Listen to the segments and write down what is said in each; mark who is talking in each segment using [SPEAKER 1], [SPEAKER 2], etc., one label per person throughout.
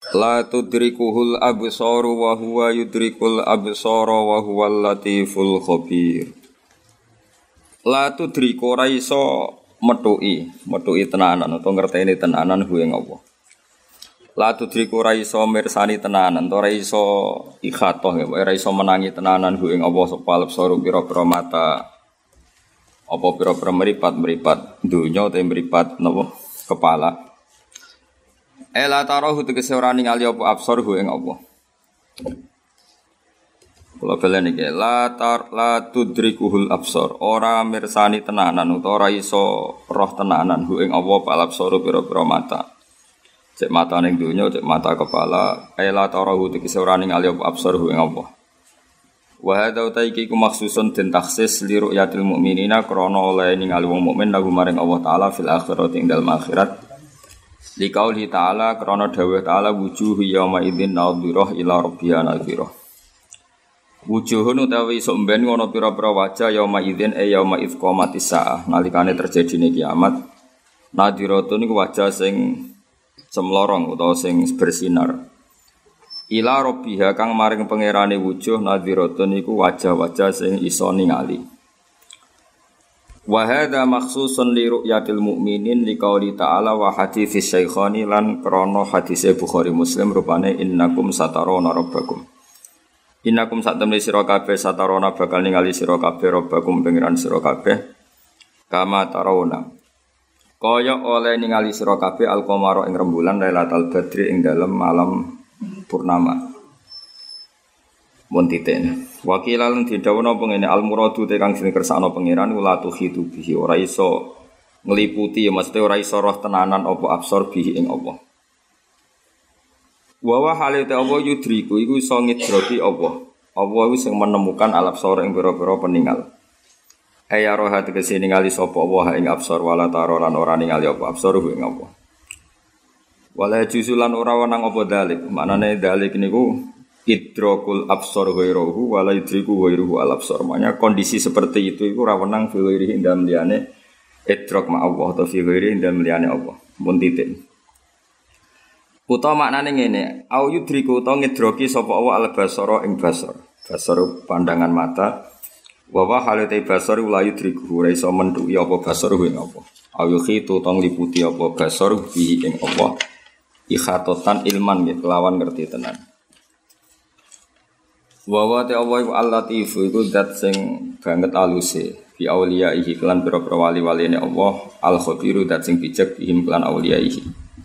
[SPEAKER 1] La tudrikuhul absaru wa huwa yudrikul absara wa huwal latiful khabir. La tudriku ora iso metuki tenanan utawa ngerteni tenanan hu ing Allah. La tudriku ora iso mirsani tenanan, ora iso ikhatoh ya, ora iso menangi tenanan hu ing Allah sapa absaru pira-pira mata. Apa pira-pira mripat donya utawa mripat napa kepala. Ela tarahu tegese ora ningali apa absarhu ing Allah. Kula balen iki la tudrikuhul absar, ora mirsani tenanan utawa ora iso roh tenanan hu ing Allah pal absaru pira-pira mata. Cek mata ning donya, cek mata kepala, ela tarahu tegese ora ningali apa absarhu ing Allah. Wa hadza utaiki ku maksusun den taksis li ru'yatil mukminina krana oleh ningali wong mukmin lagu maring Allah taala fil akhirati ing dalem akhirat. Liqauli ta'ala krana dawuh ta'ala wujuhu yauma idzin nadhirah ila rabbiha nadhirah. Wujuhun utawi somben ngono pira-pira wajah yauma idzin yauma iqamatis saah nalikane terjadine kiamat. Nadhiratun iku wajah sing cemlorong utawa sing bersinar. Ila rabbiha kang maring pangerane wujuh nadhiratun iku wajah-wajah sing iso ningali. Wa hadza makhsusun li ru'yatil mukminin liqauli ta'ala wa hadits syaikhani lan krana hadise Bukhari Muslim rupane innakum satarona rabbakum. Innakum satamli sira kabeh satarona bakal ningali sira kabeh rabbakum pengiran sira kabeh kama tarawna. Kaya oleh ningali sira kabeh al-qamara ing rembulan Lailatul Badri ing dalem malam purnama. Montiten. Wakilan didhawuhna pengene al-muradu te kang jeneng kersane pangeran ula tuhitu bihi ora iso ngliputi ya mesti ora iso roh tenanan apa absor bihi ing Allah. Wa wa halate apa yudriku iku iso ngidroki Allah. Allah iku sing menemukan al-absor ing pira-pira peninggal. Aya roh ati kesine ningali sapa Allah ing absor wala taro lan ora ningali apa absor ing Allah. Wala juzulan ora wenang apa dalik. Maknane dalik niku idrokul absor ghairuhu wala idriku ghairuhu al absor. Maknanya kondisi seperti itu ora wenang fi ghairihi ndam liyane idrok ma Allah atau fi ghairihi ndam liyane Allah. Mun titik. Utawa maknane ngene, au yudriku utawa ngidroki sapa Allah al basara ing basar. Basar pandangan mata. Wa wa halate basar la yudriku ora iso mentuki apa basar ing apa. Au yukhitu utawa ngliputi apa basar bi ing apa. Ikhatotan ilman nggih kelawan ngerti tenan. Wa wa ta Allah iku al-latif iku zat sing banget aluse bi auliyaihi kelan pira-pira wali-waline Allah al-khabiru zat sing bijak bihim kelan auliyaihi.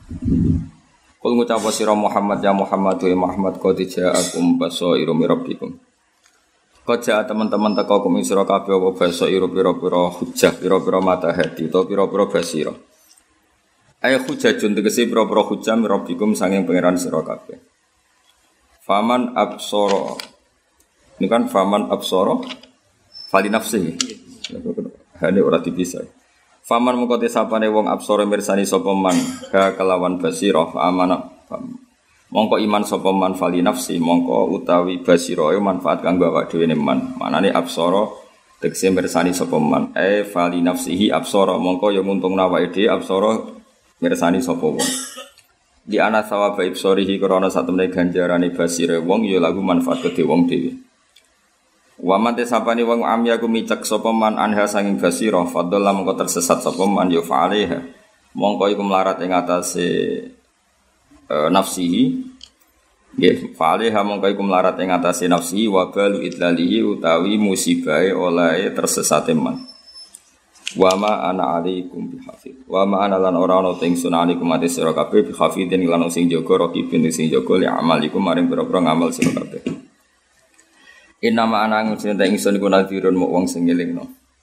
[SPEAKER 1] Kul ngucap sira Muhammad ya Muhammad wa Muhammad qad ja'akum basairu mir rabbikum. Qad ja'a teman-teman teko kum sira kabeh apa basairu pira-pira hujjah pira-pira matahati utawa pira-pira basira. Ay hujjajun tegese pira-pira hujjah mir rabbikum sanging pangeran sira kabeh. Faman absara ini kan faman absara fali nafsihi. Hane ora dipisah. Faman mengko te sapane wong absara mirsani sapa man ka kelawan basira amana. Mongko iman sapa man fali nafsi mongko utawi basira manfaat kanggo awake dhewe ne man. Manane absara tegese mirsani sapa man fali nafsihi absara mongko ya nguntungna awake dhewe absara mirsani sapa wong. Di ana sawaba ibsarihi krana satemene ganjarane basire wong ya lagu manfaat kedhe wong dhewe. Wa man tesapani wong amya ku micek sapa man anha sanging basira fadalla mongko tersesat sapa man ya fa'alaiha mongko iku melarat ing atase nafsihi nggih fa'alaiha mongko iku melarat ing atase nafsihi wa balu idlalihi utawi musibahe oleh tersesate man. Wa ma ana alaikum bihafid wa ma ana lan ora ana teng sunanikum ate sira kabeh bihafidin lan sing jaga rakibin sing jaga li amalikum maring pira-pira ngamal sira kabeh. Inama anang cinta ingsun iku nadhirun muk wong sing ngelingno.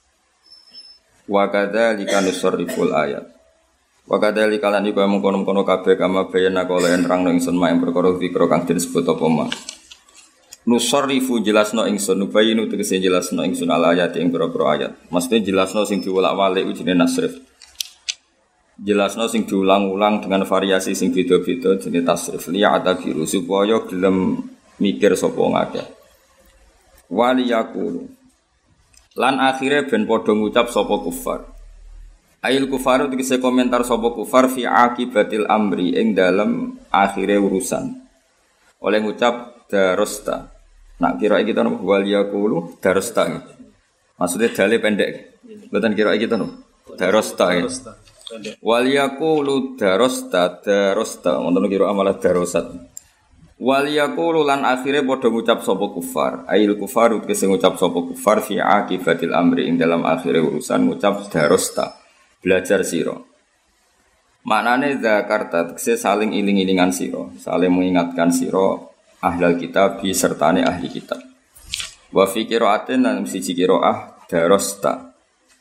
[SPEAKER 1] Wa kadzalika nusarriful ayat. Wa kadzalika lan iku mengkono-kono kabeh kama bayana kala nerangno ingsun mak perkara zikra kang disebut apa mak. Nusarrifu jelasno ingsun nubayinu tegese jelasno ingsun al ayat ing pira-pira ayat. Maksudnya jelasno sing diwolak-walik jenenge nasrif. Jelasno sing diulang-ulang dengan variasi sing beda-beda jenenge tasrif. Liya atabiru supaya gelem mikir sapa ngakeh. Waliyakulu lan akhire ben padha ngucap sapa kufar Ail kufaru tegese komentar sapa kufar fi akibatil amri ing dalam akhire urusan. Oleh ngucap darosta. Nak kira kita nopo wal yaqulu darosta. Maksudnya dale pendek. Mboten kira kita nopo. Darosta. Wal yaqulu darosta wonten kira amalah darosat. Wal yaqulu lan akhire padha ngucap sapa kufar. Ail kufaru tegese ngucap sapa kufar fi akibatil amri ing dalam akhire urusan ngucap darosta. Belajar siro. Maknane zakarta tegese saling iling-ilingan siro, saling mengingatkan siro ahlal kitab sertane ahli kitab. Wa fi qiraatin lan siji qiraah darosta.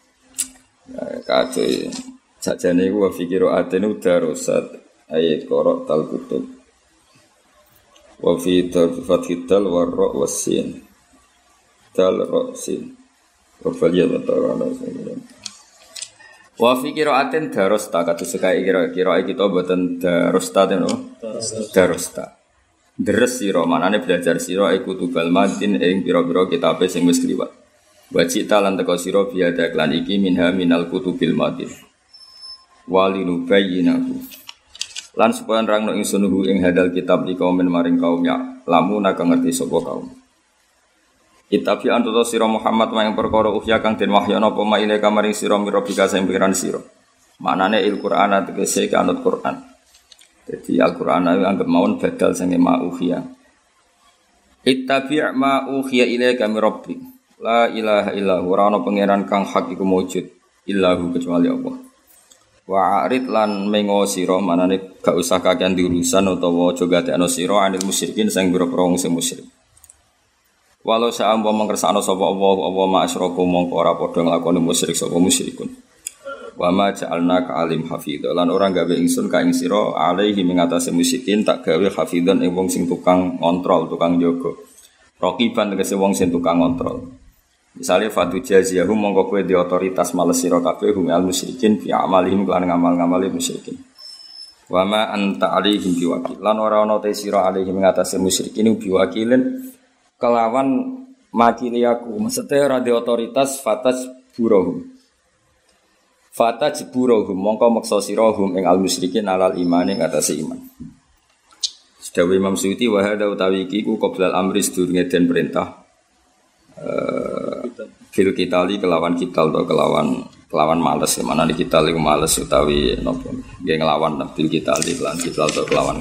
[SPEAKER 1] Kace sajane iku wa fi qiraatin darosat ayat qara tal kutub. Wa fi fathil wa ra wasin. Tal ra sin. Wa faliya ta'ala. Wa fi qiraatin darosta kados sekae kira-kira kita mboten darosta tenan darosta. Deres sira manane belajar sira iku tubal madin ing pira-pira kitabe sing wis kliwat. Wa cita lan teka sira biada klan iki minha minal kutubil madin. Walinu bayyinahu. Lan supaya nerangno ingsun ing hadal kitab di kaum maring kaum ya lamun kang ngerti sapa kaum. Itabi antuta sira Muhammad mayang perkara uhya kang den wahyana apa maile kamaring sira mirobika sing pikiran sira. Maknane Al-Qur'an tegese kanut Qur'an. Jadi Al-Qur'an itu anggap mawon badal sing ma uhya. Ittabi' ma uhya ilaika mir rabbik. La ilaha illa huwa ora ana pangeran kang hak iku mujud illahu kecuali Allah. Wa arid lan mengo sira manane gak usah kakean diurusan utawa aja gatekno sira anil musyrikin sing pira-pira wong sing musyrik. Walau sa'am wa mangkersakno sapa Allah ma asyraku mongko ora padha nglakoni musyrik sapa musyrikun. Wa ma ja'alna ka alim hafidha lan ora gawe ingsun ka ing sira alaihi mengatasi musyrikin tak gawe hafidhan ing wong sing tukang ngontrol, tukang jaga. Raqiban tegese wong sing tukang ngontrol. Misale fatu jaziyahum mongko kowe di otoritas males sira kabeh hum al musyrikin fi amalihim lan ngamal-ngamale musyrikin. Wa ma anta alaihim biwakil lan ora ana te sira alaihim mengatasi musyrikin biwakilin kelawan makili aku maksudnya ora di otoritas fataj burohum mongko maksa sirahum ing al musyrikin alal iman ing atase iman. Sedawi Imam Suyuti wa hada utawi iki ku qoblal amri sedurunge den perintah fil kitali kelawan kital atau kelawan males mana di kital iku males utawi napa nggih nglawan fil kitali lan kital atau kelawan.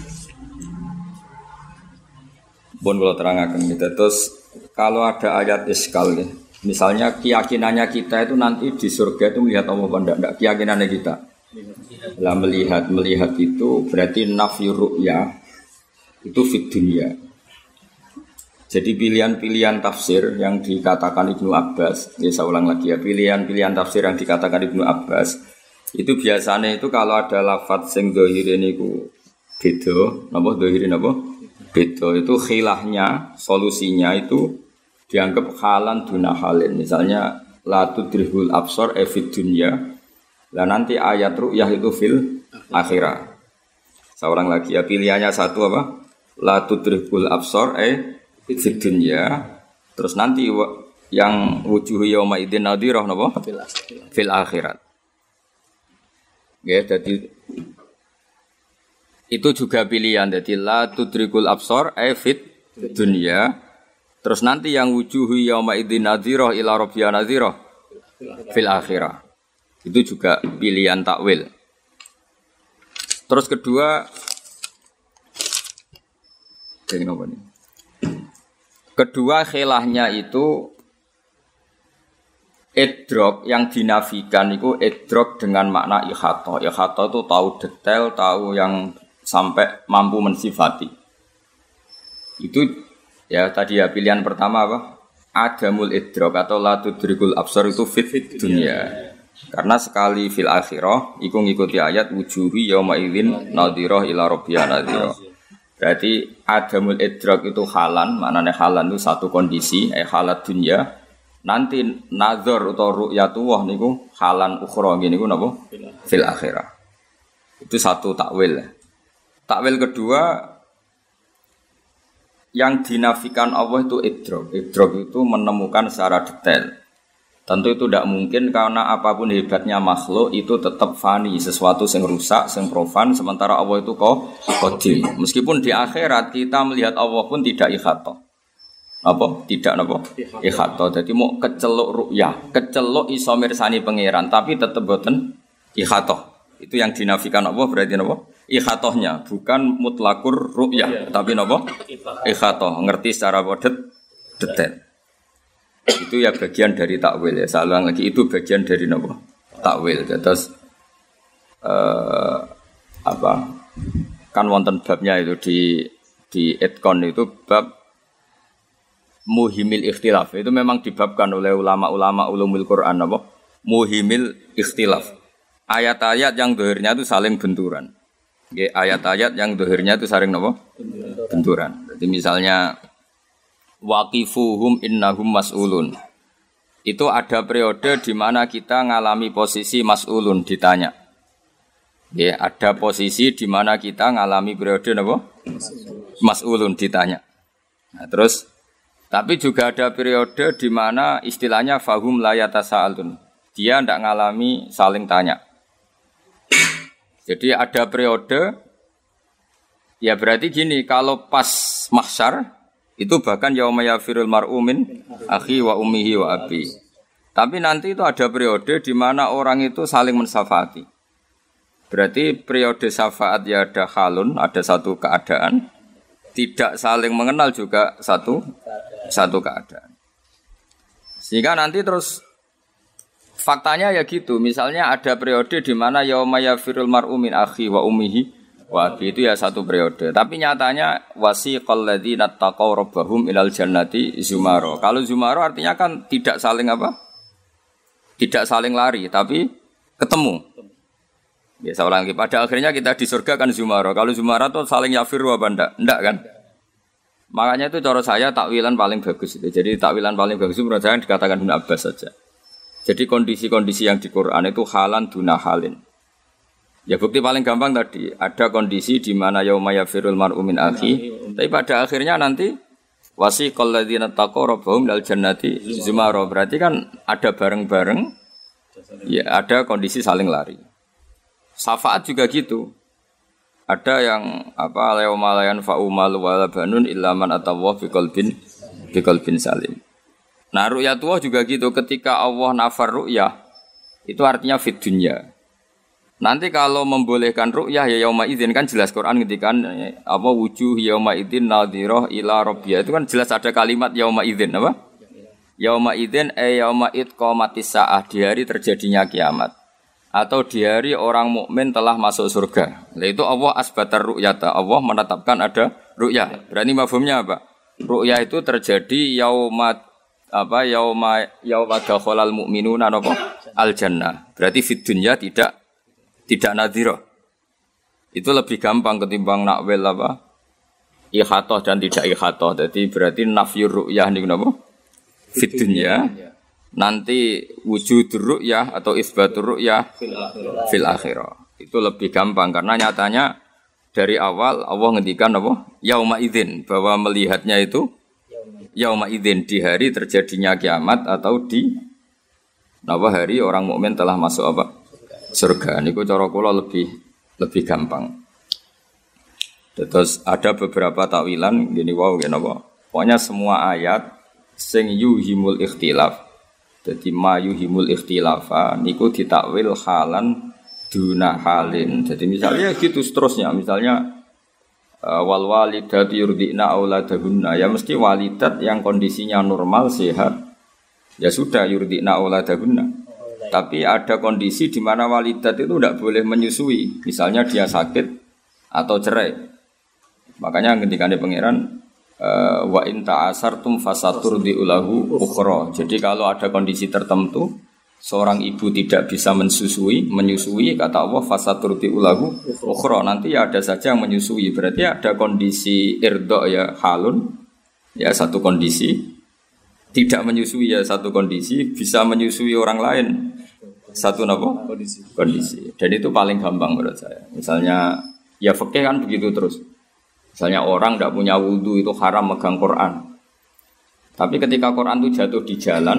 [SPEAKER 1] Bon kalau terangkan kita terus kalau ada ayat iskal ya. Misalnya keyakinannya kita itu nanti di surga itu melihat Allah apa enggak keyakinannya kita. Lah melihat itu berarti nafyu ru'ya itu fid dunya. Jadi pilihan-pilihan tafsir yang dikatakan Ibnu Abbas, ya saya ulang lagi ya, pilihan-pilihan tafsir yang dikatakan Ibnu Abbas itu biasanya itu kalau ada lafadz sing dhahire niku beda, napa dhahire napa? Beda itu khilahnya, solusinya itu dianggap halan duna halin. Misalnya la tudrihul absar fid dunya. Lah nanti ayat ru'yah itu fil akhirah. Seorang lagi ya pilihannya satu apa? La tudrihul absar fid dunya. Terus nanti yang wujuhu yauma idzin nadhirah napa? Fil akhirat. Ya, jadi itu juga pilihan. Jadi la tudrikul absar fit dunya. Terus nanti yang wujuhu yauma idzin nadhirah ila rabbiha nadhirah fil akhirah. Itu juga pilihan takwil. Terus kedua khilahnya itu idrok yang dinafikan itu idrok dengan makna ikhata. Ikhata itu tahu detail, tahu yang sampai mampu mensifati. Itu ya tadi ya pilihan pertama apa? Adamul idrok atau la tudrikul absar itu fit dunya. Karena sekali fil akhirah iku ngikuti ayat wujuhi yauma idzin nadhirah ila rabbiha nadhirah. Berarti adamul idrok itu halan, maknanya halan itu satu kondisi, halat dunya. Nanti nazar atau ru'yatullah niku halan ukhra niku napa? Fil akhirah. Itu satu takwil. Takwil kedua yang dinafikan Allah itu idrok. Idrok itu menemukan secara detail. Tentu itu tidak mungkin karena apapun hebatnya makhluk itu tetap fani, sesuatu yang rusak, yang profan, sementara Allah itu qadim. Meskipun di akhirat kita melihat Allah pun tidak ikhatoh. Apa? Tidak apa? Ikhatoh. Jadi mau keceluk ru'yah, keceluk iso mirsani pangeran, tapi tetap boten ikhatoh. Itu yang dinafikan Allah berarti apa? Ikhatohnya, bukan mutlakur ru'yah, tapi apa? Ikhatoh, ngerti secara detail. Itu ya bagian dari takwil ya. Saya ulang lagi itu bagian dari apa? Takwil. Terus apa? Kan wonten babnya itu di Etkon itu bab muhimil ikhtilaf. Itu memang dibabkan oleh ulama-ulama ulumul Quran apa? Muhimil ikhtilaf. Ayat-ayat yang dohirnya itu saling benturan. Ayat-ayat yang dohirnya itu saling apa? Benturan. Jadi misalnya waqifuhum innahum mas'ulun. Itu ada periode di mana kita ngalami posisi mas'ulun ditanya. Ya, ada posisi di mana kita ngalami periode apa? Mas'ulun ditanya. Nah, terus tapi juga ada periode di mana istilahnya fahum la yatasaalun. Dia tidak ngalami saling tanya. Jadi ada periode ya berarti gini, kalau pas mahsyar itu bahkan yauma yafirul mar'u min akhi wa ummihi wa abi. Tapi nanti itu ada periode di mana orang itu saling mensyafati. Berarti periode syafaat ya ada halun, ada satu keadaan. Tidak saling mengenal juga satu keadaan. Sehingga nanti terus faktanya ya gitu. Misalnya ada periode di mana yauma yafirul mar'u min akhi wa ummihi wah, itu ya satu periode. Tapi nyatanya wasiqal ladzina taqaw rabbahum ilal jannati zumaro. Kalau zumaro artinya kan tidak saling apa? Tidak saling lari, tapi ketemu. Biasa ulang lagi. Pada akhirnya kita di surga kan zumaro. Kalau zumaro itu saling yafiru apa enggak? Enggak kan? Makanya itu cara saya takwilan paling bagus itu. Jadi takwilan paling bagus itu menurut saya dikatakan Ibnu Abbas saja. Jadi kondisi-kondisi yang di Quran itu halan duna halin. Ya bukti paling gampang tadi, ada kondisi di mana yauma yafirul mar'u min akhi, tapi pada akhirnya nanti wasiqal ladzina taqaw rabbahum ilal jannati zumara. Berarti kan ada bareng-bareng, ya ada kondisi saling lari. Syafaat juga gitu. Ada yang apa yauma la yanfa'u mal wala banun illa man atawa biqalbin salim. Nah, ru'yatullah juga gitu, ketika Allah nafar ru'yah itu artinya fid dunya. Nanti kalau membolehkan ru'yah ya yauma idzin kan jelas Quran ngetikan apa wujuh yauma idzin nadhirah ila rabbiyah. Itu kan jelas ada kalimat yauma idzin apa? Yauma idzin yauma idqamatis saah, di hari terjadinya kiamat. Atau di hari orang mukmin telah masuk surga. Nah, itu Allah asbatar ru'yata. Allah menetapkan ada ru'yah. Berarti mafhumnya apa? Ru'yah itu terjadi yauma dakhalal mu'minuna al jannah. Berarti fid dunya tidak nadhirah. Itu lebih gampang ketimbang nakwil apa? Ikhatoh dan tidak ikhatoh. Jadi berarti nafyur ru'yah niku napa? Fid dunya. Nanti wujudur ru'yah atau isbatur ru'yah fil akhirah. Itu lebih gampang karena nyatanya dari awal Allah ngendikan apa? Yauma idzin, bahwa melihatnya itu yauma idzin, di hari terjadinya kiamat atau di hari orang mukmin telah masuk apa? Surga. Niku cara kula lebih gampang. Terus ada beberapa takwilan gini wow ngene apa? Pokoknya semua ayat sing yuhimul ikhtilaf. Jadi ma yuhimul ikhtilafa niku ditakwil halan duna halin. Jadi misalnya gitu seterusnya. Misalnya wal walidatu yurdina auladahunna, ya mesti walidat yang kondisinya normal sehat. Ya sudah yurdina auladahunna. Tapi ada kondisi di mana walidat itu tidak boleh menyusui. Misalnya dia sakit atau cerai. Makanya ketika pangeran wa in ta'asartum fasaturdi ulahu ukhra. Jadi kalau ada kondisi tertentu seorang ibu tidak bisa menyusui kata Allah fasaturdi ulahu ukhra. Nanti ya ada saja yang menyusui. Berarti ada kondisi irdo ya halun. Ya satu kondisi. Tidak menyusui ya satu kondisi, bisa menyusui orang lain satu apa? Kondisi. Dan itu paling gampang menurut saya. Misalnya ya fikih kan begitu terus. Misalnya orang tidak punya wudu itu haram megang Quran. Tapi ketika Quran itu jatuh di jalan,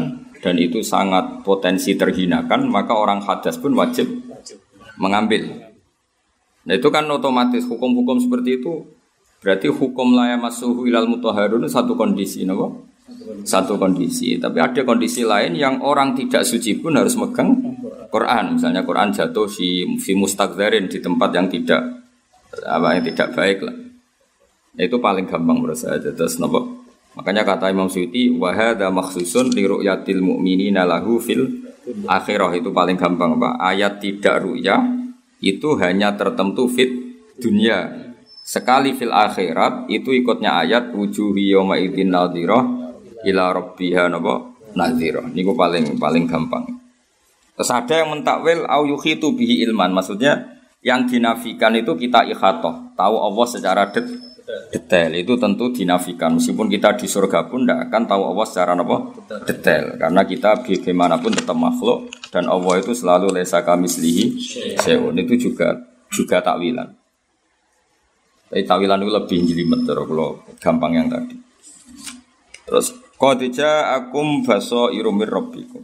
[SPEAKER 1] dan itu sangat potensi terhinakan, maka orang hadas pun wajib mengambil. Nah itu kan otomatis hukum-hukum seperti itu berarti hukum la yamassuhu ilal mutahharun satu kondisi, napa? Satu kondisi. Tapi ada kondisi lain yang orang tidak suci pun harus megang Quran. Misalnya Quran jatuh fi mustaqdzarin di tempat yang tidak baik lah. Itu paling gampang menurut saya. Terus napa? Makanya kata Imam Suyuti wa hadza makhsusun li ru'yatil mu'minina lahu fil akhirah, itu paling gampang, Pak. Ayat tidak ru'yah itu hanya tertentu fit dunia. Sekali fil akhirat itu ikutnya ayat wujuhi yawma idzin nadhirah ila rabbiha nadhirah. Niku paling gampang. Terus ada yang mentakwil au yukhitu bihi ilman, maksudnya yang dinafikan itu kita ikhatoh, tahu Allah secara detail, itu tentu dinafikan. Meskipun kita di surga pun tidak akan tahu Allah secara detail, karena kita bagaimanapun tetap makhluk dan Allah itu selalu laisa kamitslihi syai'un. Itu juga takwilan. Tapi takwilan itu lebih jelimet kalau gampang yang tadi. Terus qad ja'akum basairu mir rabbikum,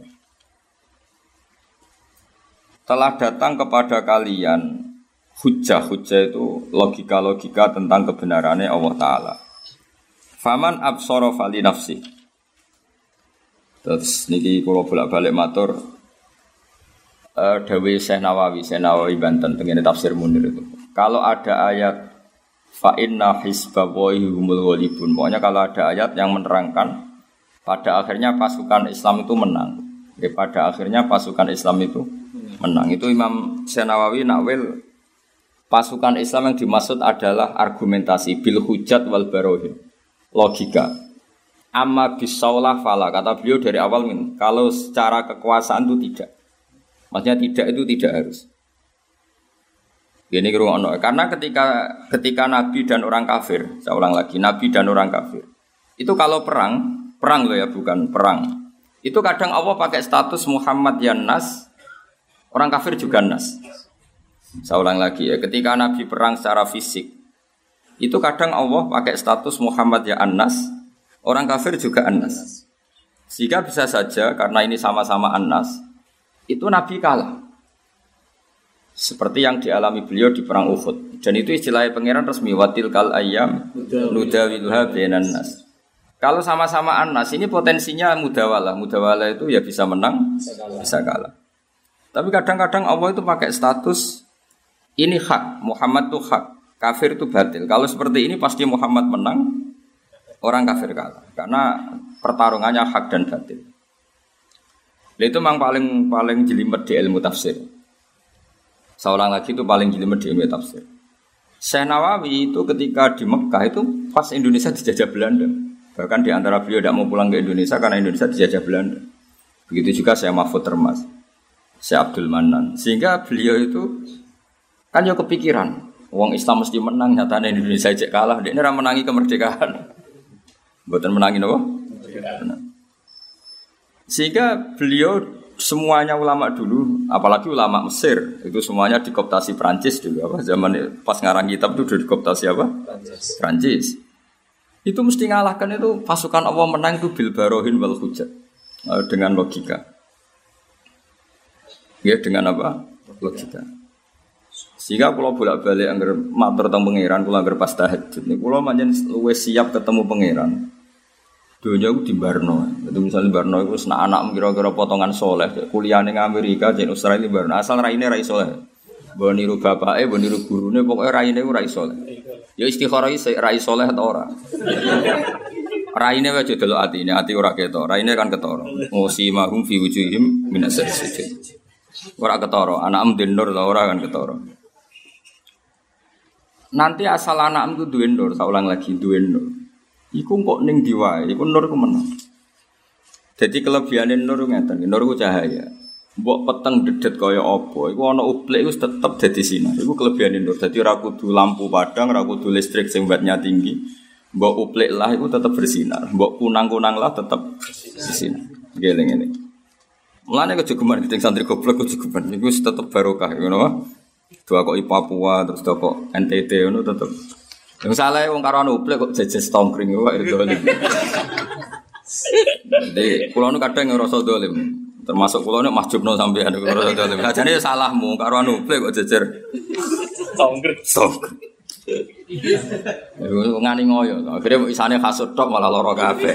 [SPEAKER 1] telah datang kepada kalian hujjah-hujjah itu logika-logika tentang kebenarannya Allah Ta'ala. Faman absara fali nafsi. Terus niki kula bolak-balik matur dawuh Syekh Nawawi Banten tengene tafsir Munir itu. Kalau ada ayat fa inna hizballahi humul ghalibun, pokoknya kalau ada ayat yang menerangkan pada akhirnya pasukan Islam itu menang. Pada akhirnya pasukan Islam itu menang. Itu Imam Syekh Nawawi nakwil pasukan Islam yang dimaksud adalah argumentasi bil hujjat wal barohin, logika. Amma bisaulah fala, kata beliau dari awal kalau secara kekuasaan itu tidak. Maksudnya itu tidak harus. Ini kirungono, karena ketika Nabi dan orang kafir, saya ulang lagi, Nabi dan orang kafir itu kalau perang loh ya, bukan perang. Itu kadang Allah pakai status Muhammad ya Nas, orang kafir juga Nas. Saya ulang lagi ya, ketika Nabi perang secara fisik, itu kadang Allah pakai status Muhammad ya An-Nas, orang kafir juga An-Nas. Sehingga bisa saja karena ini sama-sama An-Nas, itu Nabi kalah. Seperti yang dialami beliau di perang Uhud. Dan itu istilahnya pangeran resmi watil kal ayyam nudawiluha bainan nas. Kalau sama-sama An-Nas ini potensinya mudawalah. Mudawalah itu ya bisa menang, bisa kalah. Tapi kadang-kadang Allah itu pakai status ini hak, Muhammad itu hak, kafir itu batil. Kalau seperti ini pasti Muhammad menang, orang kafir kalah. Karena pertarungannya hak dan batil. Itu memang paling jelimet di ilmu tafsir. Seorang lagi itu paling jelimet di ilmu tafsir. Syekh Nawawi itu ketika di Mekah itu pas Indonesia dijajah Belanda. Bahkan di antara beliau tidak mau pulang ke Indonesia karena Indonesia dijajah Belanda. Begitu juga Syekh Mahfud Termas, Syekh Abdul Manan. Sehingga beliau itu kan ya kepikiran, wong Islam mesti menang, nyatanya Indonesia cek kalah, dia ini menangi kemerdekaan. Bukan menangi apa? Sehingga beliau semuanya ulama dulu, apalagi ulama Mesir, itu semuanya dikooptasi Prancis dulu apa? Zaman pas ngarang kitab itu dikooptasi apa? Prancis. Itu mesti ngalahkan itu pasukan Allah menang itu bil barohin wal hujjat. Dengan logika. Ya dengan apa? Logika. Sehingga kalau bolak-balik anggar matur teng pangeran, kula anggar pas tahajud niku kula pancen luwih siap ketemu pangeran. Dunia itu di Barno. Itu misalnya Barno itu senak anak kira-kira potongan soleh, kuliah ning Amerika, ning Australia di Barno. Asal raine rai soleh. Mbok niru bapake, mbok niru gurune, pokoke raine ku rai soleh. Ya istikharah iki rai soleh ta ora. Raine wae delok atine, ati ora ketok. Raine kan ketara. Musimahum fi wujuhim minas sujud. Ora ketara, anak mdendur ta ora kan ketara. Nanti asal anak itu duwe nur, saya ulang lagi duwe nur. Iku kok ning diwae, iku nur ku menang. Jadi kelebihane nur ngeten, nur ku cahaya. Mbok peteng dedet kaya apa, iku ana uplik iku tetep dadi sinar. Iku kelebihane nur. Dadi ora kudu lampu padang, ora kudu listrik sing wattnya tinggi. Mbok uplik lah iku tetep bersinar. Mbok kunang-kunang lah tetep bersinar. Geleng-geleng. Mulane kejegeman gedeng santri goblok kejegeman iku tetep barokah ngono wae. Dua kok Papua terus dua kok NTT ngono tetep. Yang salah wong karo anu uplek kok jejes tongkring wae dolim. Jadi kula nu kadang ngrasa dolim. Termasuk kula nek masjubno sampean ngrasa dolim. Ajane salahmu karo anu plek kok jejer. Songkret. Ngani ngoyo. Akhire isane kasut tok malah lara kabeh.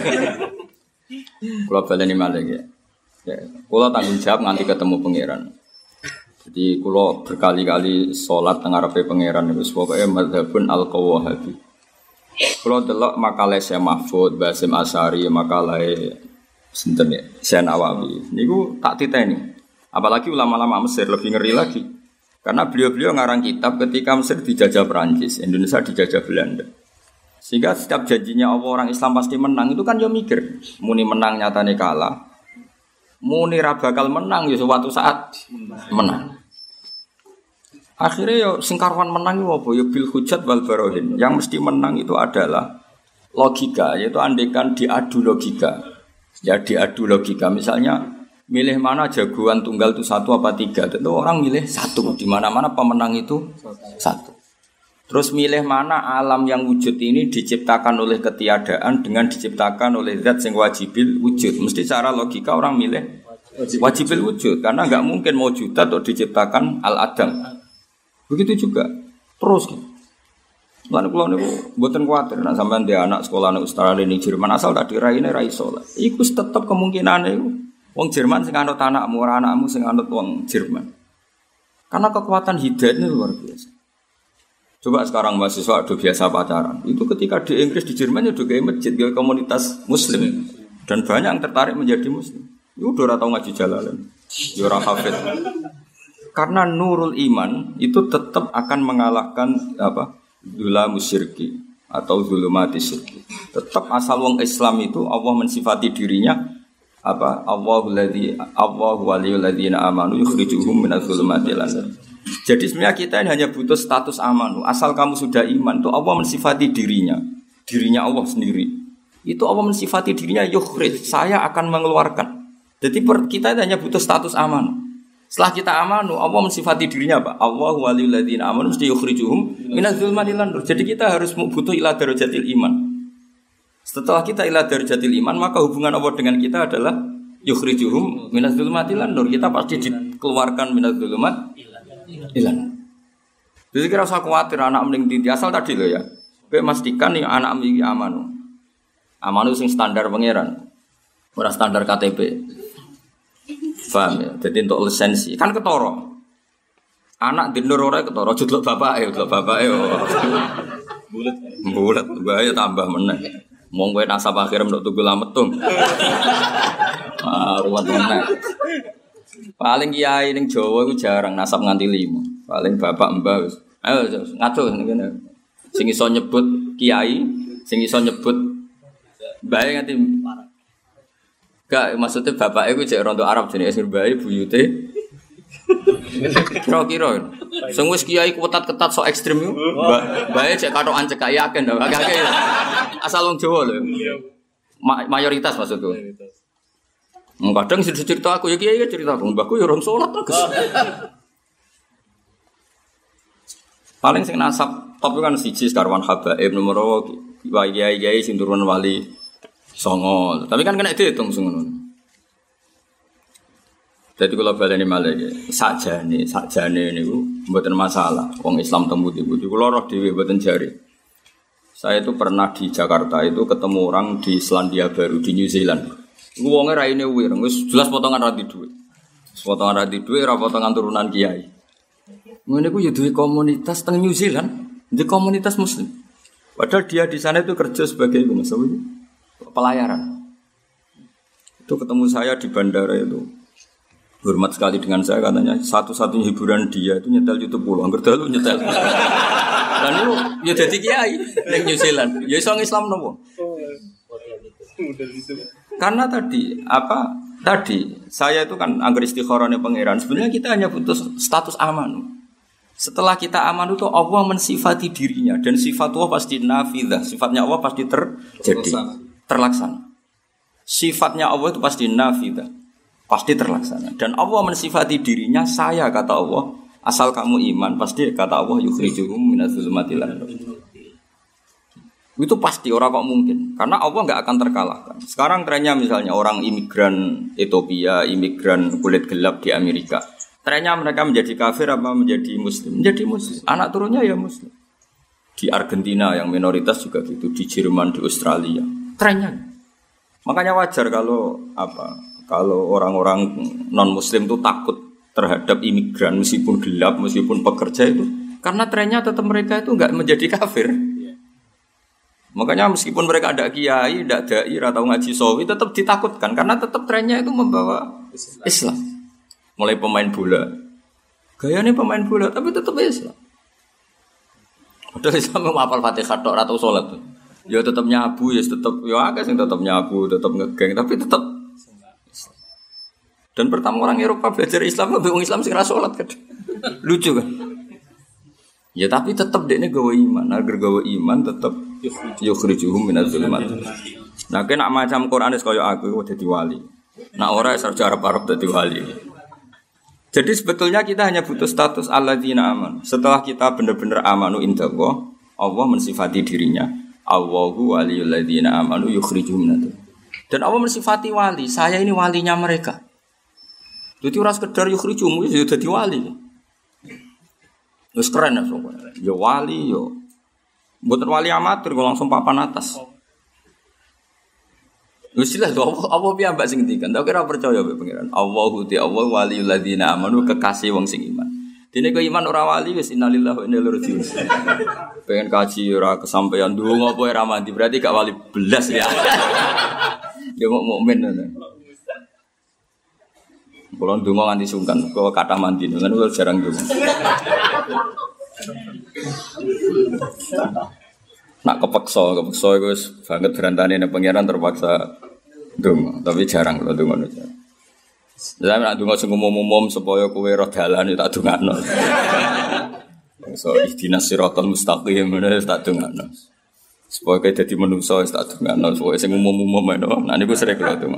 [SPEAKER 1] Kula baleni malih ya. Kula tanggung jawab nganti ketemu pangeran. Jadi kula berkali-kali salat teng ngarepe pangeran wis pokoke madzhabun al-Qawahabi. Kalau delok makalah Syekh Mahfud, Basim Asy'ari, makalah sinten ya, Syekh Nawawi. Niku tak titeni. Apalagi ulama-ulama Mesir lebih ngeri lagi. Karena beliau-beliau ngarang kitab ketika Mesir dijajah Perancis, Indonesia dijajah Belanda. Sehingga setiap janjinya Allah orang Islam pasti menang itu kan yo mikir, muni menang nyatane kalah. Muni ra bakal menang ya suatu saat menang. Akhirnya ya singkarwan menang itu apa? Ya bil hujat wal barohin. Yang mesti menang itu adalah logika, yaitu andekan diadu logika. Ya diadu logika. Misalnya milih mana jagoan tunggal itu 1 apa 3. Tentu orang milih 1. Di mana-mana pemenang itu 1. Terus milih mana alam yang wujud ini diciptakan oleh ketiadaan dengan diciptakan oleh zat yang wajibil wujud. Mesti secara logika orang milih wajibil wujud. Karena enggak mungkin mewujudat atau diciptakan al-adam. Begitu juga terus gitu. Lan kula niku mboten kuwatir nek sampean ndek anak sekolah ning Australia ning Jerman asal tak diraine ra iso lah. Iku tetep kemungkinane iku wong Jerman sing anut anakmu ora anakmu sing anut wong Jerman. Karena kekuatan hidayah ini luar biasa. Coba sekarang mahasiswa udah biasa pacaran. Itu ketika di Inggris di Jerman udah kayak masjid, kayak komunitas muslim dan banyak yang tertarik menjadi muslim. Itu udah ora tau ngaji jalalan. Ya ora hafid. Karena nurul iman itu tetap akan mengalahkan dzulamus syirki atau dzulumati syirki. Tetap asal wong Islam itu Allah mensifati dirinya Allahu waliyul ladzina amanu yukhrijuhum minadz zulumati ilan nur. Jadi sebenarnya kita ini hanya butuh status amanu. Asal kamu sudah iman itu Allah mensifati dirinya Allah sendiri. Itu Allah mensifati dirinya yukhrij, saya akan mengeluarkan. Jadi kita hanya butuh status amanu. Setelah kita amanu, Allah mensifati dirinya apa? Allahu waliyul ladzina amanu mesti yukhrijuhum minadz zulumati ilan nur. Jadi kita harus butuh ila darajatil iman. Setelah kita ila darajatil iman, maka hubungan Allah dengan kita adalah yukhrijuhum minadz zulumati ilan nur. Kita pasti dikeluarkan minadz zulumati ilan nur. Jadi kira usah khawatir anak mending titi asal tadi loh ya. Kowe memastikan nih anak iki amanu. Amanu sing standar pangeran. Ora standar KTP. Paham ya? Jadi untuk lisensi kan ketoro. Anak di nur ora ketoro, judul bapake. Bulat, bahaya tambah meneh. Mong kowe nasab akhir ndok tugu lametung. Ruwet meneh. Paling kiai ning Jawa iku jarang nasab nganti 5. Paling bapak mbah wis. Ayo ngaco ngene. Sing iso nyebut kiai, sing iso nyebut bae nganti gak maksudnya bapak iku cek rondo Arab jenenge Ismir bae buyute. Kira-kira. Sing wis kiai ketat-ketat sok ekstrem iku. Bae cek katokan cek yakin to. Agak-agak asal wong Jawa lho. Mayoritas maksudku. Kadang cerita aku ya kiai cerita aku, mbahku ya orang sholat terus. Paling sing nasab top kan siji Karwan Habaib nomor kiai sing turun wali songo. Tapi kan kena dihitung sing ngono. Jadi kalau baleni malih sakjane niku mboten masalah. Wong Islam temu di kula roh dhewe mboten jari. Saya itu pernah di Jakarta itu ketemu orang di Selandia Baru di New Zealand. Wonge raine wireng wis jelas potongan rati dhuwit. Potongan rati dhuwit ora potongan turunan kiai. Ngene ku ya duwe komunitas teng New Zealand, di komunitas muslim. Padahal dia di sana itu kerja sebagai pelayaran. Itu ketemu saya di bandara itu. Hormat sekali dengan saya katanya satu-satunya hiburan dia itu nyetel YouTube pulau. Angger dalu nyetel. Dan itu ya jadi kiai ning New Zealand. Ya iso Islam nopo? Karena tadi saya itu kan anggar istikharane pangeran. Sebenarnya kita hanya butuh status aman. Setelah kita aman itu Allah mensifati dirinya dan sifat Allah pasti nafidzah. Sifatnya Allah pasti terlaksana. Sifatnya Allah itu pasti nafidzah, pasti terlaksana. Dan Allah mensifati dirinya saya kata Allah. Asal kamu iman pasti kata Allah yukhrijuhum minadz zulumati ilan nur. Itu pasti orang kok mungkin. Karena Allah nggak akan terkalahkan. Sekarang trennya misalnya orang imigran Ethiopia, imigran kulit gelap di Amerika. Trennya mereka menjadi kafir apa menjadi muslim? Menjadi muslim. Anak turunnya ya muslim. Di Argentina yang minoritas juga gitu. Di Jerman, di Australia. Trennya. Makanya wajar kalau orang-orang non muslim itu takut terhadap imigran meskipun gelap, meskipun pekerja itu. Karena trennya tetap mereka itu nggak menjadi kafir. Makanya meskipun mereka ada kiai, tidak dai, atau ngaji sawi, tetap ditakutkan karena tetap trennya itu membawa Islam. Mulai pemain bola, gayanya pemain bola, tapi tetap Islam. Padahal Islam menghafal Fatihah tok atau sholat tuh, ya tetap nyabu, ya tetap, ya agak sih tetap nyabu, tetap ngegeng, tapi tetap. Dan pertama orang Eropa belajar Islam, orang Islam sih ngerasa sholat kan, lucu kan? Ya tapi tetap dia gawe iman, agar gawe iman tetap yukhrijuhum minadz zulumat. Nah, kena macam Quran kaya aku dadi wali. Nah, ora sarjana Arab dadi wali. Jadi sebetulnya kita hanya butuh status alladzina aman. Setelah kita benar-benar amanu indallah, Allah mensifati dirinya, Allahu waliyul ladzina amanu yukhrijuhum minadz. Dan Allah mensifati wali, saya ini walinya mereka. Jadi ora sekedar yukhrijuhum ya dadi wali. Wis keren ya soalnya. Ya wali yo. Mboten wali amatir kok langsung papan atas. Wis jelas apa piye mbak sing ngendikan. Tak kira percaya mbek pangeran. Allahu ti Allah waliyul ladzina amanu kekasih wong sing iman. Dene kok iman ora wali wis innalillahi wa inna ilaihi raji'un. Pengen kaji ora kesampaian ndonga apa ora mandi berarti gak wali belas ya. Ya mukmin ngono. Kalau ndonga nganti sungkan, kalau kathah mandi, kan udah jarang ndonga. Nak kepeksa itu banget berantane ning pangeran terpaksa ndonga, tapi jarang kalau ndonga aja. Lah nak ndonga sing umum-umum supaya kowe roh dalan tak dongakno. So ihdinas siratal mustaqim menawa tak dongakno. Supaya kowe dadi manungsa tak dongakno, supaya sing umum-umum ae. Nah niku sering kula ndonga.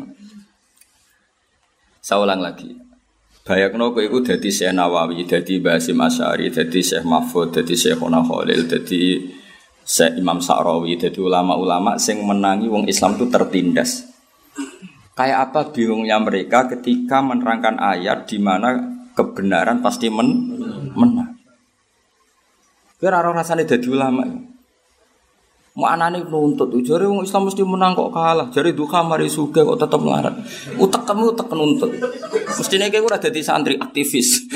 [SPEAKER 1] Saya ulang lagi. Bayangno kowe iku dadi Syekh Nawawi, dadi Mbah Hasyim Asy'ari, dadi Syekh Mahfud, dadi Syekhona Khalil, dadi Syekh Imam Sa'rawi, dadi ulama-ulama sing menangi wong Islam itu tertindas. Kayak apa bingungnya mereka ketika menerangkan ayat di mana kebenaran pasti menang. Kowe ora rasane dadi ulama. Mau anane nuntut, jare wong Islam mesti menang kok kalah. Jare duka mari sugih kok tetep melarat. Utekmu utek nuntut. Mestine kowe ora dadi santri aktivis.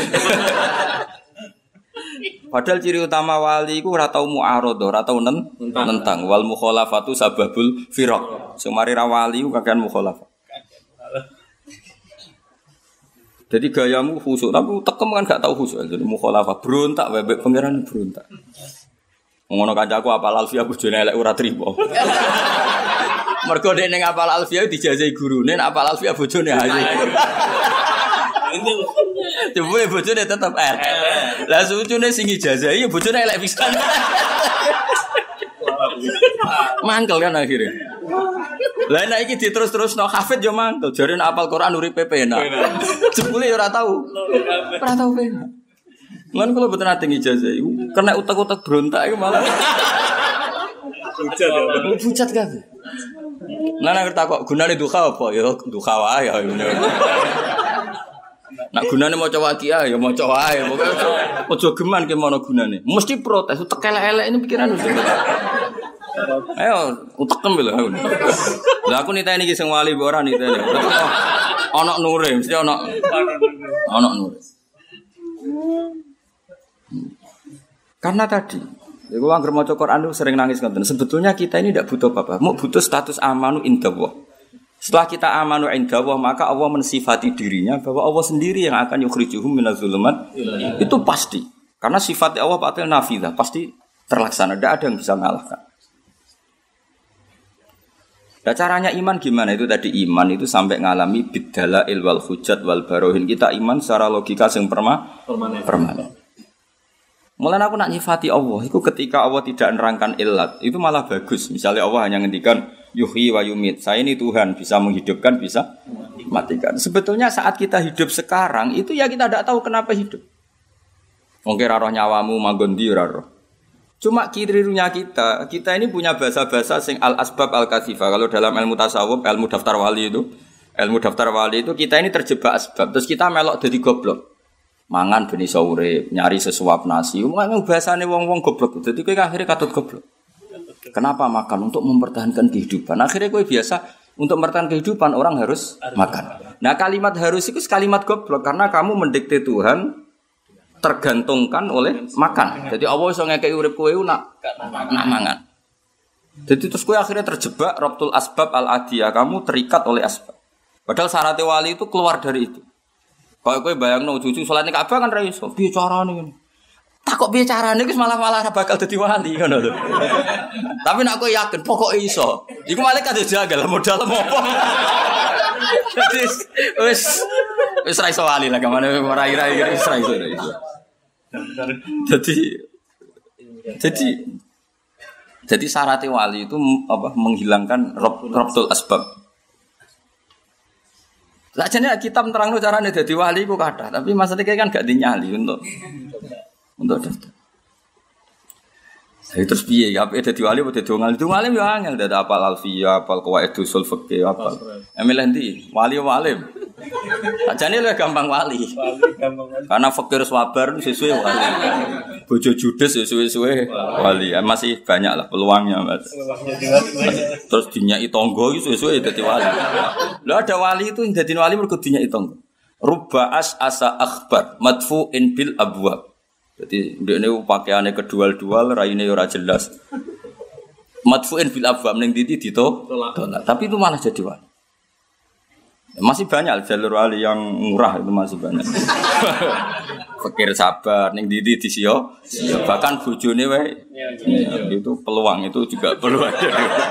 [SPEAKER 1] Padahal ciri utama wali iku ora tau mu'aradhah, ora tau nentang. Wal mukhalafatu sababul firaq. Sing mari ra wali ku kakean mukhalafah. Jadi gayamu khusyuk, tapi utekmu kan gak tau khusyuk. Jadi mukhalafah berontak bebek pangeran berontak. Ngono kancaku apal alfiah bojone elek ora trimo. Mergo nek ning apal alfiah dijajahi gurune, nek apal alfiah bojone ayu. Coba bojone tetep Lah sucune sing ijazahi ya bojone elek pisan. Mangkel kan akhirnya. Lah nek iki diterus-terusno hafid yo mangkel. Jare nek apal Quran uripe penak. Jebule yo ora tau. Ora tau penak. Lan kalau betul nanti ijazah, kena utak-utak berontak itu malah. Pucat kan? Nah ngerti kok gunane duha apa? Ya duha wae ya. Nak gunane maca waqiah ya maca wae. Aja geman ki mono gunane. Mesti protes utek elek-elek ini pikiran. Ayo utekem lho. Lah aku niteni iki sing wali ora niteni. Ana nure, mesti ana nure. Karena tadi, aku anggar maca Quran itu sering nangis ngoten. Sebetulnya kita ini tidak butuh apa-apa, mau butuh status amanu indallah. Setelah kita amanu indallah, maka Allah mensifati dirinya bahwa Allah sendiri yang akan yukhrijuhum minadz zulumat. Itu pasti. Karena sifat Allah batil nafidzah, pasti terlaksana, tidak ada yang bisa mengalahkan. Nah, caranya iman gimana? Itu tadi iman itu sampai ngalami biddalail wal hujjat wal barohin. Kita iman secara logika yang permanen. Mulanya aku nak nyifati Allah, itu ketika Allah tidak nerangkan ilat, itu malah bagus. Misalnya Allah hanya ngendikan yuhyi wa yumit. Saya ini Tuhan, bisa menghidupkan, bisa matikan. Sebetulnya saat kita hidup sekarang, itu ya kita tidak tahu kenapa hidup. Mungkin roh nyawamu manggon di roh. Cuma kirirunya kita ini punya bahasa-bahasa sing al-asbab al-katsifah. Kalau dalam ilmu tasawuf, ilmu daftar wali itu kita ini terjebak asbab. Terus kita melok jadi goblok. Mangan ben iso urip, nyari sesuap nasi. Umumnya bahasane wong-wong goblok. Jadi kowe akhirnya katut goblok. Kenapa makan? Untuk mempertahankan kehidupan. Akhirnya kowe biasa untuk mempertahankan kehidupan orang harus makan. Nah, kalimat harus itu kalimat goblok karena kamu mendikte Tuhan tergantungkan oleh makan. Jadi Allah iso ngekeki urip kowe nak mangan. Jadi terus kowe akhirnya terjebak rabtul asbab al-adiyah, kamu terikat oleh asbab. Padahal syarat wali itu keluar dari itu. Kalau kowe bayangno cucu salat ning Ka'bah kan ra iso. Piye carane ngono? Tak kok piye carane wis malah bakal dadi wali ngono lho. Tapi nek kowe yakin pokoke iso. Iku malah kate jagal modal apa. Jadi wis ra iso wali lah kemana ora ira wis ra iso. Jadi syarat wali itu apa menghilangkan rabtul asbab. Lajane kita menerangno carane dadi wali ku kathah, tapi maksudnya kan gak dinyali untuk daftar. Jadi terus piye ya dadi wali apa dadi wong alim yo angel dadi apal alfiyah, apal qawaidul usul fikih apal. Emil endi? Wali. Lajane luwih gampang wali. Karena fakir sabar sesuai wali. Bojo judes sesuai wali. Masih banyak lah peluangnya, Mas. Terus dinyai tangga iki sesuai dadi wali. Lah ada wali itu dadi wali mergo dinyai tangga. Rubba asa akhbar madfu'in bil abwab. Jadi ndekne pakaiane kedual-dual, raine ora jelas. Madfu'in bil abwab ning titi ditolak. Tapi itu malah jadi wali. Masih banyak jalur wali yang murah itu masih banyak. Fakir sabar ning ndi disio, bahkan bojone wae. Itu peluang itu juga perlu ada.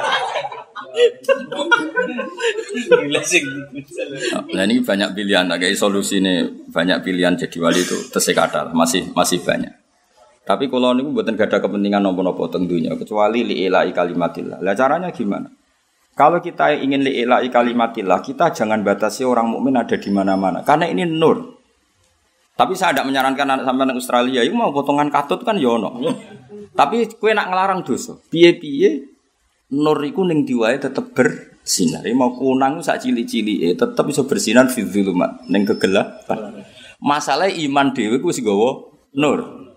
[SPEAKER 1] Nah ini banyak pilihan, kayak solusi ini banyak pilihan jadi wali itu tersekadar masih banyak. Tapi kalau niku mboten gada kepentingan napa-napa tentunya kecuali li'ilai kalimatillah. Lah caranya gimana? Kalau kita ingin li'ilai kalimatillah, kita jangan batasi orang mukmin ada di mana-mana. Karena ini nur. Tapi saya tidak menyarankan anak sampean nang Australia, itu mau potongan katut kan ya ono. Tapi kowe nak ngelarang dosa. Piye-piye nur iku ning diwae tetep bersinar. Mau kunang sak cilik-cilike tetep iso bersinar fi dzulumat ning kegelapan. Masalah iman dhewe ku wis nggawa nur.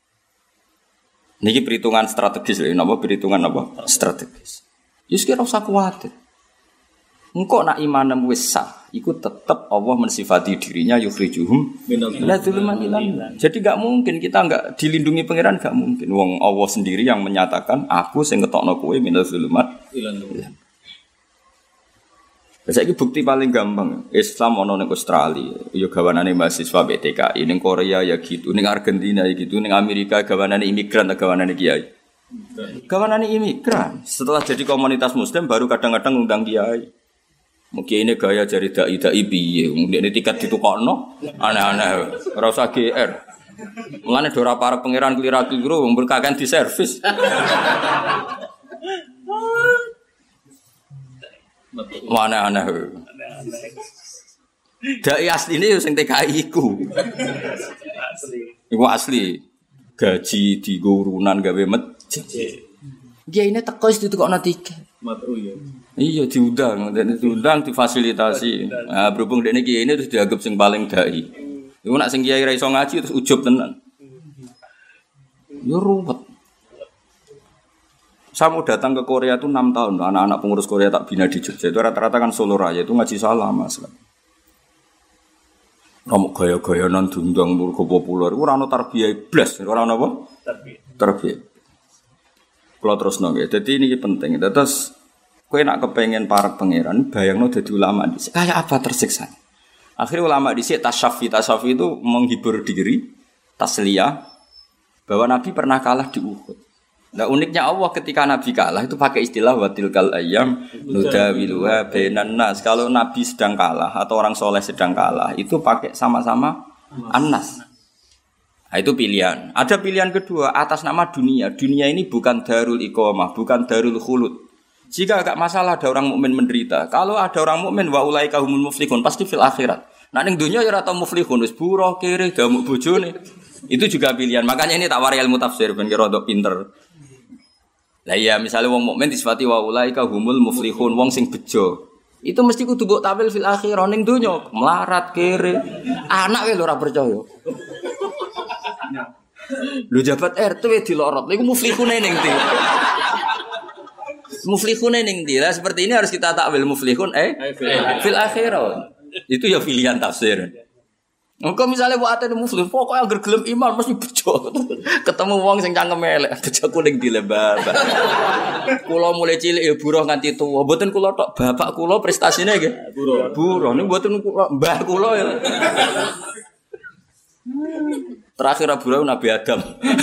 [SPEAKER 1] Niki perhitungan strategis lho, napa perhitungan apa? Strategis. Yus kira usah kuwatir. Engko nak imanem wis sah, iku tetep Allah mensifati dirinya yukhrijuhum minadh dhulumat. Jadi enggak mungkin kita enggak dilindungi pangeran, enggak mungkin. Wong Allah sendiri yang menyatakan aku sing ngetokno kowe minadh dhulumat. Saiki bukti paling gampang, Islam ana ning Australia, ya gawanane mahasiswa BTKI, ning Korea ya gitu, ning Argentina ya gitu, ning Amerika gawanane imigran, gawanane kiai. Gawanane imigran. Setelah jadi komunitas muslim baru kadang-kadang ngundang kiai. Mungkin ini gaya jari dai piye. Ndekne tiket ditukokno aneh-aneh. Ora usah GR. Mulane ora parek pangeran klira-kliru wong berkakan di servis. Mana aneh. Dai asline yo sing TKI iku. Iku asli. Gaji digo urunan gawe masjid. Kiyaine teko wis ditukokno tiket. Iya diundang difasilitasi. Nah, berhubung dekne kiyaine terus dianggap sing paling dai. Iku nek sing kiai ra iso ngaji terus ujub tenan. Yo ruwet. Saya mau datang ke Korea itu 6 tahun. Anak-anak pengurus Korea tak bina di Jogja. Itu rata-rata kan Solo Raya itu ngaji salah Mas. Kamu gaya-gaya non dundang murko populer, orang no tarbiyah blas, orang apa? Tarbiyah. Kalau terus nongge, jadi ini penting. Terus, kau nak kepengen para pangeran, bayangno jadi ulama di kayak apa tersiksa. Akhirnya ulama di sini tasyafi itu menghibur diri, tasliyah, bahwa Nabi pernah kalah di Uhud. Nah uniknya Allah ketika Nabi kalah itu pakai istilah watilkal ayyam nudawiluha bainan nas. Kalau Nabi sedang kalah atau orang soleh sedang kalah itu pakai sama-sama annas. Nah, itu pilihan. Ada pilihan kedua atas nama dunia. Dunia ini bukan darul iqamah, bukan darul khulud. Jika agak masalah ada orang mukmin menderita. Kalau ada orang mukmin wa ulaika humul muflihun pasti fil akhirat. Nah ning dunia ya ora tau muflihun wis buruh kere damuk bojone. Itu juga pilihan. Makanya ini tak wari ilmu tafsir ben kira rodok pinter. Lah iya misalnya wong mukmin disifati wa ulaika humul muflihun, wong sing bejo. Itu mesti kudu mbok tampil fil akhirah ning donya, melarat kere. Anak wae lho ora percaya. Lu jabat RT dilorot. Lha iku muflihune ning ndi? Muflihune ning ndi? Lah seperti ini harus kita takwil muflihun fil akhirah. Itu ya pilihan tafsir. Engko misale buat ate muflih, pokoke anggere gelem iman mesti bejo. Ketemu wong sing cangkeme elek, bejo kuning dilebar. Kula mulai cilik ya buruh nganti tuwa. Mboten kula tok, bapak kula prestasine nggih. Buruh. Niku mboten kula, mbah kula ya. Terakhir buruh Nabi Adam.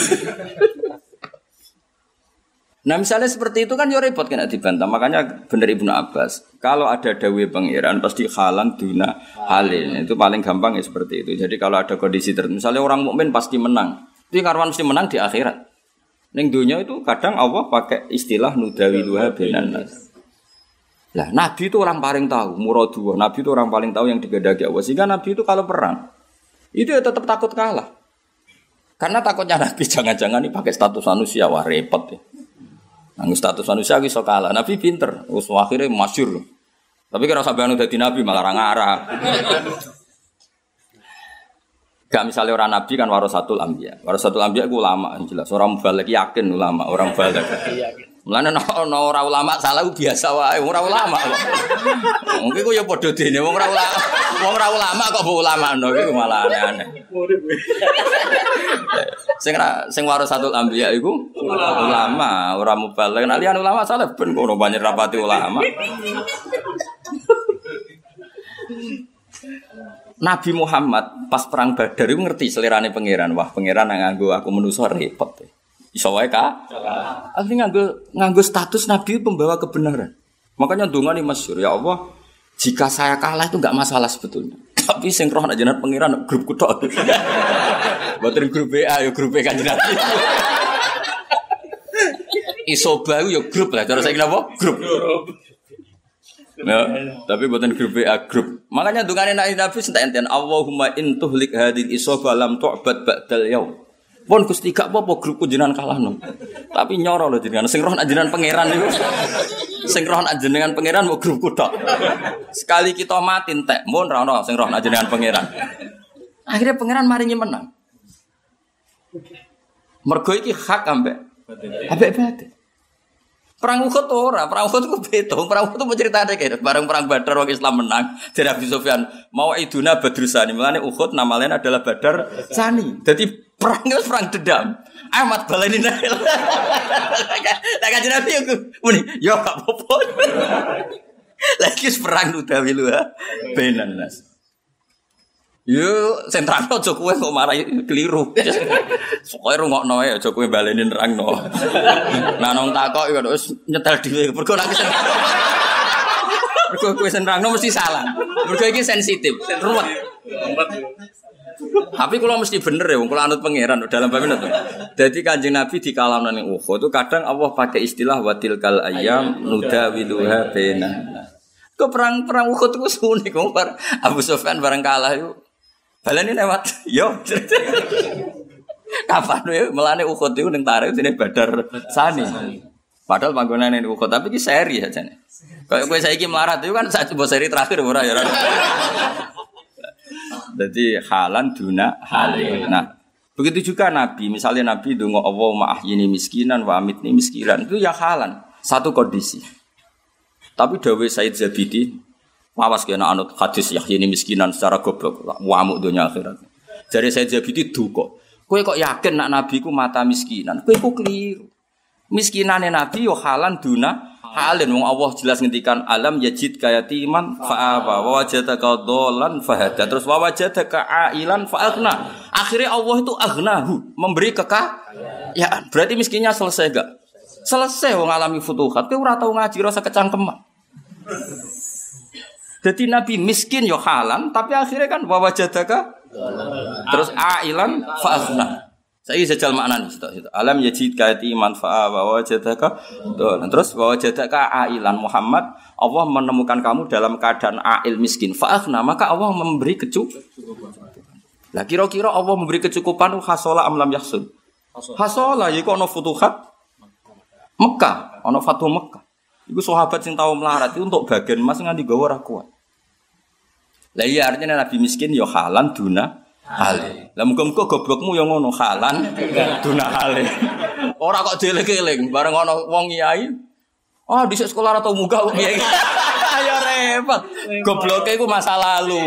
[SPEAKER 1] Nah misalnya seperti itu kan ya repot kena dibantah. Makanya bener Ibnu Abbas, kalau ada dawuh pangeran pasti halan duna halin. Itu paling gampang ya seperti itu. Jadi kalau ada kondisi tertentu, misalnya orang mukmin pasti menang. Itu karwan mesti menang di akhirat. Ning dunya itu kadang Allah pakai istilah nudawiluha bainan nas. Lah Nabi itu orang paling tahu muradullah. Nabi itu orang paling tahu yang digedaki Allah. Sehingga Nabi itu kalau perang itu ya tetap takut kalah. Karena takutnya Nabi jangan-jangan ini pakai status manusia, wah repot ya. Nanggus status manusia iso kalah. Nabi pinter, wis akhire masyhur. Tapi kira sampeyan dadi nabi malah ngarah. Gak misalnya orang nabi kan warasatul anbiya. Warasatul anbiya ku ulama jelas. Orang mubaligh yakin ulama, orang mubaligh. Mulane ana ora ulama salah biasa wae, ora ulama kok. Mungkin ku ya padha dene wong ora ulama. Wong ora ulama kok mbok ulamakno iku malah aneh-aneh. Sing warasatul anbiya iku ulama, ora mubaligh. Nek liyan ulama salah ben ngono banyak rapati ulama. Nabi Muhammad pas perang Badar itu ngerti selerane pangeran. Wah, pangeran nang nganggo aku manusa repot. Iso wae ka? Akhirnya nganggo status Nabi pembawa kebenaran. Makanya ndonga ni masyhur, ya Allah, jika saya kalah itu enggak masalah sebetulnya. Tapi sing roh nek jenengan pangeran grup kutok. Mboten grup BA ya grup Kanjeng Nabi. Iso bae ya grup lah, cara saiki napa? Grup. Ya, tapi buatan grup A grup. Makanya dungane Nabi enten Allahumma in tuhlik hadil isofa lam tu'bad ba'dal yaum. Pun Gusti gak apa-apa grupku jenengan kalahno. Tapi nyoro lho jenengan sing roh nak jenengan pangeran niku. Sing roh nak jenengan pangeran mau grupku tok. Sekali kita mati entek, mun ra ono sing roh nak jenengan pangeran. Akhirnya pangeran maringi menang. Mergo iki hak ambek batin. Perang Uhud ora, perang Uhud ku beda. Perang Uhud itu ceritane kaya bareng perang Badar wong Islam menang. Jadi Abi Sufyan mau iduna Badrusani. Mulane Uhud nama lain adalah Badar Sani. Jadi perang itu perang dendam. Amat baleni nek. Lah Kanjeng Nabi yo muni, yo gak apa-apa. Lagi perang utawi lu ha. Benan nas. Yo sentralno aja kowe kok marahi keliru. Pokoke rungokno ae aja kowe baleni nerangno. Nah nang takok yo wis nyetel dhewe. Mergo nek kowe nerangno mesti salah. Mergo iki sensitif, ruwet. Tapi kula mesti bener ya wong kula anut pangeran dalam bab itu. Dadi Kanjeng Nabi dikalahno ning Uhud itu kadang Allah pakai istilah watilkal ayyam nudawiluha bainan. Kok perang Uhud itu sunik wong Abu Sufyan bareng kalah itu. Balane lewat yo. Kapan wae melane Uhud iku ning tarikh dene Badar Sani. Padahal panggonane ning Uhud tapi iki seri ajane. Kayak kowe saiki melarat itu kan sak coba seri terakhir ora ya. Jadi halan duna halin. Nah, begitu juga Nabi, misalnya Nabi donga Allahumma ahyini miskinan wa amitni miskinan. Itu ya halan, satu kondisi. Tapi dawuh Said Zabidi awas kena anut hadis yahyini miskinan secara goblok wamuk dunia akhirat. Jadi saya Zabidi duka. Kowe kok yakin nak Nabi ku mata miskinan? Kowe ku keliru. Miskinane Nabi yo halan duna halin. Wong Allah jelas ngendikan alam yajid kayatiman fa'aba wa wajadaka dhallan fahada. Terus wa wajadaka ailan fa'aghna. Akhirnya Allah itu aghnahu, memberi kekayaan. Berarti miskinnya selesai enggak? Selesai wong alami futuhat. Kowe ora tau ngaji rasa kecangkeman. Jadi Nabi miskin yo halan, tapi akhirnya kan wawajadaka terus ailan fa'aghna. Saya sejal maknane situ. Alam yajid kayatiman fa'a wawajadaka terus wawajadaka ailan Muhammad, Allah menemukan kamu dalam keadaan ail miskin fa'aghna, maka Allah memberi kecukupan. Lah kira-kira Allah memberi kecukupan hasola amlam yahsul. Hasola iku ana futuhat Mekah, ana Fatu Mekah. Iku sahabat sing tau melarat itu untuk bagian emas nganti gawa ora kuat. Lah iya artinya Nabi miskin ya halan duna hale. Lah muga-muga goblokmu ya ngono halan duna hale. Ora kok dieling-eling bareng ana wong kiai. Oh dhisik sekolah atau muga kiai. Ya repot. Gobloke iku masa lalu.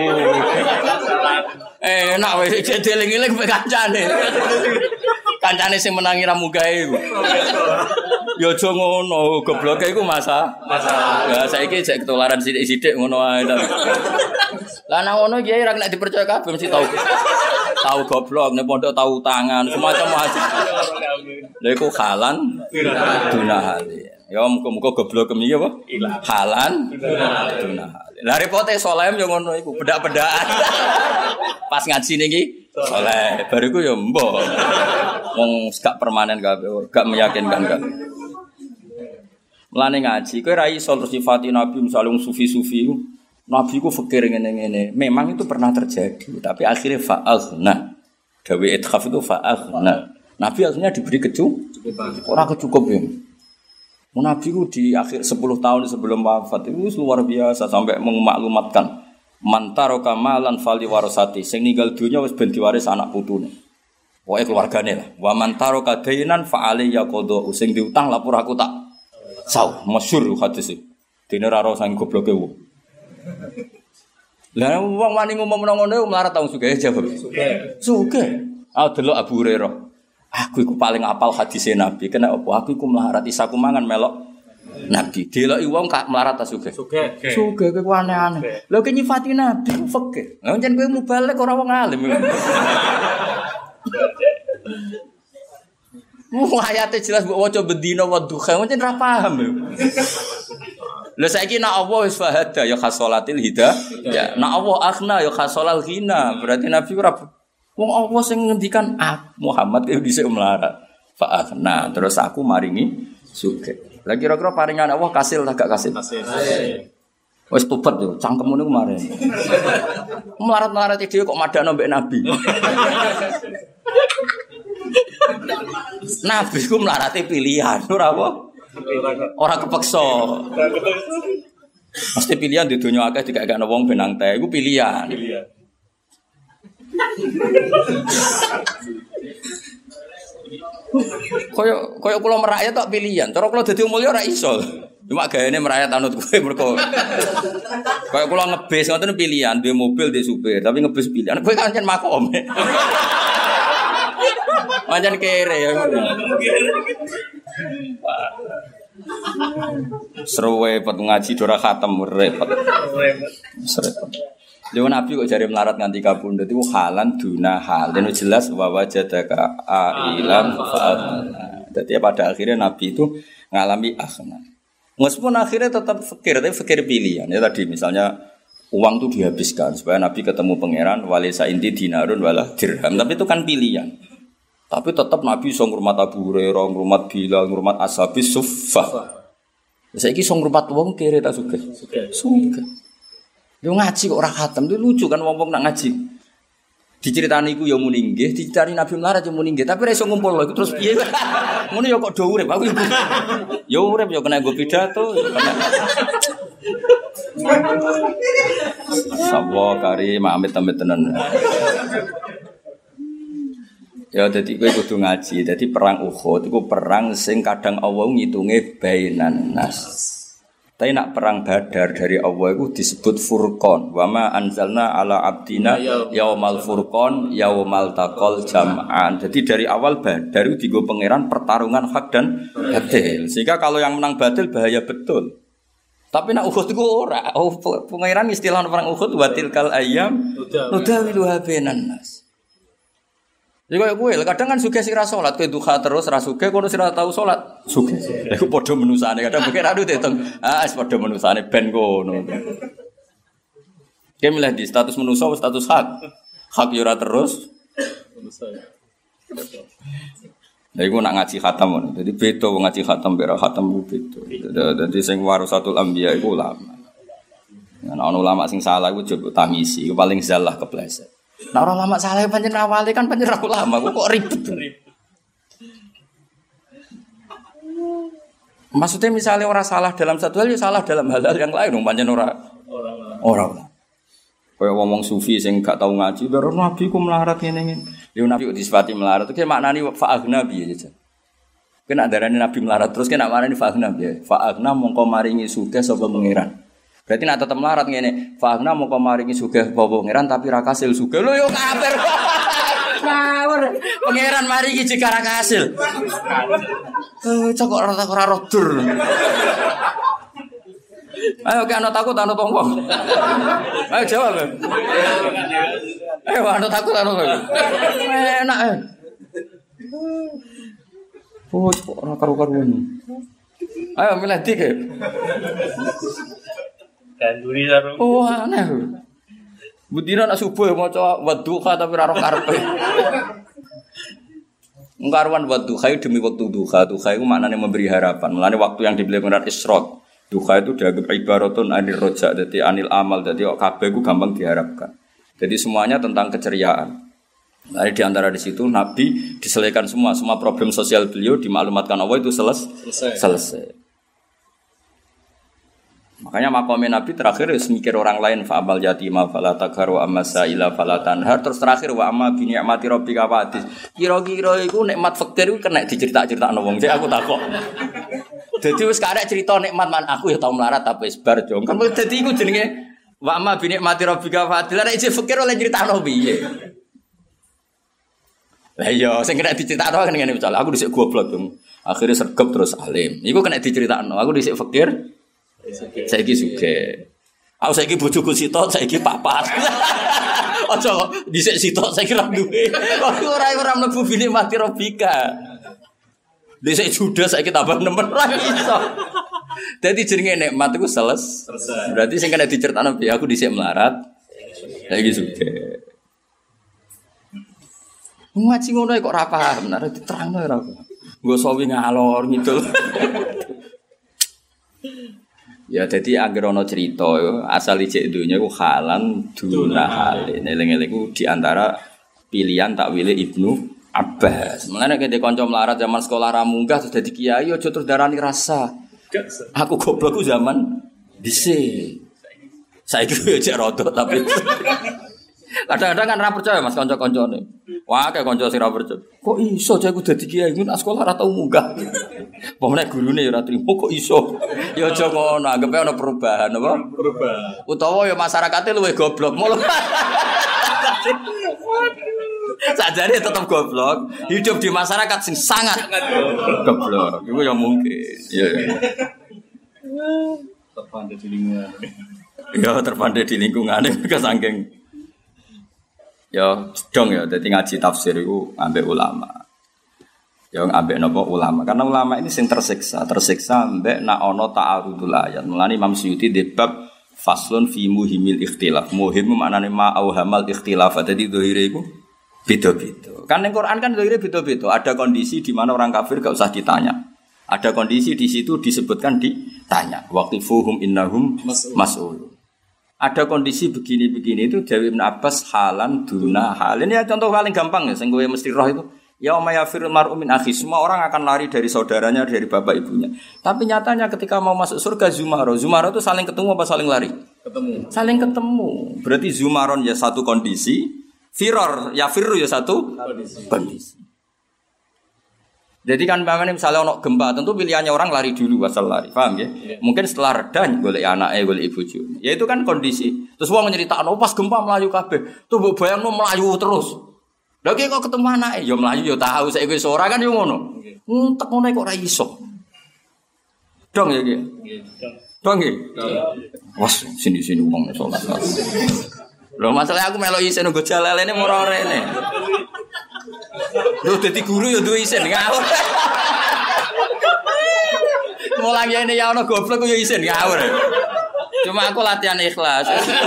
[SPEAKER 1] Enak wis dieling-eling mek kancane. Kancane sing menangi ra mugae iku. Ya aja ngono, gobloke iku masa. Ya saiki jek ketularan sithik-sithik ngono ae ta. Lah nang ngono kiai ra nek dipercaya kabeh mesti tau. Tahu goblok nek pondok tahu tangan, semacam macam. Lha iku halan duna hale. Ya muga-muga goblok kemi apa? Halan duna hale. Lah repote soleh yo ngono iku, bedak-bedakan. Pas ngaji niki soleh, bariku yo mbok. Wong gak permanen kabeh, gak meyakinkan kabeh. Mulane ngaji, kowe ra iso terus sifati Nabi misale sufi-sufi. Nabi ku fikir ngene-ngene. Memang itu pernah terjadi, tapi akhirnya fa'aghna. Dawe ithaf itu fa'aghna. Nabi akhirnya diberi kecukupan. Ora kecukup ya. Nabi ku di akhir 10 tahun sebelum wafat itu luar biasa sampai memaklumatkan man taraka malan fali warasati. Sing ninggal dunya wis ben diwaris anak putune. Pokoke keluargane lah. Wa man taraka dainan fa alayya qada. Sing diutang lapor aku tak sau. Masyhur hadis iki. Dene ra ro sang gobloke wong. Lah wong wani ngomong ngono melarat tau sugih jawab. Sugih. Ah delok Abu Hurairah. Aku iku paling apal hadise Nabi. Kena apa? Aku iku melarat isaku mangan melok Nabi. Deloki wong kak melarat ta sugih. Sugih kowe aneh-aneh. Lha ki nyifati Nabi ku fikih. Lah pancen kowe mubalek ora wong alim. Ayate jelas mbok waca bendina wa duha, pancen ra paham. Lha saiki nek Allah wis fahada ya khasolatil hidayah. Ya, nek Allah akhna ya khasolal ghina. Berarti Nabi ora wong Allah sing ngendikan Muhammad itu dhisik melarat. Fa akhna terus aku maringi sugih. Lah kira-kira paringan Allah kasil ta gak kasil? Kasil. Wis tobat yo, cangkemmu niku maren. Melarat-melarat dhewe kok madakno mbek Nabi. Nabi ku melarate pilihan, ora apa? Ora kepeksa. Mesti pilihan di dunia akeh dikakekno wong benang teh iku pilihan. Koyo kula merakyat tok pilihan. Cara kula dadi mulya ora iso. Cuma gayane merakyat anut kowe mergo. Koyo kula ngebis ngoten pilihan, duwe mobil, duwe supir, tapi ngebis pilihan. Kowe kan makom. Pancen kere ya. Seru repot ngaji dora khatam repot. Repot. Lha Nabi kok jare melarat nganti kabundut iku halan duna hal. Dan jelas wa wajadaka ailan fa'ana. Jadi pada akhirnya Nabi itu ngalami akhna. Meskipun akhirnya tetap fikir, tapi fikir pilihan. Ya tadi misalnya uang itu dihabiskan supaya Nabi ketemu pangeran walisa inti dinarun wala dirham. Tapi itu kan pilihan. Tapi tetap Nabi iso ngurmat Abu Hurairah, ngurmat Bilal, ngurmat Ashabis Suffah. Saiki iso ngurmat wong kere ta sugih. Sugih. Yo ngaji kok ora khatam, itu lucu kan wong-wong nak ngaji. Diceritani iku ya muni nggih, diceritani Nabi melarat ya muni nggih, tapi ora iso ngumpul lho iku terus piye. Ngono ya kok do urip aku. Ya urip ya kena nggo pidato. Sapa kari amit-amit tenan. Ya dadi kowe kudu ngaji. Dadi perang Uhud iku perang sing kadang Allah ngitunge bainan nas. Tapi nak perang Badar dari Allah itu disebut Furqan. Wa ma anzalna ala abdina yaumal furqan yaumal taqal jam'an. Jadi dari awal Badar itu digo pangeran pertarungan hak dan batil. Sehingga kalau yang menang batil bahaya betul. Tapi nak Uhud itu ora. Oh, pangeran istilah perang Uhud wa tilkal ayyam nudawiluha bainan nas. Jadi kaya kowe, kadang kan sugih sing ra salat, kowe duha terus ra sugih, kono sing ra tau salat, sugih. Lha iku padha menusane, kadang pikir aduh diitung. Wis padha menusane ben kono. Ki milih di status manusa atau status hak. Hak yo ora terus. Lha iku nak ngaji khatam ngono. Dadi beda wong ngaji khatam mek khatam ku beda. Dadi sing warasatul anbiya iku ulama. Ana ulama sing salah iku coba tamisi, iku paling zalah kepleset. Nah orang lama saleh pancen awale kan pancen ulama, kok ribet. Maksudnya misalnya orang salah dalam satu hal, ya salah dalam hal-hal yang lain, pancen orang. Kayak ngomong sufi sing gak tau ngaji, baru nabi ku melarat ngene-ngene. Yo nabi kok disifati melarat, itu maknane fa'agna piye aja. Kena darane nabi melarat terus kena marani fa'agna piye. Fa'agna mongko maringi sugih sapa pangeran. Berarti nek tetep melarat ngene, fa'agna mongko maringi sugih sapa pangeran tapi ra kasil sugih. Lho yo kafir. Ngawur. Pangeran maringi jika ra kasil. Cok ora rodur. Ayo ke anu takut anu tongkong. Ayo jawab. Ayo anu takut anu. Enak. Oh, ora karo-karuan. Ayo milih dik.
[SPEAKER 2] Ganduri sarung.
[SPEAKER 1] Oh, aneh. Budina nak subuh maca wadduha tapi ora karepe. Ngkaruan wadduha demi waktu duha. Duha itu maknanya memberi harapan. Mulane waktu yang dibeli dengan isyraq. Duha itu dianggap ibaratun anil roja, jadi anil amal, jadi kabeh itu gampang diharapkan. Jadi semuanya tentang keceriaan. Nah, di antara di situ Nabi diselesaikan semua problem sosial beliau dimaklumatkan Allah itu selesai. Makanya makomnya Nabi terakhir mikir orang lain fa'amal yatima fala taqhar wa amma sa'ila fala tanhar, terus terakhir wa amma bi ni'mati rabbika fa'atis. Kira-kira iku nikmat fakir iku kena dicerita-critakno wong. Cek aku takok. Dadi wis karek cerita nikmat man aku ya tau melarat tapi wis bar jong. Kan dadi iku jenenge wa amma bi ni'mati rabbika fa'atis. Lah nek fakir oleh critakno piye? Lah iya sing kena diceritakno kan ngene misal aku dhisik goblok dong. Akhirnya sergap terus alim. Iku kena diceritakno. Aku dhisik fakir saiki sugih. Aku saiki bojoku sitok, saiki papat. Aja dhisik sitok saiki ra duwe. Kok ora mlebu bini mati robika. Dhisik judas saiki tambah nemen ra iso. Dadi jenenge nikmat iku selesai. Berarti sing kena diceritakno piye aku dhisik melarat. Saiki sugih. Ngaji ngono kok ora paham, nek diterangno ora paham. Nggo sawi ngalor ngidul. Ya jadi anggere ana cerita asal ijek donya iku halan duna halin. Eling-eling iku di antara pilihan takwile Ibnu Abbas. Mulane nek kanca melarat zaman sekolah ra munggah terus dadi kiai aja terus darani rasa. Aku goblokku zaman dhisik. Saiki yo jek rodok tapi kadang-kadang kan ra percaya Mas kanca-kancane. Wah, kayak kanca sing ra percaya. Kok iso aku dadi kiai ngono sekolah ra tau munggah. Pemene gurune ya ora trimo kok iso. Ya aja ngono, anggape ana perubahan apa? Perubahan. Utawa ya masyarakate luwih goblok. Sajane tetep goblok, hidup di masyarakat sing sangat goblok. Iku ya mungkin. Iya.
[SPEAKER 2] Terpandai di lingkungan.
[SPEAKER 1] Ya terpandai di lingkungan saking ya dong ya, jadi ngaji tafsir itu ambek ulama. Ya ambek napa ulama. Karena ulama ini sing tersiksa ambek nak ono ta'arudul ayat. Mulane Imam Suyuti debab faslun fi muhimil ikhtilaf. Muhim maknane ma auhamal ikhtilaf. Dadi zahire iku beda-beda. Kan ning Quran kan zahire beda-beda. Ada kondisi di mana orang kafir gak usah ditanya. Ada kondisi di situ disebutkan ditanya. Waqifuhum innahum mas'ul. Ada kondisi begini-begini itu Dewi Ibn Abbas halan duna halin. Ya contoh paling gampang ya, sing kowe mesti roh itu. Yauma yafirul mar'u min akhi. Semua orang akan lari dari saudaranya, dari bapak ibunya. Tapi nyatanya ketika mau masuk surga Zumaro itu saling ketemu apa saling lari?
[SPEAKER 2] Ketemu.
[SPEAKER 1] Saling ketemu. Berarti Zumaron ya satu kondisi, firor ya firru ya satu kondisi. Jadi kan misalnya ono gempa, tentu pilihannya orang lari dulu asal lari, paham ya? Yeah. Mungkin setelah reda golek anake, golek ibuju. Ya itu kan kondisi. Terus wong nyeritakno pas gempa melayu kabeh. Tuh mbok bayangno melayu terus. Lha kok ketemu anake, ya melayu ya tahu saiki wis ora kan yo ngono. Entek ngono kok ora iso. Dong ya iki. Dong iki. Wes sini-sini wong salat. Lho masalah aku melok isin nggo jalalene ora rene. Lho dadi guru ya duwe isin ngawur. Mulang ngene ya ana goblok ya isin ngawur. Cuma aku latihan ikhlas.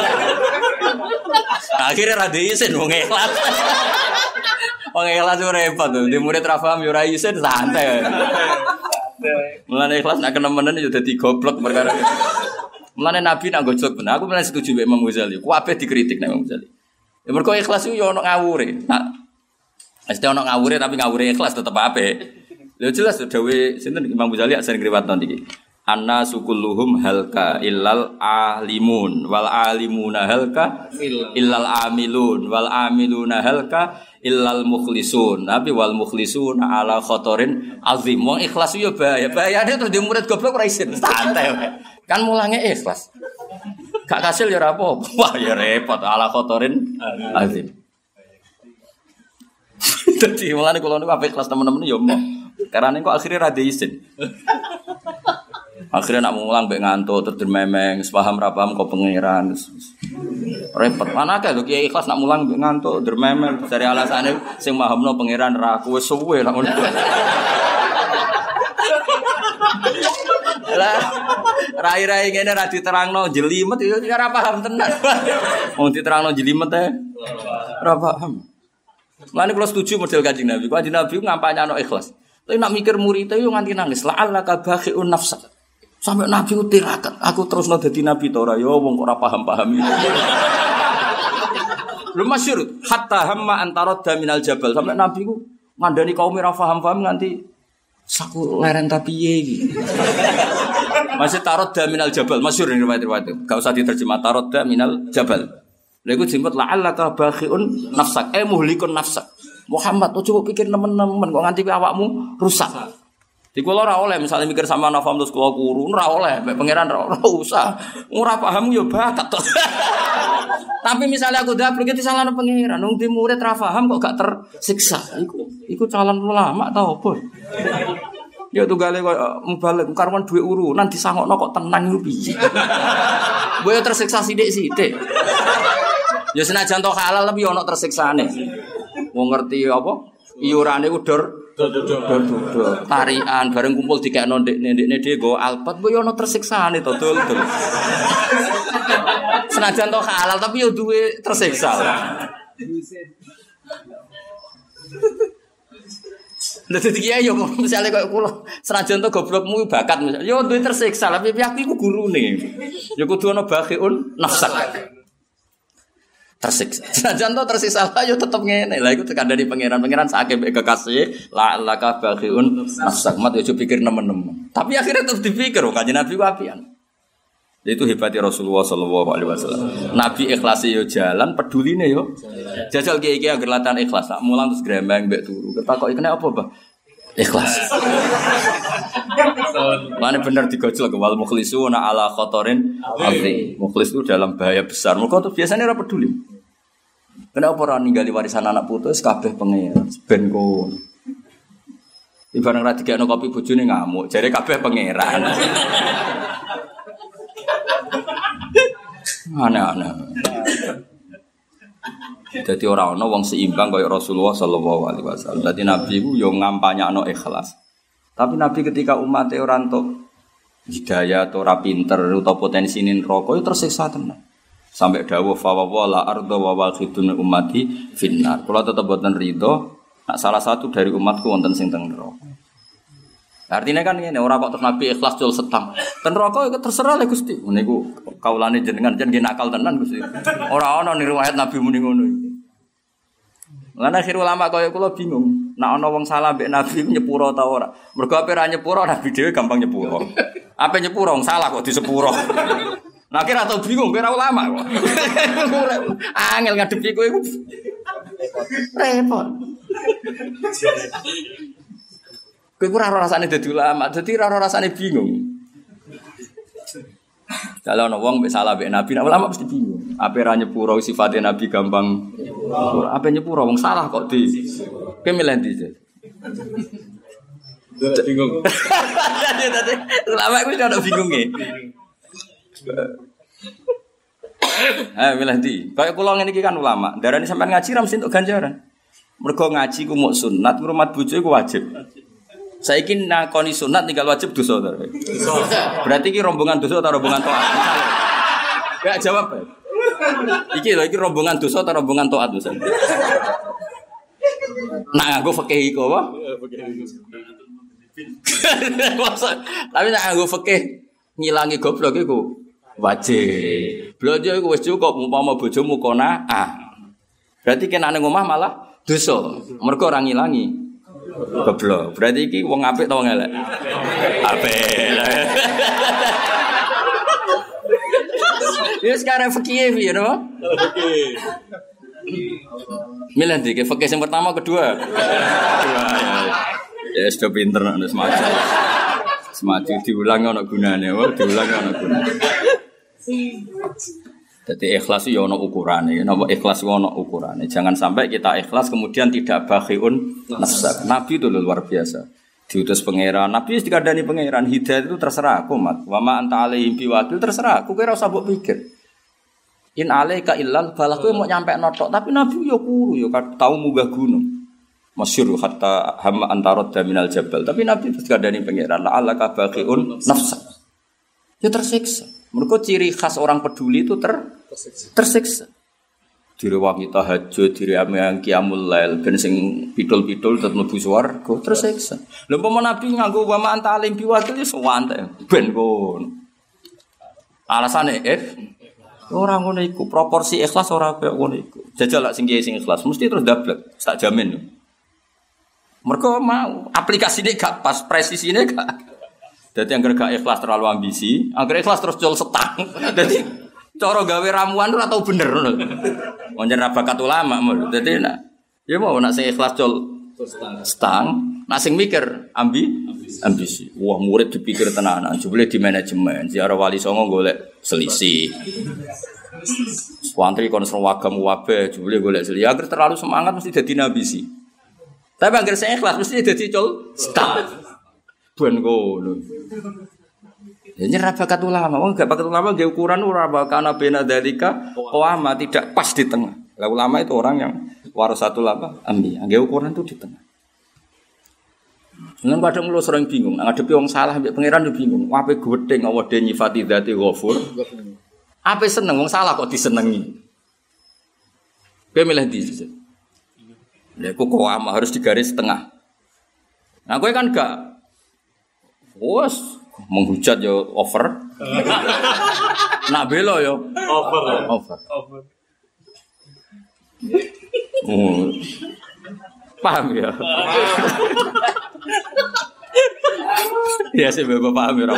[SPEAKER 1] Akhirnya ra isin wong ikhlas. Wong ikhlas ora repot tuh. Di murid ra paham ya ora isin santai. Mulane ikhlas nek kenemenen ya dadi goblok perkara. Mulane Nabi nak gojlok bener. Aku bener setuju mbek Imam Ghazali. Ku kabeh dikritik nek Imam Ghazali. Ya mergo ikhlas iku yo ono ngawure. Nah, mesti ono ngawure tapi ngawure ikhlas tetep apik. Lha jelas dawuh sinten Imam Ghazali sering riwayat niki. Anna sukulluhum halka illal alimun wal alimuna halka illal amilun wal amiluna halka illal mukhlisun. Tapi wal mukhlisuna ala khotorin azim. Wong ikhlas yo bahaya. Bahayane terus di murid goblok ora isin. Santai wae. Kan mulange ikhlas. Gak kasil ya ora apa. Wah ya repot ala khotorin azim. Dadi mulane kula niku apik ikhlas temen-temen yo mau. Karena kok akhirnya ra isin. Akhirnya nak mulang mbek ngantuk terus dermemeng, sepaham ra paham kok pangeran. Repot. Mana akeh lho kiai ikhlas nak mulang mbek ngantuk dermemeng dari alasane sing mahamno pangeran ra aku wis suwe lah ngono. Lah rai-rai ngene ra diterangno jelimet yo ora paham tenan. Wong diterangno jelimet e ora paham. Lan kula setuju model Kanjeng Nabi. Kanjeng Nabi ngampanye ana ikhlas. Tapi nak mikir murid yo nganti nangis. La'allaka bakhi'un nafsak. Sampai Nabi ku tirakat, aku terus dadi nabi ta ora ya wong kok ora paham-paham iki. Lho masyhur hatta hamma antaradda minal jabal. Sampai Nabi ku ngandani kaum ora paham-paham nganti saku leren ta piye iki. Masih taradda minal jabal, masyhur ning riwayat-riwayat itu. Enggak usah diterjemah taradda minal jabal. Lha iku disebut la'allaka bakhi'un nafsak, muhlikun nafsak. Muhammad coba pikir nemen-nemen kok nganti awakmu rusak. Di kula ora oleh misalnya mikir sama nafam terus kula kuru ora oleh mek pangeran ora usah. Ora paham yo bakat to. Tapi misalnya aku dablek iki salahno pangeran, wong di murid ra paham kok gak tersiksa. Iku calon ulama ta opo? Ya tunggale kok mubalik karuan duwe urunan disangokno kok tenang iku piye. Boyo tersiksa sithik-sithik. Ya senajan to halal tapi ono tersiksane. Wong ngerti apa? Iurane ku dor tarian bareng kumpul dikekno ndekne dhewe go alpat mbok yo ono tersiksane to dul. Senajan to halal tapi yo duwe tersiksa. Dadi iki yo misale koyo kula senajan to goblokmu bakat yo duwe tersiksa tapi aku iku gurune. Yo kudu ono bakhiun nafsak. Tersiksa. Senajan to tersisa lah yo tetep ngene. Lah iku tekandani pangeran sakake mek kekasih la laka bakhiun nafsak mat yo pikir nemen-nemen. Tapi akhirnya tetep dipikir kok Kanjeng Nabi ku apian. Itu hebatnya Rasulullah sallallahu alaihi wasallam. Nabi ikhlas yo jalan, peduline yo. Jajal kiai-kiai agar latihan ikhlas. Sak mulang terus grembeng mbek turu. Ketakoki kena apa, Bah? Ikhlas. Mana benar digojol ke wal mukhlisuna ala khotorin azim. Mukhlis itu dalam bahaya besar. Mereka tuh biasanya ora peduli. Kenapa orang ninggali warisan anak putus kabeh pangeran ben kon. Ibarat ra digekno kopi bojone ngamuk, jare kabeh pangeran. Aneh-aneh. Jadi ora ana wong seimbang kaya Rasulullah sallallahu alaihi wasallam. Dadi Nabi ku yo ngampanyakno ikhlas. Tapi Nabi ketika umatnya ora entuk hidayah atau ora pinter utawa potensine neraka yo tersiksa tenan. Sampai dawuh fa wala arda wa waqidun ummati finnar. Kula tetep boten ridho nek salah satu dari umatku wonten sing teng neraka. Artinya kan ngene ora kok terus Nabi ikhlas jul setang. Ten neraka iku terserah le Gusti. Niku kaulane jenengan jan nakal tenan Gusti. Ora ana ning riwayat Nabi muni ngono iki. Lan akhir ulama kaya kula bingung. Nek ana wong salah mbek Nabi nyepuro ta ora? Mergo ape ra nyepuro Nabi dhewe gampang nyepuro. Ape nyepuro wong salah kok disepuro. Nah kira tau bingung kira ulama kok. Angel ngadepi kowe iku. Repot. Kowe ora rasane dadi ulama, dadi ora rasane bingung. Kalau ana wong mbek salah mbek Nabi, ulama mesti bingung. Ape ra nyepuro sifate Nabi gampang. Ape nyepuro wong salah kok di. Kowe milih ndi?
[SPEAKER 2] Bingung.
[SPEAKER 1] Dadi ulama iku ora bingung e. Milih ndi? Kayak kula ngene iki kan ulama, darane sampean ngaji ra mesti entuk ganjaran. Mergo ngaji ku muk sunat, ngrumat bojo iku wajib. Saiki nakoni sunat tinggal wajib dosa ta. Berarti iki rombongan dosa atau rombongan taat? Enggak jawab. Iki lho iki rombongan dosa atau rombongan taat misalnya. Nak nganggo fikih iku apa? Tapi nak nganggo fikih ngilangi goblok iku wajib. Blojo iku wis cukup umpama bojomu qanaah. Berarti kena nang omah malah dosa. Mergo ora ngilangi goblok. Berarti iki wong apik ta wong elek? Apik. Ya sekarang fikih ya, no? Fikih. Milih dikit fikih yang pertama kedua. Ya sudah pinter nak semacam. Semacam diulang ana gunane, diulang ana gunane. Jadi ikhlas itu ya ono ukurane. Napa ikhlas itu ono ukurane. Jangan sampai kita ikhlas kemudian tidak bakhiun nafsa. Nabi itu luar biasa. Diutus pangeran. Nabi dikandani pangeran. Hidayah itu terserah aku, Mat. Wa ma anta alaihim biwakil terserah aku. Kowe ora usah mbok pikir. In alaika illal balah kowe mau nyampe notok. Tapi Nabi yo kuru yo tau munggah gunung. Masyhur hatta hamma antarad minal jabal. Tapi Nabi dikandani pangeran. La alaka bakhiun nafsa. Ya tersiksa. Mereka ciri khas orang peduli itu tersiksa. Diri wanita tahajud, diri yang qiyamul lail, ben sing pidul-pidul tetep mlebu swarga, tersiksa. Lha umpama Nabi nganggo wa ma anta alim biwakil wis wante ben kon. Alasane ora ngono iku, proporsi ikhlas ora kaya ngono iku. Jajal lak sing ikhlas mesti terus dablek, tak jamin. Mereka mau aplikasine gak pas, presisine gak. Jadi yang gak ikhlas terlalu ambisi, angger ikhlas terus jual setang. Jadi cara gawe ramuan ora tau bener ngono. Wonten ra bakat ulama ngono. Dadi nak ya mau nak sing ikhlas jual setang, nak sing mikir ambisi. Wah, murid dipikir tenanan, jebule di manajemen. Ziarah wali songo golek selisih. Wantri kon serwagam wabe, jebule golek selisih. Angger terlalu semangat mesti dadi ambisi. Tapi angger sing ikhlas mesti dadi jual setang. Ben ngono. Ya nyerah bakat ulama, wong gak bakat ulama nggih ukuran ora bakana bena dalika ulama tidak pas di tengah. Lah ulama itu orang yang warasatul apa? Ambi. Nggih ukuran itu di tengah. Nang kadang kula sering bingung, ngadepi wong salah mbek pangeran yo bingung. Ape gedeng Allah de nyifati dzati ghafur. Ape seneng wong salah kok disenengi. Kowe milih ndi? Lha kok ulama harus digaris tengah. Nah kowe kan gak wes menghujat yo over. Nak belo yo over. Paham ya? Ya sih bapak paham ya.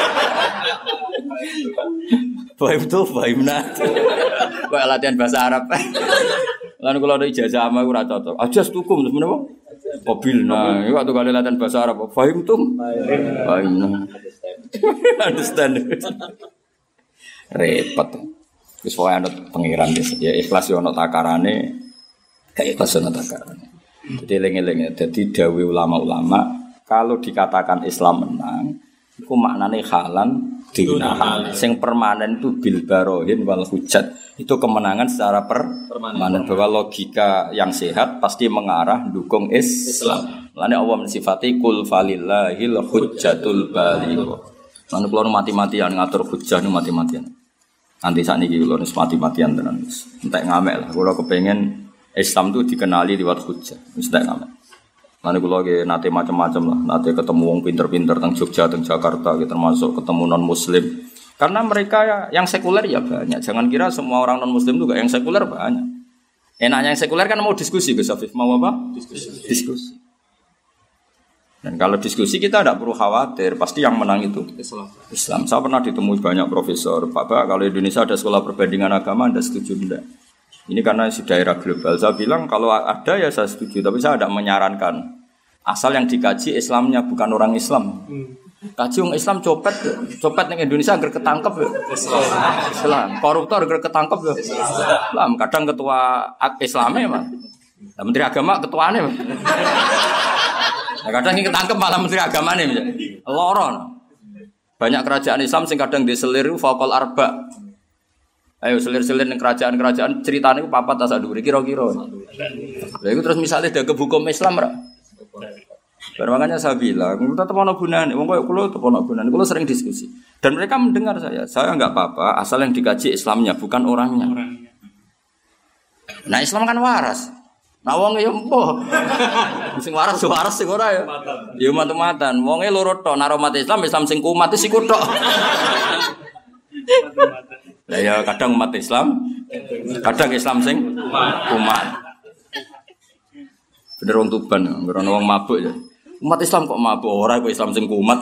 [SPEAKER 1] Paham tuh, paham nah. Kayak latihan bahasa Arab. Lalu kalau ada ijazah ama ora cocok. Ajas tukum terus menapa? Mobil nah, itu waktu kali latihan bahasa Arab, fahim tuh, fahim nah, understand, repot. Terus soalnya ada pengiran ya ikhlas yo ono takarane, gak ikhlas ono takarane. Jadi lengi-lengi, jadi dawe ulama-ulama kalau dikatakan Islam menang, itu maknane halan dinahan. Sing permanen itu bil barohin wal hujat. Itu kemenangan secara permanen bahwa logika yang sehat pasti mengarah dukung Islam. Lalu Allah mensifati kul falillahil hujjatul baligh. Lalu kalau mati-matian ngatur hujjah nu mati-matian. Nanti saat ini kalau mati-matian tenan. Entek ngamek lah. Kalau kepengen Islam itu dikenali lewat hujjah. Entek ngamek. Lalu kalau nate macam-macam lah. Nate ketemu wong pinter-pinter teng Jogja, teng Jakarta, termasuk ketemu non Muslim. Karena mereka yang sekuler ya banyak. Jangan kira semua orang non-muslim juga yang sekuler banyak. Enaknya yang sekuler kan mau diskusi, Gus Afif. Mau apa? Diskusi. Dan kalau diskusi kita tidak perlu khawatir. Pasti yang menang itu Islam. Saya pernah ditemui banyak profesor. Pak, kalau Indonesia ada sekolah perbandingan agama, Anda setuju tidak? Ini karena di daerah global. Saya bilang kalau ada ya saya setuju. Tapi saya tidak menyarankan. Asal yang dikaji Islamnya bukan orang Islam. Kaji orang Islam copet ning Indonesia agar ketangkep ya. Islam. Koruptor agar ketangkep ya. Islam. Kadang ketua Islamnya mah. Nah, Menteri Agama ketuanya mah. Nah, kadang yang ketangkep malah Menteri Agamanya misalnya. Loron. Banyak kerajaan Islam sing kadang diselir faqal arba. Ayo selir-selir ning kerajaan-kerajaan ceritane ku papat ta sak dhuwur kira-kira. Lha iku terus misalnya ada hukum Islam ra. Makanya saya bilang, tetap ono gunane. Wong koyo kula tetep ono gunane. Kula sering diskusi. Dan mereka mendengar saya. Saya enggak apa-apa asal yang dikaji Islamnya bukan orangnya. Nah, Islam kan waras. Nah, wong ya empo. Sing waras sing ora ya. Ya matu-matan. Wonge loro tok, nek umat Islam sing kumat iku tok. Lah ya kadang umat Islam Kadang Islam sing kumat. Bener wong Tuban, bener wong mabuk ya. Umat Islam kok mabuk ora kok Islam sing kumat.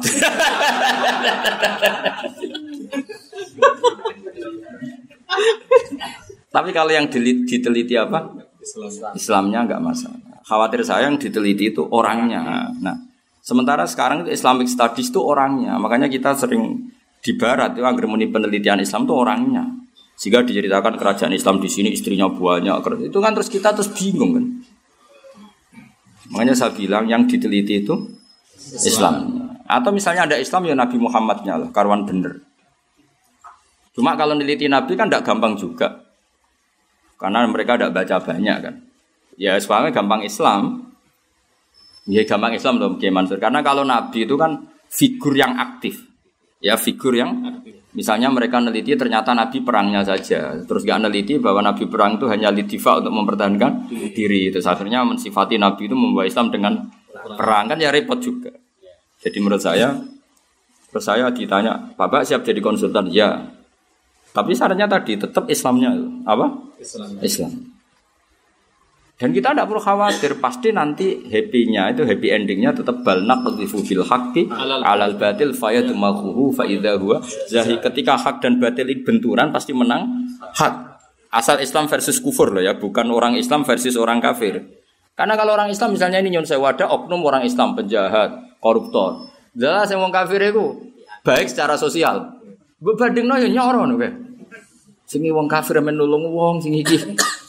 [SPEAKER 1] Tapi kalau yang diteliti apa? Islamnya enggak masalah. Khawatir saya yang diteliti itu orangnya. Nah, sementara sekarang itu Islamic Studies itu orangnya. Makanya kita sering di barat itu agar penelitian Islam itu orangnya. Sehingga diceritakan kerajaan Islam di sini istrinya banyak. Itu kan terus kita bingung kan. Makanya saya bilang yang diteliti itu Islam. Atau misalnya ada Islam ya Nabi Muhammadnya lah, karuan bener. Cuma kalau neliti Nabi kan tidak gampang juga. Karena mereka tidak baca banyak kan. Ya soalnya gampang Islam. Ya gampang Islam loh Kiai Mansur. Karena kalau Nabi itu kan figur yang aktif. Ya figur yang misalnya mereka neliti ternyata Nabi perangnya saja. Terus gak neliti bahwa Nabi perang itu hanya lidifa untuk mempertahankan diri. Terus akhirnya mensifati Nabi itu membawa Islam dengan perang kan ya repot juga. Jadi menurut saya, terus saya ditanya, Bapak siap jadi konsultan? Ya. Tapi syaratnya tadi tetap Islamnya apa? Islam. Dan kita tidak perlu khawatir, pasti nanti happy-nya itu happy endingnya tetap balnak qadhifu bil haqqi alal batil fayadmaghuhu fa idza huwa zahi. Ketika hak dan batil benturan pasti menang hak. Asal Islam versus kufur loh ya, bukan orang Islam versus orang kafir. Karena kalau orang Islam misalnya ini nyun sewu ada oknum orang Islam penjahat, koruptor. Jelas yang wong kafir itu baik secara sosial. Berbandingno yo nyoro ngono kae. Sing wong kafir men nulung wong sing iki.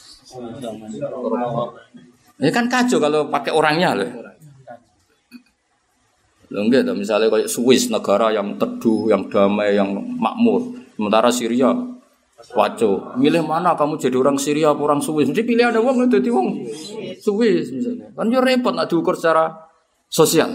[SPEAKER 1] Ya kan kacau kalau pakai orangnya loh. Loh enggak, misalnya kayak Swiss, negara yang teduh, yang damai, yang makmur. Sementara Syria, waco. Milih mana kamu jadi orang Syria atau orang Swiss? Mesti pilih ada wong jadi wong Swiss misalnya. Kan yo repot nak diukur secara sosial.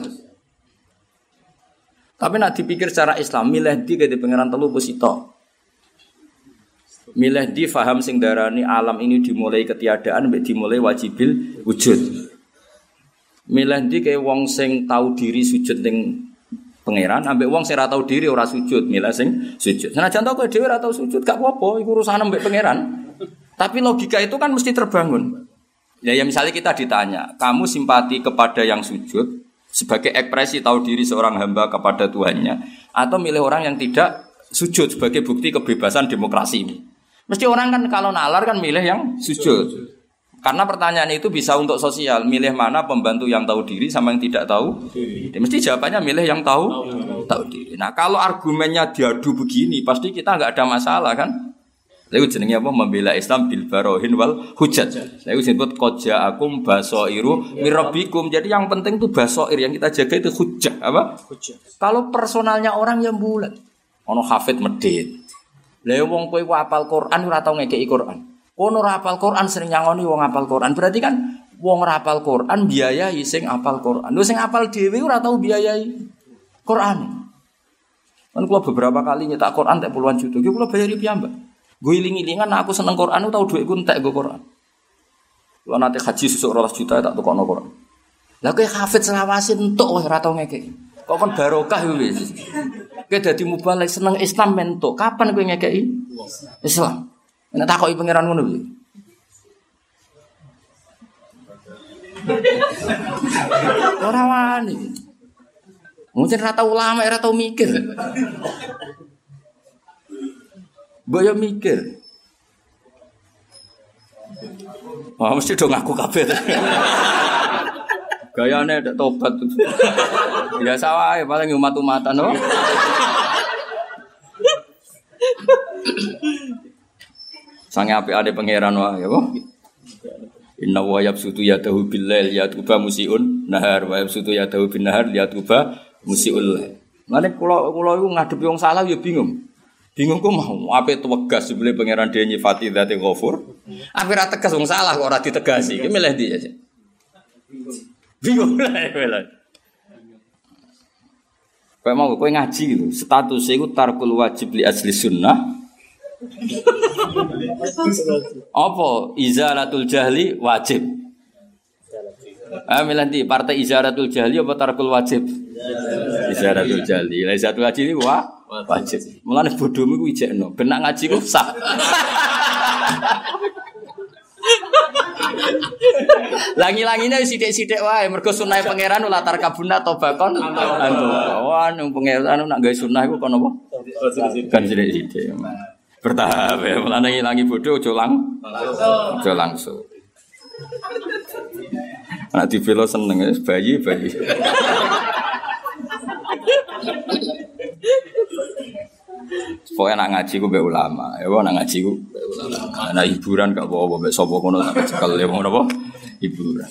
[SPEAKER 1] Tapi nak dipikir secara Islam, milih di ke pangeran telu pusito. Milih di faham sing darani alam ini dimulai ketiadaan mbek dimulai wajibil wujud. Milih di kaya wong sing tahu diri sujud ning pangeran ambek wong sing ora tahu diri ora sujud, milih sing sujud. Senajan tau kowe dhewe ora tahu sujud gak apa-apa, iku urusan mbek pangeran. Tapi logika itu kan mesti terbangun. Ya misalnya kita ditanya, kamu simpati kepada yang sujud sebagai ekspresi tahu diri seorang hamba kepada Tuhannya atau milih orang yang tidak sujud sebagai bukti kebebasan demokrasi ini? Mesti orang kan kalau nalar kan milih yang sujud. Karena pertanyaan itu bisa untuk sosial, milih mana pembantu yang tahu diri sama yang tidak tahu diri. Mesti jawabannya milih yang tahu diri. Nah, kalau argumennya diadu begini, pasti kita enggak ada masalah kan? Lalu jenenge apa? Membela Islam bil barohin wal hujjat. Lalu disebut qaja'akum basairu mirabbikum. Jadi yang penting itu basair, yang kita jaga itu hujjah, apa? Hujjah. Kalau personalnya orang yang bulat, ono hafid medhit. Lah wong kowe ku hafal Quran ora tau ngekeki Quran. Kono ora hafal Quran sering nyangoni wong hafal Quran. Berarti kan wong ora hafal Quran biayai sing hafal Quran. Lho sing hafal dhewe ora tau biayai Quran. Kan kula beberapa kali nyetak Quran tak puluhan juta. Ki kula bayari piyambak. Gue iling-ilingan aku seneng Quran tau dhuwitku entek go Quran. Kula nate haji sesuk 12 juta tak tukokno Quran. Lah kowe hafid selawase entuk wae ora tau ngekeki. Kok kon barokah wis. Kowe dadi mubalek seneng Islam mentuk. Kapan kowe ngekeki Islam? Nek takoki pangeran ngono piye? Ora wani. Mungkin ora tau ulama, ora tau mikir. Boyo mikir. Wah, mesti do ngaku kabeh. Gayane ndak tobat. Biasa wae paling umat-umatan no. Sange apik-ade pangeran wae ya kok. Inna wa yabsutu yadahu bil lail yatuba musiun nahar wa yabsutu yadahu bin nahar yatuba musiul. Mane kula iku ngadepi wong salah ya bingung. Bingung kok mau ape tegas sebele pangeran dhewe nyifati dzate Ghafur. Ape ra tegas wong salah kok ora ditegasi. Ki milih ndi aja. Bingung lah. Kayak mau kowe ngaji gitu, status iku tarkul wajib li asli sunnah. Apa izalatul jahli wajib? Milanti partai izalatul jahli apa tarkul wajib? Izalatul jahli. Lah izalatul wajib iki wajib. Mulane bodhomu iku ijekno, ben nak ngaji ku sah.
[SPEAKER 3] Langi-langine sithik-sithik wae mergo sunah pangeran latar kabuna tobakon antu. Wah nang pangeran nak gawe sunah iku kon apa? Kan sithik-sithik. Bertahap ya, mulane ngilangi bodho aja langsung. Anak dibelo seneng bayi. Pokoknya nak ngaji ku mbek ulama, ya nak ngaji ku mbek ulama. Nah hiburan gak apa-apa mbek sapa kono tak cekel ya ngono apa? Hiburan.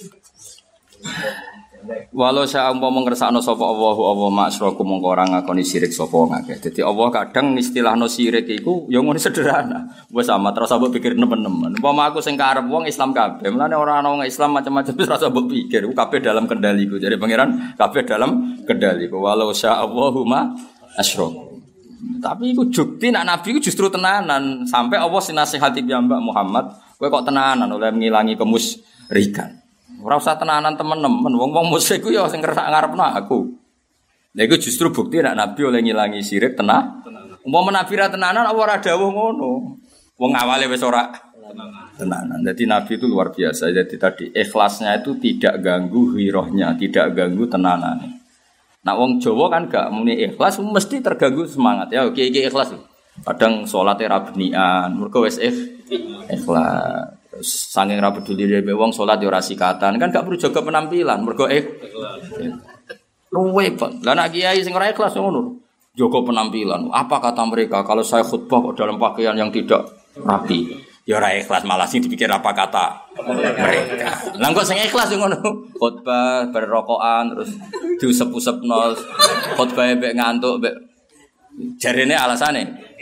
[SPEAKER 3] Walau saya umpama ngersakno sapa Allah maksraku mongko ora ngakoni syirik sapa wong akeh. Dadi Allah kadang istilahno syirik iku ya ngono sederhana. Wis amat terus mbok pikir nemen-nemen. Umpama aku sing karep wong Islam kabeh, mulane ora ana wong Islam macam-macam wis rasa mbok pikir. Kabeh dalam kendaliku. Jadi pangeran kabeh dalam kendaliku. Walau saya Allahumma asyraku. Tapi iku jukti nak nabi iku justru tenanan sampai Allah sinasihati piyambak Muhammad, kowe kok tenanan oleh ngilangi kemusyrikan. Ora usah tenanan temen-temen, wong-wong musyrik ku ya sing ngarepno aku. Lha iku justru bukti nak nabi oleh ngilangi syirik tenanan. Umpama nabi ra tenanan apa ora dawuh ngono. Wong awale wis ora tenanan. Jadi nabi itu luar biasa. Jadi tadi ikhlasnya itu tidak ganggu hirohnya, tidak ganggu tenanane. Nah wong Jawa kan gak muni ikhlas mesti terganggu semangat ya. Oke ikhlas. Kadang salate ra benian, mergo wis ikhlas. Saking ra peduli dhewe wong salat yo ora sikatan, kan gak perlu jaga penampilan, mergo ikhlas. Luwe kok. Lah nek kiai sing ora ikhlas ngono. Jaga penampilan. Apa kata mereka kalau saya khutbah kok dalam pakaian yang tidak rapi? Ya ora ikhlas malah sing dipikir apa kata mereka. Lah kok sing ikhlas ngono. Khutbah berrokokan terus diusep-usepno. Khutbah mbek ngantuk mbek jarene alasane.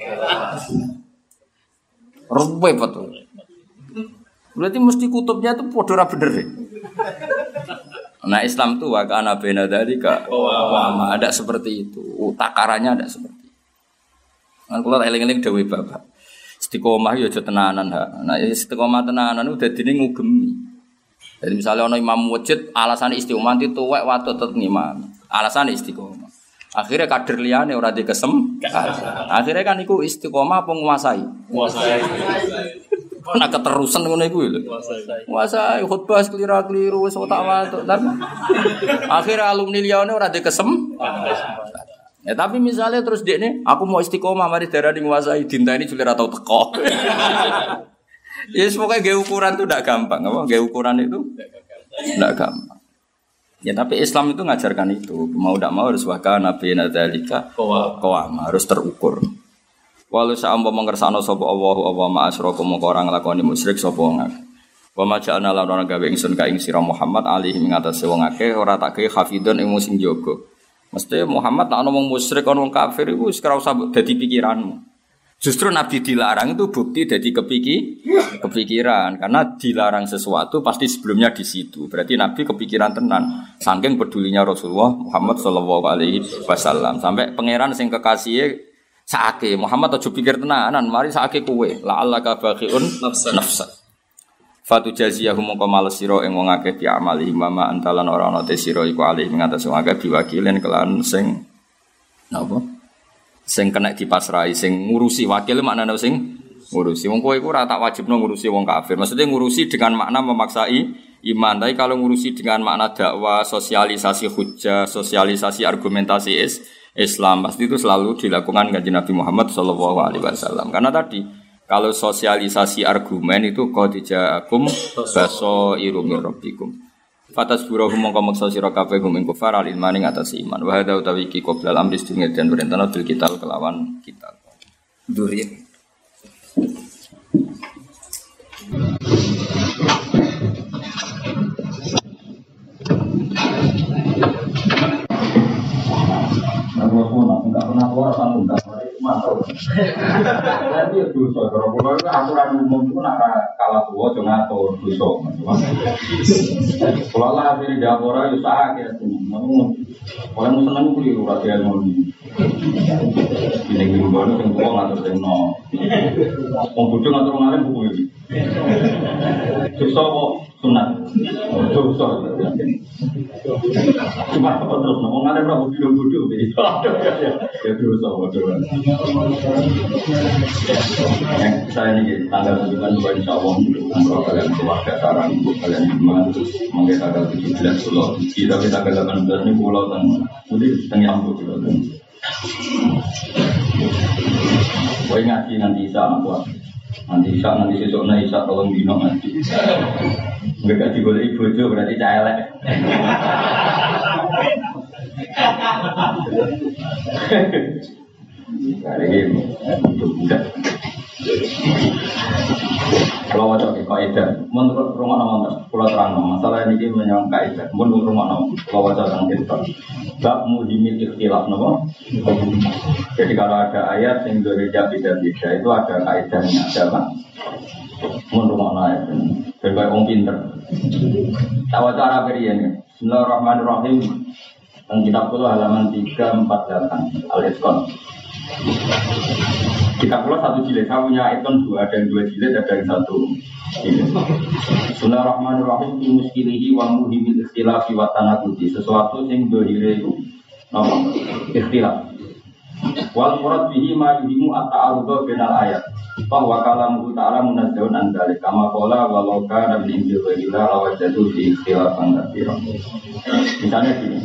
[SPEAKER 3] Ruwe betul. Berarti mesti kutubnya itu padha ora bener. Nah Islam tuh wa kana baina dzalika wa ada seperti itu. Takarannya ada seperti itu. Kan kula eling-eling dawuh Bapak. Istiqomah ya aja tenanan ha. Nah istiqomah tenanan udah dadine ngugemi. Jadi misalnya ana imam masjid alasane istiqomah itu tuwek watut tetep ngimam. Alasane istiqomah. Akhirnya kader liyane ora dikesem. Akhirnya kan iku istiqomah apa nguasai? Nguasai. Ana keterusan ngono iku lho. Nguasai khutbah keliru-keliru wis otak watut. Akhirnya alumni liyane ora dikesem. Ya tapi misalnya terus dia ini, aku mau istiqomah mari darani nguasai dinta ini julir atau teko. Ya pokoknya gaya ukuran itu tidak gampang, apa? Gaya ukuran itu tidak gampang. Ya tapi Islam itu ngajarkan itu, mau tidak mau harus waka nabi nadzalika qawam harus terukur. Walau sa'am mengersano sapa Allah ma'asraku mongko ora nglakoni musyrik sapa wong akeh. Wa ma ja'alna lan ora gawe ingsun ka ing sira Muhammad alaihi ngatasi wong akeh ora tak gawe hafidun ing sing jaga. Mesti Muhammad nak ngomong musyrik orang kafir itu sekarang usah jadi pikiranmu. Justru Nabi dilarang itu bukti jadi kepikiran karena dilarang sesuatu pasti sebelumnya di situ. Berarti Nabi kepikiran tenan. Saking pedulinya Rasulullah Muhammad sallallahu alaihi wasallam sampai pangeran sing kekasih saake Muhammad aja pikir tenanan, mari saake kowe la allaka baqiun nafsa. Fatu jaziyahum mongko males sira ing wong akeh bi amali mama antalan ora ana te sira iku alih ing atas wong akeh biwakilen kelan sing napa sing kena dipasrahi sing ngurusi wakil maknane sing ngurusi wong kowe iku ora tak wajibno ngurusi wong kafir maksudnya ngurusi dengan makna memaksai iman tapi kalau ngurusi dengan makna dakwah sosialisasi hujjah sosialisasi argumentasi Islam pasti itu selalu dilakukan kanjeng Nabi Muhammad sallallahu alaihi wasallam karena tadi kalau sosialisasi argumen itu qadijaakum basairu mir rabbikum. Fatasburuhum mongko maksa sira kabeh gum ing kufar al ilmani atas iman. Wa hadza utawi iki qoblal amri sedurunge den perintahna bil kital kelawan kita. Duri. Enggak pernah keluar sanggup enggak mantap. Tapi itu dosa. Kalau aturan umum itu nak kalah tua jangan atur dosa. Kalau lah dari dapur itu sah ya. Kalau mau senang keliru rakyat mau di. Ini keliru baru yang tua ngatur tenno. Mau bujuk ngatur ngalir buku ini. Dosa kok sunat. dosa. Cuma apa terus ngomong ada berapa bodoh-bodoh jadi ya dosa bodoh. Saya ini tanggal 9 insya Allah untuk kalian keluarga sarang untuk kalian iman mungkin tanggal 17 pulau kita tanggal 18 ini pulau nanti setengah ambut pulau Kau ngaji nanti Isa apa? Nanti sesuknya Isa tolong dino nanti. Mereka digoleki bojo berarti caelek. Kali ini budak. Kalau wajah ke kaidah, menurut rumah nama pulau terang masalah ini menyangka kaidah. Menurut rumah nama kalau wajah tentang kita, bab muhimil ikhtilaf nama. Jadi kalau ada ayat yang berbeda beda itu ada kaidahnya, ada apa? Menurut rumah nama itu, berbagai orang pinter. Tahu cara berian. Bismillahirrahmanirrahim. Tentang kitab pulau halaman 348 Al-Itqan. Kitab pulau 1 jilid, saya punya Itqan 2, ada yang 2 jilid, ada yang 1 jilid. Bismillahirrahmanirrahim. Muskilihi wa muhimil ikhtilafi wa tanakuti. Sesuatu yang dohire itu ikhtilaf. Wal murad bihi ma yuhimu at-ta'arudha bainal ayat. Bahwa kalamuhu ta'ala munazzahun an dzalik kama qala walau kana min inji ghairillah lawajadu fi ikhtilafan katsiran. Misalnya gini.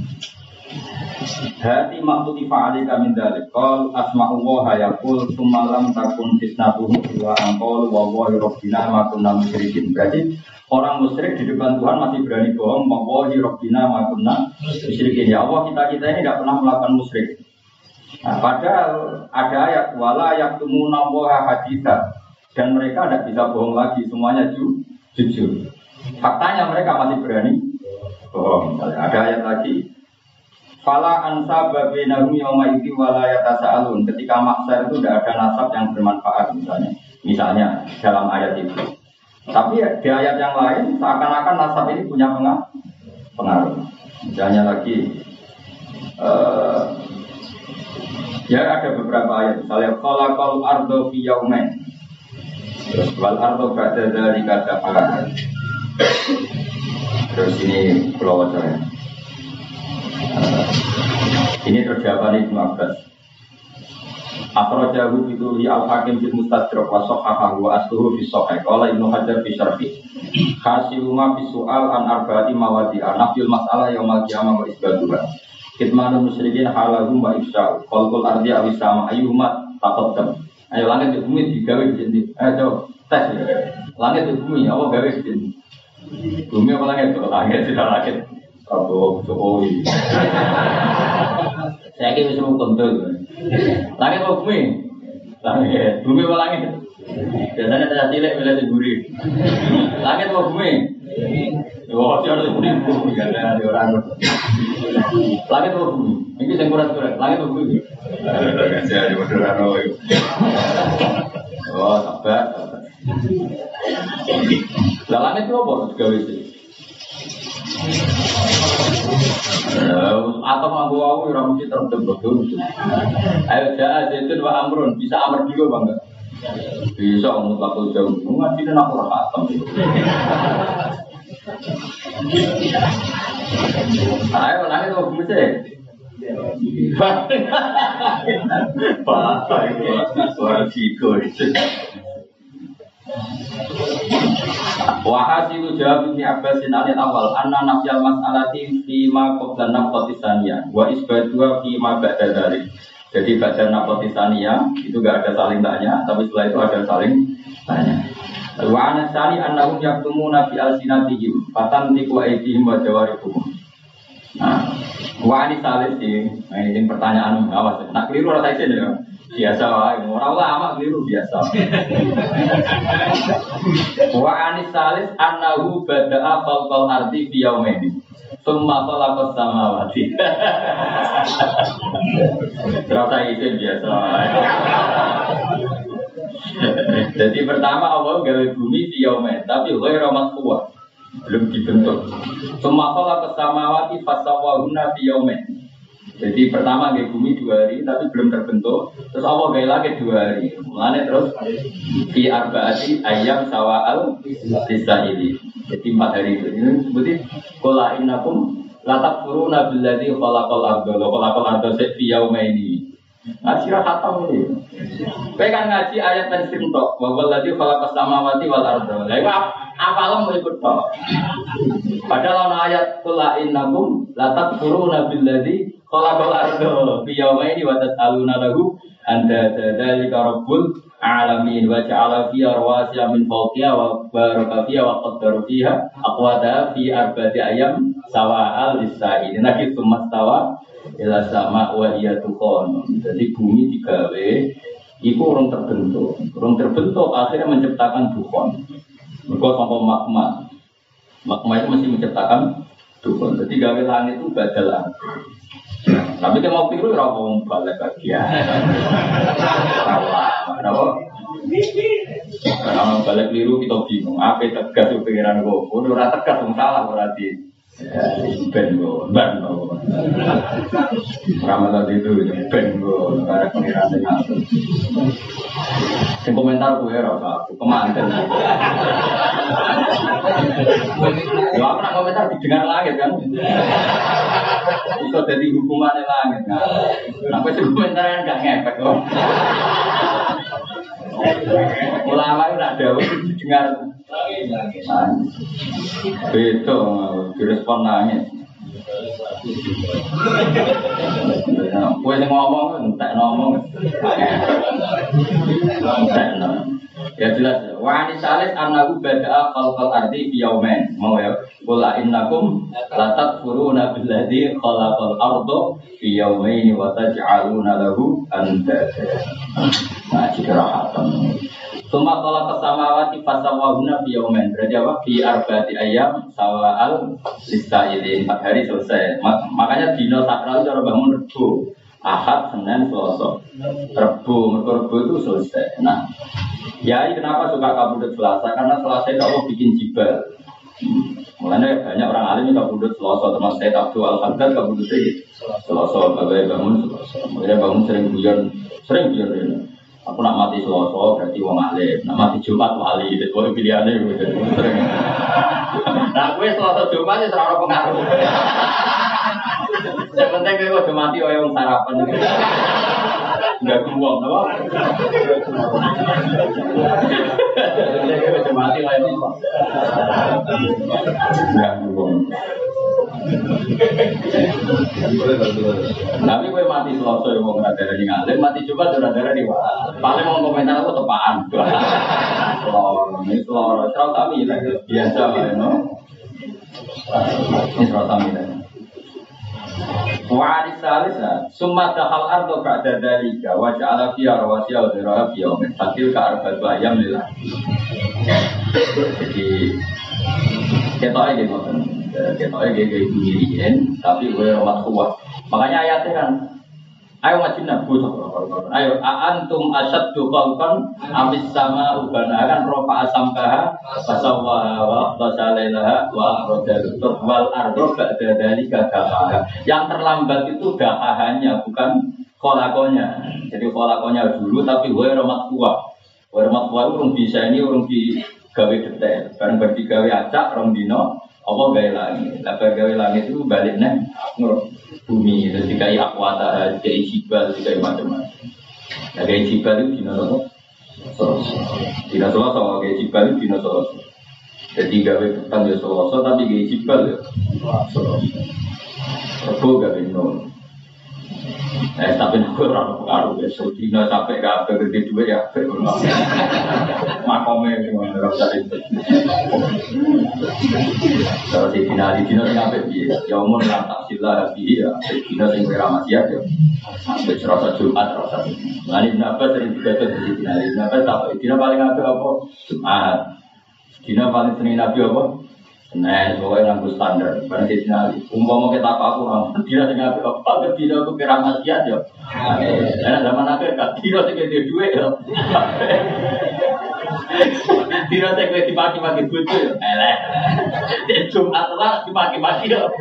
[SPEAKER 3] Hati maktuti fa'alika min dzalik qal asma'u wa yaqul tsumma lam takun fitnatuhum wa anqal wa wallahi rabbina ma kunna musyrikin. Berarti orang musyrik di depan Tuhan masih berani bohong, wallahi rabbina ma kunna musyrikin. Ya Allah, kita ini tidak pernah melakukan musyrik. Nah, padahal ada ayat wala yaktumuna wa haditha dan mereka tidak bisa bohong lagi, semuanya jujur. Faktanya mereka masih berani bohong. Misalnya ada ayat lagi fala ansaba bainahum yauma idzi wala yatasaalun. Ketika mahsyar itu tidak ada nasab yang bermanfaat misalnya dalam ayat itu. Tapi di ayat yang lain seakan-akan nasab ini punya pengaruh. Misalnya lagi ya ada beberapa ayat, misalnya khalaqal arda fi yaumain. Terus wal arda ba'da dzalika dafa'a. Terus ini pulau wajah. Ini terjawab Ibnu Abbas. Akhrajahu bihi al-Hakim fil Mustadrak wa sahahahu wa asluhu fi sahih. Qala Ibnu Hajar fi syarhi. Hasiluma fi su'al an arba'ati mawadi'a nafyul mas'alah yaumal qiyamah wa isbatuha. Kitmanul musyrikin halahum wa ifsya'u qalqul ardi awisama ayyumat taqaddam. Ayo langit dan bumi digawe di ayo tes langit dan bumi apa gawe di sini bumi apa langit tidak langit apa Jokowi saya kira semua kontrol langit apa bumi apa langit biasanya ada cilik bila diburi langit apa bumi oh dia harus bumi karena ada orang langit apa bumi ini saya kurang langit apa bumi saya di Madura oh sabar langit itu apa gawe sih atau mampu aku yang mesti terbentuk. Ayo jahat itu dua amrun bisa amr dulu bangga. Bisa mutlak jauh. Ngaji dan aku rahatam. Ayo nangis tuh mesti. Pak, suara figur. Wahasilu jawab Ibnu Abbasin anil awal anna nafyal mas'alati fi ma qabla nafqati tsaniyah wa isbatuha fi ma ba'da dzalik. Jadi ba'da nafqati tsaniyah itu enggak ada saling tanya, tapi setelah itu ada saling tanya. Wa anasani annahum yaktumuna fi alsinatihim fatantiqu aydihim wa jawarihuhum. Nah, wa ani salis ini pertanyaan awas. Nak keliru ora tak ya. Biasa wae, ora lama keliru biasa. Wa anis salis annahu bada'a falqal ardi fi yaumaini. Tsumma khalaqas samawati. Terasa itu biasa wae. Jadi pertama Allah gawe bumi fi yaumain, tapi ghairu matfuwa. Belum dibentuk. Tsumma khalaqas samawati fasawwahunna fi yaumain. Jadi pertama gawe bumi 2 hari tapi belum terbentuk. Terus Allah gawe lagi 2 hari. Mulane terus fi arba'ati ayyam sawa'al lisaili. Jadi 4 hari itu. Ini seperti qul innakum la takfuruna billadzi khalaqal arda fi yaumaini. Ngaji khatam ini. Kowe kan ngaji ayat tafsir tok, wa wallazi khalaqas samawati wal arda. Lah iku apalem ikut tok. Padahal ana ayat qul innakum la takfuruna billadzi khalaqal arda fi yaumaini wa tas'aluna lahu anta dzalika rabbul alamin wa ja'ala fiha rawasiya min fawqiha wa baraka fiha wa qaddara fiha aqwata fi arba'ati ayyam sawa'al lis-sa'ilin. Naki sumastawa ila sama wa iya tukon. Jadi bumi digawe iku urung terbentuk akhirnya menciptakan dukon. Mergo sangka magma itu mesti menciptakan dukon. Jadi gawe langit itu badalan. Tapi kita mau pikir ora wong balik bagian. Kenapa? Karena balik liru kita bingung. Apa tegas pikiran gue? Ora tegas wong salah berarti. Ben go. Ramadan itu ben go. Karena pengiran dengan sing komentar gue ora aku kemanten. Ya aku nak komentar didengar langit kan. Itu jadi hukuman langit kan. Apa sih komentar yang gak ngefek kok. Ulama itu nak dawuh didengar langit. Beto direspon nangis. Kowe sing ngomong entek ngomong. Ya jelas. Wa anisalis annahu bada'a khalqal ardi fi yawmain. Mau ya. Qul innakum la takfuruna billadzi khalaqal arda fi yawmain wa taj'aluna lahu andada. Nah, cerahatan. Suma qala kasamawati fasawahuna fi yawmain. Berarti apa? Fi arba'ati ayyam sawa'al lis-sa'ilin. 4 hari selesai. Makanya dino sakral cara bangun Rebo, Ahad, Senin, Selasa. Rebo itu selesai. Nah, ya kenapa suka kabudut Selasa? Karena Selasa itu Allah bikin jibal. Mulanya banyak orang alim yang kabudut Selasa, termasuk Sayyid Abdul Al-Haddad kabudut Selasa. Bagai bangun Selasa. Makanya bangun sering guyon ini. Aku nak mati Selasa berarti wong alim, nak mati Jumat wali, itu pilihannya gitu. Sering. Nah, gue Selasa Jumat ya serara pengaruh. Yang penting gue udah mati yang sarapan. Enggak kuat, apa? Yang udah mati yang ini. Enggak kuat. Tapi gue mati Selasa yang mau ngadain di ngalim, mati Jumat udah ada di wah. Paling mau komentar aku tepaan. Ini selor, serau kami biasa lah, no. Ini serau kami lah. Wa alisalisa summa dahal ardo ba'da dalika wa ja'ala fiha rawasiya wa dhiraha fi yawmin fatil ka arba'atu ayyam lillah. Jadi ketoknya gitu kan, ketoknya kayak gini tapi gue rawat kuat. Makanya ayatnya kan, ayo wajibna butuh. Ayo antum asyaddu khalqan amis sama ubana kan rofa asamkaha fasawwa wa aqtasalailaha wa akhrajatul turwal ardo ba'da dalika dahaha. Yang terlambat itu dahahannya bukan kholakonya. Jadi kholakonya dulu tapi gue rawat kuat. Gue rawat kuat urung bisa ini urung di gawe detail. Bareng berdigawe acak rong dino apa gawe langit. Lah gawe langit itu balik nang bumi, terus dikai akwata, dikai jibal, dikai macam-macam. Nah, dikai jibal itu dino apa? Dino Selasa, dikai jibal itu dino Selasa. Jadi gawe petang ya Selasa, tapi dikai jibal ya Selasa. Rebo gawe nol. Tapi aku orang pengaruh ya, dino sampai gawe gede dua ya, makomnya semua nggak bisa itu. Kalau di dino sampai dia, ya umur lantak sila dia, dino yang beramasiat ya, sampai serasa Jumat serasa. Lain apa sering dibaca di dino, apa dino paling apa Jumat, dino paling sering nabi apa? Nah, pokoknya nganggo standar. Karena di sini, umpama kita aku orang tidak dengan apa, tidak aku kira maksiat ya. Karena zaman akhir kan tidak segede duit ya. Tidak segede dimaki-maki bucu ya. Jumat lah dimaki-maki ya.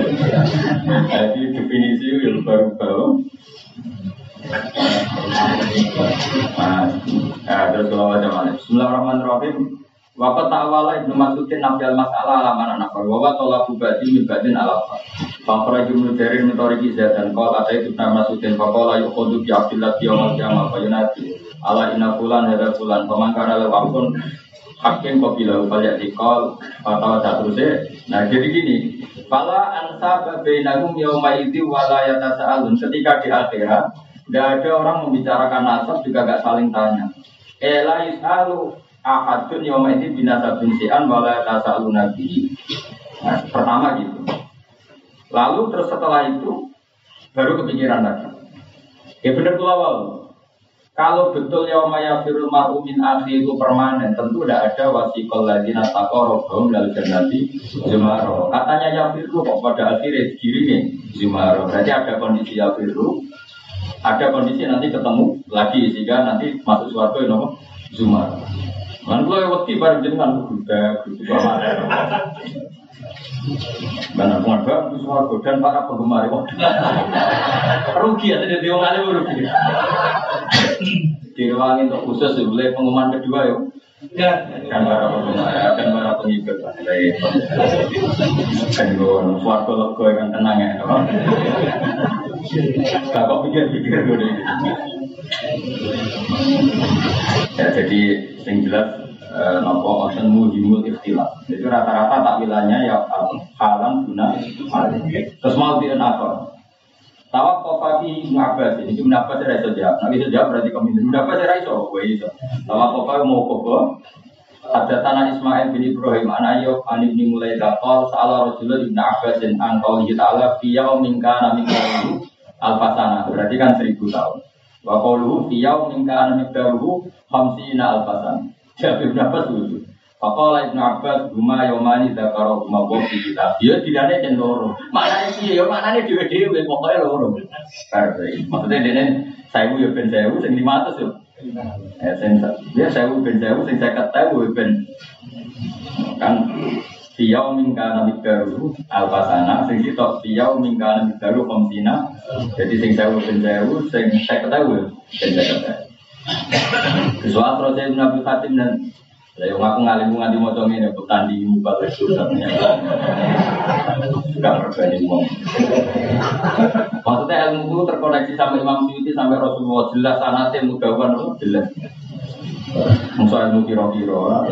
[SPEAKER 3] Jadi definisi yang baru-baru.
[SPEAKER 1] Terus kalau macam-macam. Bismillahirrahmanirrahim. Waqat ta'awala Ibnu Mas'udin nafiyal mas'alah alaman nafar wa tolabu badi min badin alafa. Faqra jumlu jarin mitoriki dan qol ada Ibnu Mas'udin faqala yuqadu bi Abdillah yawmal qiyamah fa yunati ala inna fulan hadza fulan pamangkara law akun hakim qabila fal yaqal atau terusnya. Nah jadi gini, fala ansaba bainahum yauma idzi wa la yatasaalun. Ketika di akhirat tidak ada orang membicarakan nasab juga gak saling tanya. Ela yusalu ahadun yauma idzi binasabin si'an wa la yatasaalun nabi. Nah, pertama gitu. Lalu terus setelah itu baru kepikiran lagi. Ya benar pula wal. Kalau betul yauma yafirul mar'u min akhi itu permanen, tentu tidak ada wasiqal ladzina taqarrabum lal jannati zumaro. Katanya yafiru kok pada akhirnya dikirim zumaro. Berarti ada kondisi yafiru, ada kondisi nanti ketemu lagi sehingga nanti masuk surga itu zumaro. Man kulo wedi bareng jenengan budak pamane. Benar pun surga dan para penggemar rugi ya jadi wong alim rugi. Direwangi untuk khusus boleh pengumuman kedua ya. Dan para penggemar dan para pengikut baik. Kan gue suatu logo yang tenang ya. Tak kok pikir-pikir gue. Ya jadi yang jelas nopo osen muhimul ikhtilaf. Jadi rata-rata takwilannya ya halam guna hal. Terus mau apa? Tawak kofafi Ibnu Abbas ini Ibnu Abbas tidak bisa jawab. Nanti bisa jawab berarti komentar. Ibnu Abbas tidak bisa. Tawak kofafi mau kofa. Ada tanah Ismail bin Ibrahim Anayub Anib bin Mulai Dakol Salah Rasulullah Ibnu Abbas dan Angkau Ta'ala Fiyau Minka Namikalu Al-Fasana. Berarti kan 1000 tahun. Wa qauluhu fiyau minka Namikalu Hamsina Al-Fasana. Jadi Ibnu Abbas lucu. Faqala Ibnu Abbas huma yomani dzakara huma wa fi kitab. Ya dilane jen loro. Maknane piye ya maknane dhewe-dhewe pokoke loro. Maksudnya dene 1000 ya ben 1000 sing 500 yo. Sing ya 1000 ben 1000 sing 50.000 ben kan fiyau minka namikaru al-fasana sing sitok fiyau minka namikaru komsina. Jadi sing 1000 ben 1000 sing 50.000 ben 50.000. Soal proses Nabi Fatim dan saya ngaku ngalimu nganti mocong ini petandi muka bersurnya. Gak berbanding ngomong. Maksudnya ilmu itu terkoneksi sama Imam Suyuti sampai Rasulullah jelas sanatnya mudawan jelas. Musa ilmu kiro-kiro.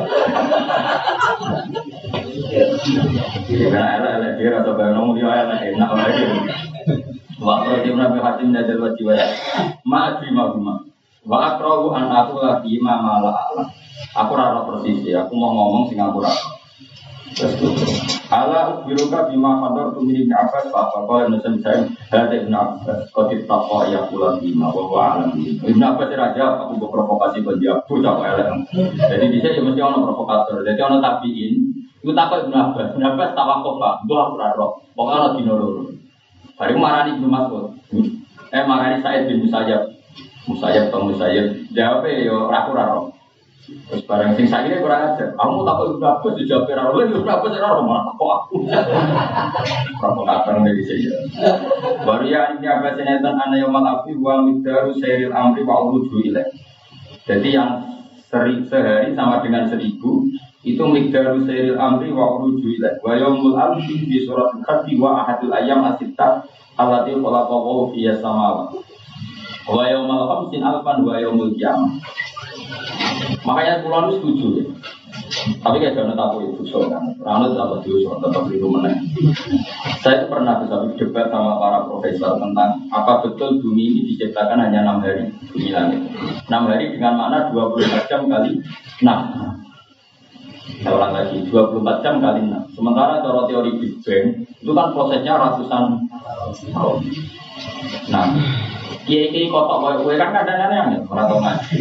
[SPEAKER 1] Karena elek dia rasa bayang dia elek enak lagi. Waktu Nabi Fatim dan Jalwat Jiwa. Ma'adri ma'adri. Wa akrahu an aku lagi mama ala. Aku rara persis ya, aku mau ngomong sing aku rara. Ala biruka bima qadar tu min Abbas fa qala nasan saya hada Ibnu Abbas qad taqa ya kula bima wa alam. Ibnu Abbas raja aku provokasi dia bocah elek. Jadi bisa ya mesti ono provokator. Jadi ono tabiin, iku takok Ibnu Abbas. Ibnu Abbas tawakuf Pak, mbah aku rara. Pokoke ono dino loro. Bari marani Ibnu Mas'ud. Marani Said bin Musayyab atau Musayyab jawab yo aku raro. Terus barang sing sakit kurang ajar. Kamu takut Ibnu Abbas dijawab raro. Lha Ibnu Abbas raro malah takut aku. Provokator dari saya. Baru ya ini Abbas nenten ana yaumul afi wa midaru sairil amri wa uruju ilaih. Jadi yang sehari sama dengan 1000 itu midaru sairil amri wa uruju ilaih. Wa yaumul afi di surat al-Kahfi wa ahadul ayyam as-sittah allati khalaqahu fiyas samawati. Wa yaumal khamsin alfan wa yaumul qiyamah. Makanya pulau itu setuju ya. Tapi kayak jangan takut itu soalnya. Ranut apa dosa tetap itu menang. Saya pernah bisa berdebat sama para profesor tentang apa betul bumi ini diciptakan hanya 6 hari bumi langit. 6 hari dengan makna 24 jam kali 6. Saya ulang lagi 24 jam kali 6. Sementara cara teori Big Bang itu kan prosesnya ratusan tahun. Nah, kiai kotok kowe kan kadang-kadang ora tau ngaji.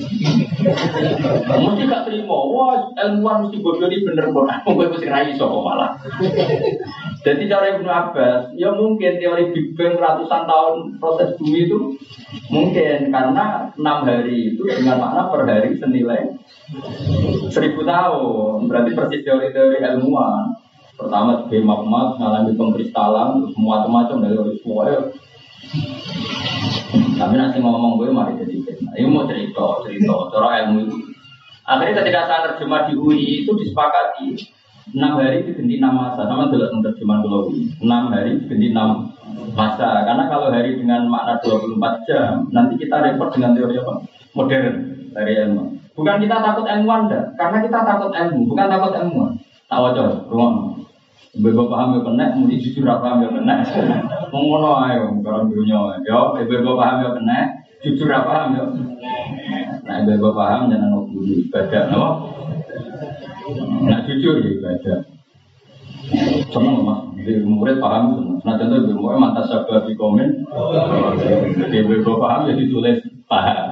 [SPEAKER 1] Mesti gak terima, wah ilmuwan mesti bodoh ini bener kok. Kowe mesti ra iso kok malah. Jadi cara Ibnu Abbas, ya mungkin teori Big Bang ratusan tahun proses bumi itu mungkin karena 6 hari itu dengan makna per hari senilai 1000 tahun. Berarti persis teori-teori ilmuwan. Pertama sebagai magma mengalami pengkristalan, terus macam-macam dari semuanya
[SPEAKER 3] Tapi nanti ngomong gue mari jadi fitnah. Ini mau cerita cara ilmu itu. Akhirnya ketika saya terjemah di UI itu disepakati 6 hari diganti 6 masa. Sama dalam terjemahan kalau UI 6 hari diganti 6 masa. Karena kalau hari dengan makna 24 jam, nanti kita repot dengan teori apa? Modern dari ilmu. Bukan kita takut ilmuwan dah, karena kita takut ilmu, bukan takut ilmuwan. Tak wajar, ruang. Ibu paham ya kena, mesti jujur paham ya kena. Mengono ayo, kalau dunia, yo, ibu paham ya kena, jujur paham ya. Nah, ibu paham jangan nunggu ibadah, no. Nah, jujur ya ibadah. Senang mas, di murid paham senang. Nah, contoh ibu murid mantas sabar di komen, ibu paham ya ditulis paham.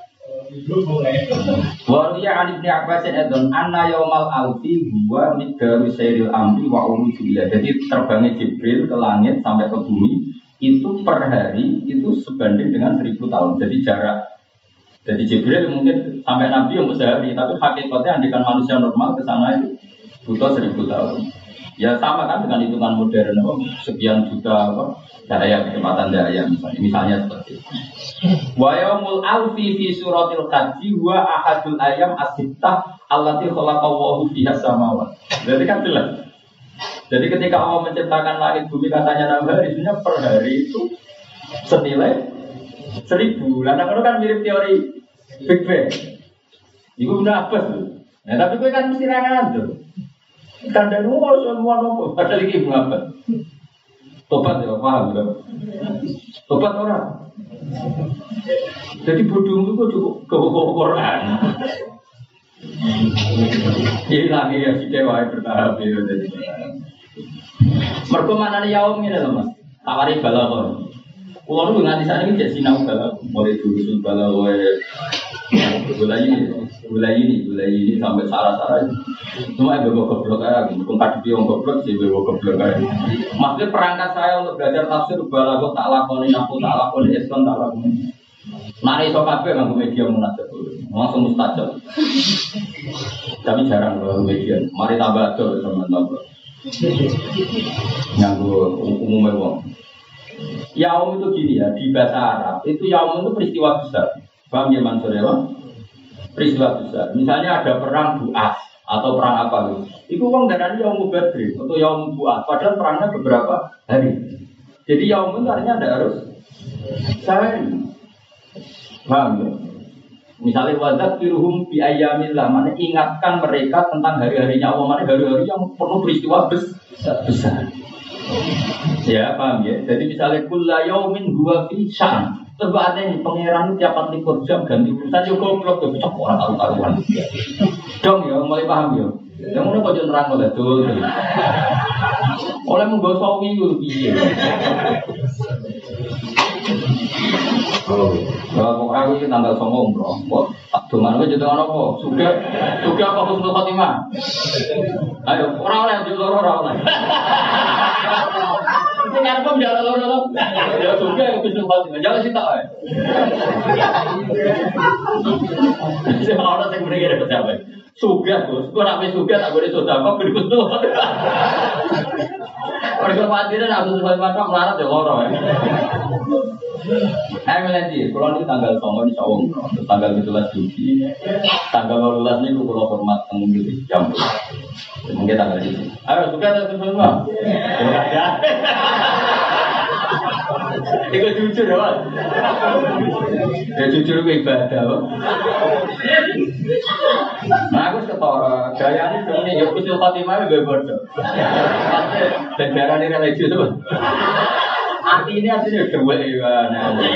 [SPEAKER 3] Waliya Ali bin Abbas edon anna yaumal alfi huwa miqdaru sayril amri wa urujulah. Jadi terbangnya Jibril ke langit sampai ke bumi itu per hari itu sebanding dengan 1000 tahun. Jadi jarak. Jadi Jibril mungkin sampai Nabi yang sehari, tapi hakikatnya andikan manusia normal ke sana itu butuh 1000 tahun. Ya sama kan dengan hitungan modern sekian juta daya kecepatan daya misalnya seperti itu. Wa yaumul alfi fi suratil haji wa ahadul ayam as-sittah allati khalaqallahu fiha samawat. Jadi kan jelas. Jadi ketika Allah menciptakan langit bumi katanya 6 hari, sebenarnya per hari itu senilai 1000. Lah itu kan mirip teori Big Bang. Iku udah apa tuh? Nah, tapi gue kan mesti rangan tuh. Kan dan semua nopo padahal iki apa? Tobat ya paham ya. Tobat orang. Jadi bodoh itu cukup ke Quran. Hilang ya si dewa bertahap ya jadi. Mergo manane yaum ngene lho Mas. Tawari balaghah. Kulo nu nganti sakniki jek sinau balaghah, mulai dulu balaghah Gulai ini sampai sarah-sarah. Cuma ibu goblok aja, bukan yang goblok sih ibu goblok aja. Maksudnya perangkat saya untuk belajar tafsir balaghah tak lakoni eskon tak lakoni. Nari iso kabeh nganggo media munajat dulu. Langsung mustajab. Tapi jarang kalau media. Mari tambah aja teman-teman. Nganggo umumnya wong. Yaum itu gini ya, di bahasa Arab itu yaum itu peristiwa besar. Paham ya Mansur ya? Peristiwa besar. Misalnya ada perang Bu'as atau perang apa gitu. Itu wong darahnya yaum Badr atau yaum Bu'as. Padahal perangnya beberapa hari. Jadi yaum itu artinya ada harus sehari. Paham ya? Misalnya wadzat firuhum bi ayyamillah, mana ingatkan mereka tentang hari-harinya Allah, mana hari-hari yang penuh peristiwa besar. Ya, paham ya? Jadi misalnya kullu yaumin huwa fi sya'n. Coba ada nih pangeran tiap 24 jam ganti urusan yo goblok yo cocok orang karu-karuan. Dong ya, mulai paham ya. Yang ngono kok nerang oleh dul. Oleh munggo sawi yo piye. Kalau aku ini tanggal 9 bro, kok tak dongan aja jadi apa? Sudah apa husnul khotimah? Ayo, orang oleh. Ini kan pun jalan loro. Ya sudah yang husnul khotimah, jangan sih tak. Saya orang yang beri kira siapa? Sudah bos, kau nak sudah tak boleh sudah apa berikutu. Orang kepatiran aku sebab macam melarat ya loro. Melati, kalau ini tanggal 9 insya Allah, tanggal 17 Juli, tanggal 12 ini kalau hormat tanggung jam, mungkin tanggal itu. Ayo suka tak semua? Ikut jujur ya, ya jujur ke ibadah. Nah aku setor, gaya ini sebenarnya ya usul Fatimah itu bodoh. Dan darah ini religius tuh. Artinya dua ya.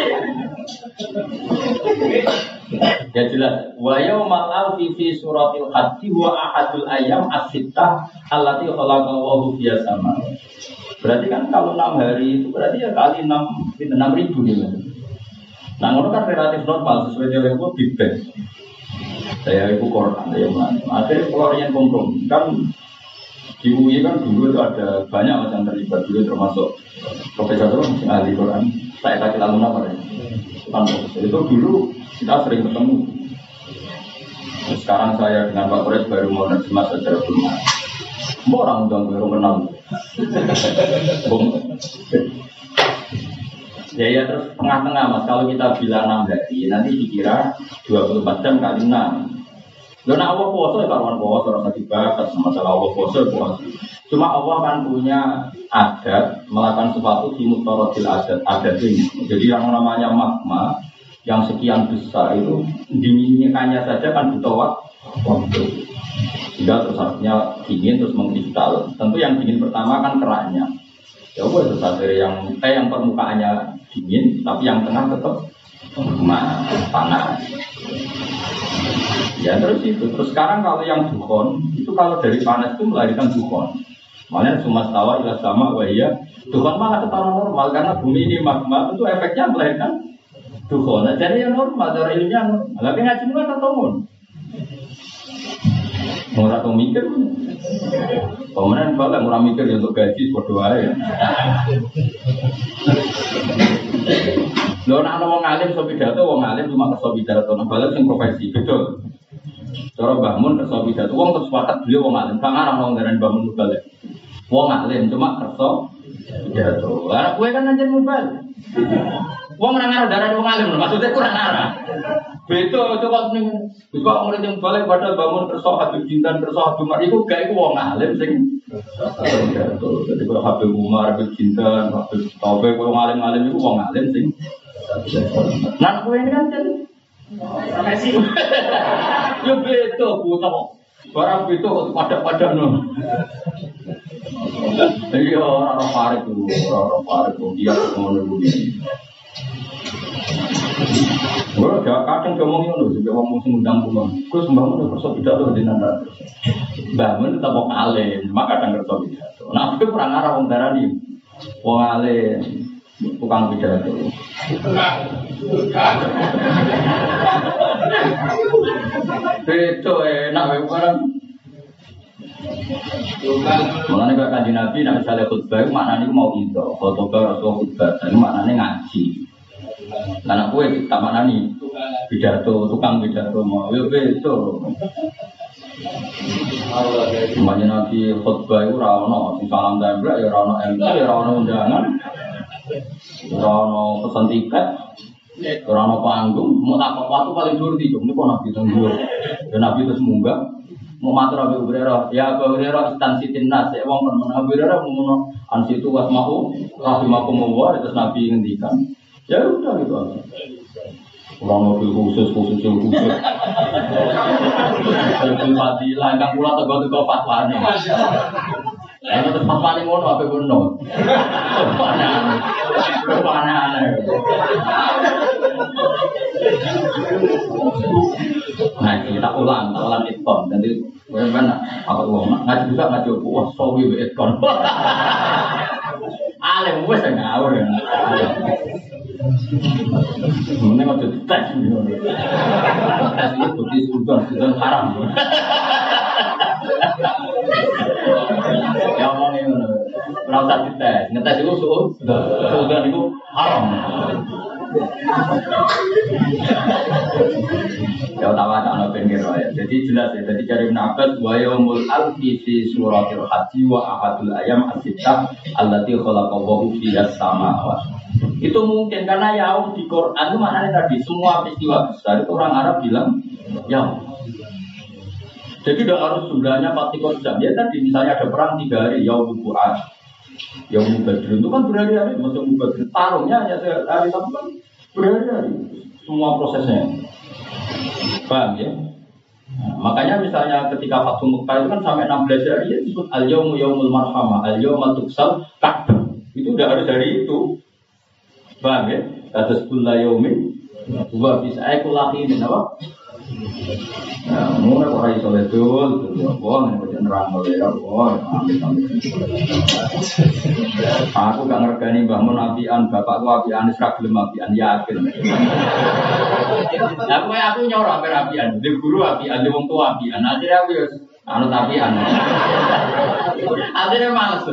[SPEAKER 3] Ya jelas. Wa yaumal alfi fi suratil haji wa ahadul ayam as-sittah allati khalaqallahu fiha sama. Berarti kan kalau 6 hari itu berarti ya kali 6.000 gitu. Nah, ngono kan relatif normal sesuai dengan itu Big Bang. Saya itu Quran ya mana. Akhirnya kalau yang kompromi kan di UI kan dulu itu ada banyak macam terlibat dulu termasuk profesor itu ahli Quran. Saya kasih lalu nama ya. Itu dulu kita sering ketemu. Sekarang saya dengan Pak Kores baru mau nerjemah secara belum. Orang udah baru kenal. Ya terus tengah-tengah Mas. Kalau kita bilang 6 hari, nanti dikira 24 jam kali 6. Loh, nah Allah puasa ya karuan puasa, rasa dibahas masalah Allah puasa. Cuma Allah kan punya adat melakukan sesuatu di mutorotil adat ini. Jadi yang namanya magma yang sekian besar itu dinginnya saja kan butuh waktu. Sehingga terus harusnya dingin terus mengkristal. Tentu yang dingin pertama kan keraknya. Ya Allah itu dari yang permukaannya dingin, tapi yang tengah tetap panas. Ya terus itu. Terus sekarang kalau yang dukhon itu kalau dari panas itu melahirkan dukhon. Makanya cuma tawa ilah sama wahia. Dukhon malah ketara normal karena bumi ini magma itu efeknya melahirkan dukhon. Nah, jadi yang normal dari ilmunya normal. Tapi ngaji kan ketemu. Orang tuh mikir, pemenang balik orang mikir untuk gaji berdoa ya. Lo nak ngomong alim sobidato, wong alim cuma kesobidato, nah balik sing profesi betul. Cara bangun kesobidato, wong tersepakat beliau wong alim, kang arah ngomong dari bangun balik. Wong alim cuma kesobidato. Karena gue kan anjir mubal. Wong ora ngarah darah wong alim, maksudnya kurang arah. Betul, coba ning wis kok murid yang balik padahal bangun kersa Habib Jintan kersa Habib Umar iku gak iku wong alim sing betul. Jadi kalau Habib Umar, Habib Jintan, Habib Taufik wong alim-alim iku wong alim sing nah kowe ini kan Messi. Yo betul butuh. Barang betul pada no. Iya orang Farid tuh, orang Farid tuh dia ngono begini. Gua kadang ngomongin loh, juga ngomong sengundang pulang. Gua sembahmu udah kerja pidato di nanda. Bangun tetap wong alim, maka kadang kerja pidato. Nah, itu kurang arah wong darani. Wong alim, tukang pidato. Itu enak barang. Mulane kok Kanjeng Nabi nek misale khutbah maknane mau itu, khutbah atau khutbah, itu maknane ngaji. Karena kowe tak maknani pidato, tukang pidato mau yo itu. Kanjeng Nabi khutbah iku ora ono sing salam templek ya ora ono MC, ya ora ono undangan. Ora ono pesan tiket. Ora ono panggung, mau tak waktu paling dhuwur iki, niku Nabi tunggu. Ya Nabi terus munggah mau matur Abu Hurairah, ya Abu Hurairah instansi timnas, ya wong men Abu Hurairah ngono ansitu wasmahu rahimakum wa terus Nabi ngendikan. Ya udah gitu aja. Orang mobil khusus. Mobil fadilah kang kula tego-tego fatwane. Ana terus fatwane ngono ape ngono. Panah. Nah, kita ulang ikon. Nanti bagaimana? Apa uang? Ngaji juga ngaji wah sawi ikon. Alim wes ngawur ya. Mending aja tes gitu. Tes itu bukti sudah haram. Ya omongin ngono. Ora usah dites. Ngetes iku sudah niku haram. Ya utawa ana pinggir wae. Jadi jelas ya. Jadi cari nafas wa yaumul alfi fi suratil haji wa ahadul ayam as-sittah allati khalaqallahu fiyas samawati. Itu mungkin karena yaum di Quran itu maknanya tadi semua peristiwa besar itu orang Arab bilang yaum. Jadi tidak harus jumlahnya 40 jam. Ya tadi misalnya ada perang 3 hari yaum Quran. Yaum Badr itu kan berhari-hari, maksudnya Badr tarungnya hanya sehari tapi kan berhari-hari semua prosesnya. Paham ya? Nah, makanya misalnya ketika Fathu Mekah itu kan sampai 16 hari ya disebut al-yaumu yaumul marhamah, al-yauma tuksal Ka'bah. Itu udah harus dari itu. Paham ya? Atas kulla yaumin wa bisa ayakulahin apa? Nah, mulai orang iso betul, wong nek nerang oleh Allah, aku gak ngergani Mbah Mun apian, bapakku apian, wis ra gelem apian yakin. Aku nyoro apian, di guru apian, di wong tua apian, akhirnya aku ya anut apian. Akhirnya males.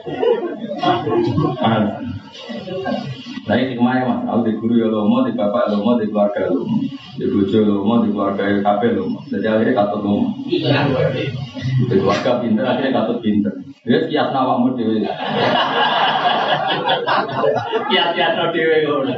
[SPEAKER 3] Saya kemarin mas, aku di guru ya lomo, di bapak lomo, di keluarga lomo, di bojo lomo, di keluarga kafe lomo. Jadi akhirnya katut lomo. Di keluarga pinter, akhirnya katut pinter. Dia kias nawakmu dewi. Kiat-kiat dhewe ngono.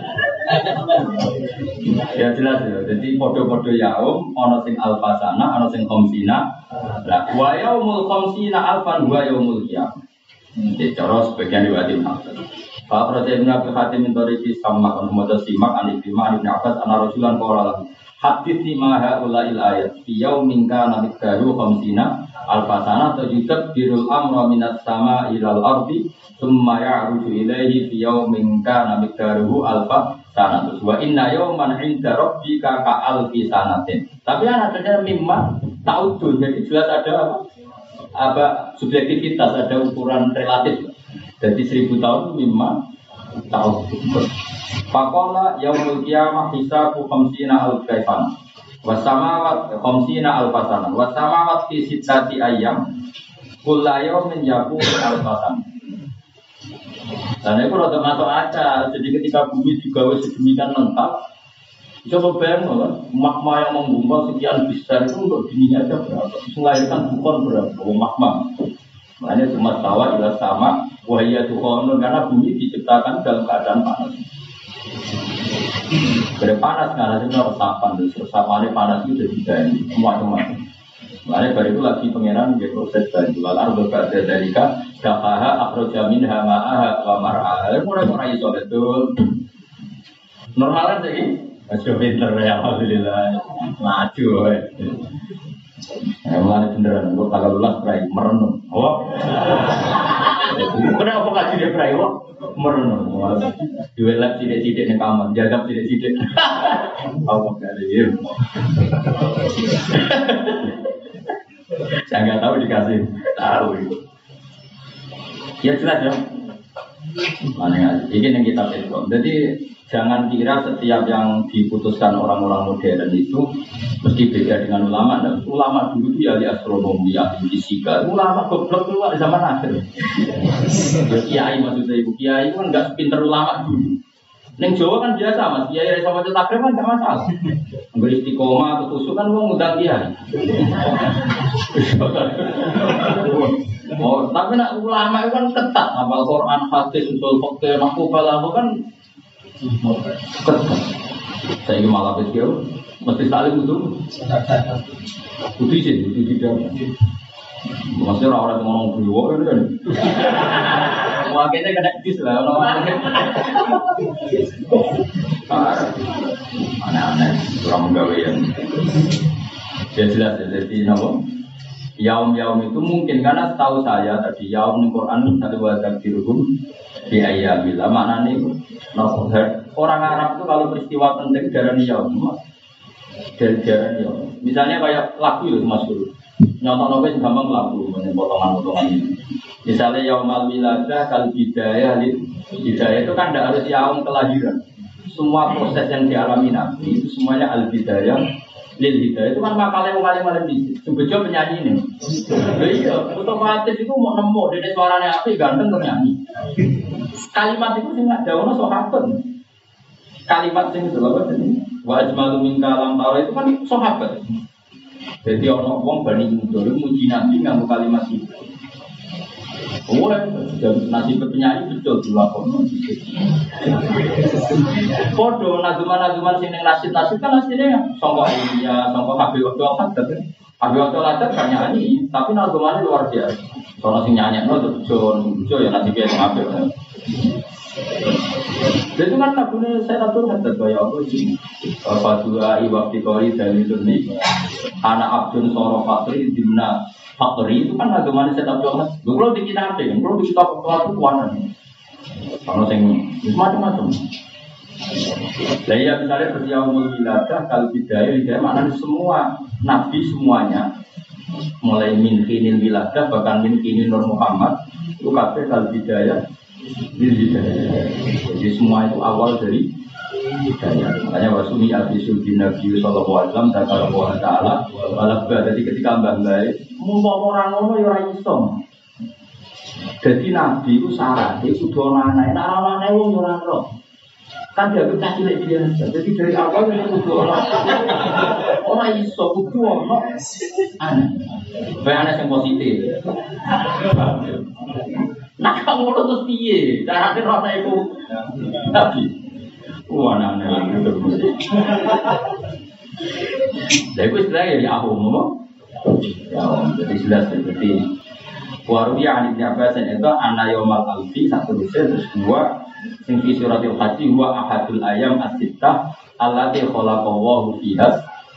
[SPEAKER 3] Ya jelas ya. Jadi podo-podo yaum ana sing alfasana, ana sing khamsina. Lah wa yaumul khamsina alfan wa yaumul qiyamah. Jadi cara sebagian riwayat Pak Raja Ibn Abi Hatim mintoriki sama Muhammad Simak Anibima Ibn Abbas Ana Rasulan Qawlalah Hadith lima ha'ula'il ayat Fiyau minka namik daru khamsina Al-fasana tajutab birul amra minat sama ilal ardi Summa ya'ruju ilaihi fiyau minka namik daru al-fasana Wa inna yawman inda rabbika ka'alfi sanatin. Tapi adanya mimma ta'udun. Jadi jelas ada apa subjektivitas, ada ukuran relatif. Jadi 1000 tahun mimma tahun. Faqala yaumul qiyamah hisabu khamsina al-kaifan. Wasamawat khamsina al-fasana. Wasamawat fi sittati ayyam. Kullu yawmin yaqulu al-fasana. Dan itu rada masuk akal. Jadi ketika bumi digawe sedemikian lengkap, coba bayangkan kan, magma yang menggumpal sekian besar itu untuk dininya aja berapa? Melahirkan bukan berapa? Magma. Makanya cuma tawa ila sama wahia tuhonun karena bumi diciptakan dalam keadaan panas. Berpanas karena itu resapan, resapannya panas itu jadi dari semua-semua. Makanya baru itu lagi pengenan dia proses dari lalar berbeda dari kafaha akhroja minha ma'aha wa mar'aha. Mulai iso betul. Normalan sih. Masih pinter ya alhamdulillah. Maju. Mulai beneran gua tanggal 12 berai merenung. Oh. Kenapa enggak sih dia berai kok? Merenung. Duelan sidik-sidik ning kamar, jagap sidik-sidik. Apa kali. Saya nggak tahu dikasih tahu itu. Ya jelas ya. Mana ini yang kita lihat. Jadi jangan kira setiap yang diputuskan orang-orang modern itu mesti beda dengan ulama. Dan ulama dulu itu ahli astronomi, ahli fisika. Ulama goblok keluar di zaman akhir. Ya, kiai maksudnya ibu kiai kan nggak pinter ulama dulu. Neng Jawa kan biasa mas, kiai sama cetakrim kan nggak masalah. Beri istiqomah atau tusuk kan mau ngundang kiai. Oh, tapi nak ulama itu kan ketat, hafal Quran, hadis, usul fikih, makubah kan ketat. Saya ini malah beliau mesti saling itu. Putih sih, putih tidak. Maksudnya orang-orang yang ngomong beliau kan. Wakilnya kena dis lah, aneh-aneh, kurang menggawean. Ya jelas ya, jadi apa? Yaum-yaum itu mungkin karena setahu saya tadi yaum di Quran satu wadah dirhum di ayyabillah maknanya itu orang Arab itu kalau peristiwa penting darani yaum, darani yaum. Misalnya kayak lagu itu Mas Guru, nyontok-nyontok gampang lagu, potongan-potongan ini. Misalnya yaumal wiladah kal hidayah itu kan tidak harus yaum kelahiran. Semua proses yang dialami Nabi itu semuanya al hidayah lil hidayah itu kan makalnya bisik. Sebejo penyanyi ini. Iya, otomatis itu mau nemu dari suaranya api ganteng bernyanyi. Kalimat itu sih nggak jauh sahabat. Kalimat sing itu apa tadi? Wa ajmalu min kalam tara itu kan sahabat. Jadi orang wong bani muda muji Nabi nganggo kalimat itu. Oh, nasib penyanyi betul dilakoni. Podo nazuman sing ning nasib kan asline sangka India, sangka kabeh waktu apa tapi kabeh waktu latar kan nyanyi, tapi nazumane luar biasa. Sono sing nyanyekno jo ya nasibnya kabeh. Jadi kan lagune saya atur hadat kaya apa sih? Fadua iwakti kori dari dunia. Anak Abdul Soro Fakri dimna Fakri itu kan agama saya tahu banget. Kalau di kita apa kan? Kalau di kita itu warna. Kalau saya macam-macam. Lah ya misalnya beryaumul wiladah kalau hidayah maknanya semua nabi semuanya mulai min kinil wiladah bahkan min kinil Nur Muhammad itu kabeh kalau hidayah. Jadi semua itu awal dari hidayah. Makanya wasumi abisul bin Nabi sallallahu alaihi wasallam dan Allah Taala walabba. Jadi ketika mbah-mbah mau orang ngono ya ora iso. Jadi Nabi itu syaratnya kudu ana anake wong ora ro. Kan dia bisa cilik biasa. Jadi dari awal itu kudu ora iso kudu ono ana. Bae ana sing positif. Nah kamu terus piye? Cara rono iku Nabi. Aneh-aneh gitu. Lha iku istilahnya ya aku ngomong. Ya, jadi jelas seperti Waruya Ibn Abbas itu anna yaumal alfi satu terus dua sing fi suratil haji wa ahadul ayam as-sittah allati khalaqallahu fiha.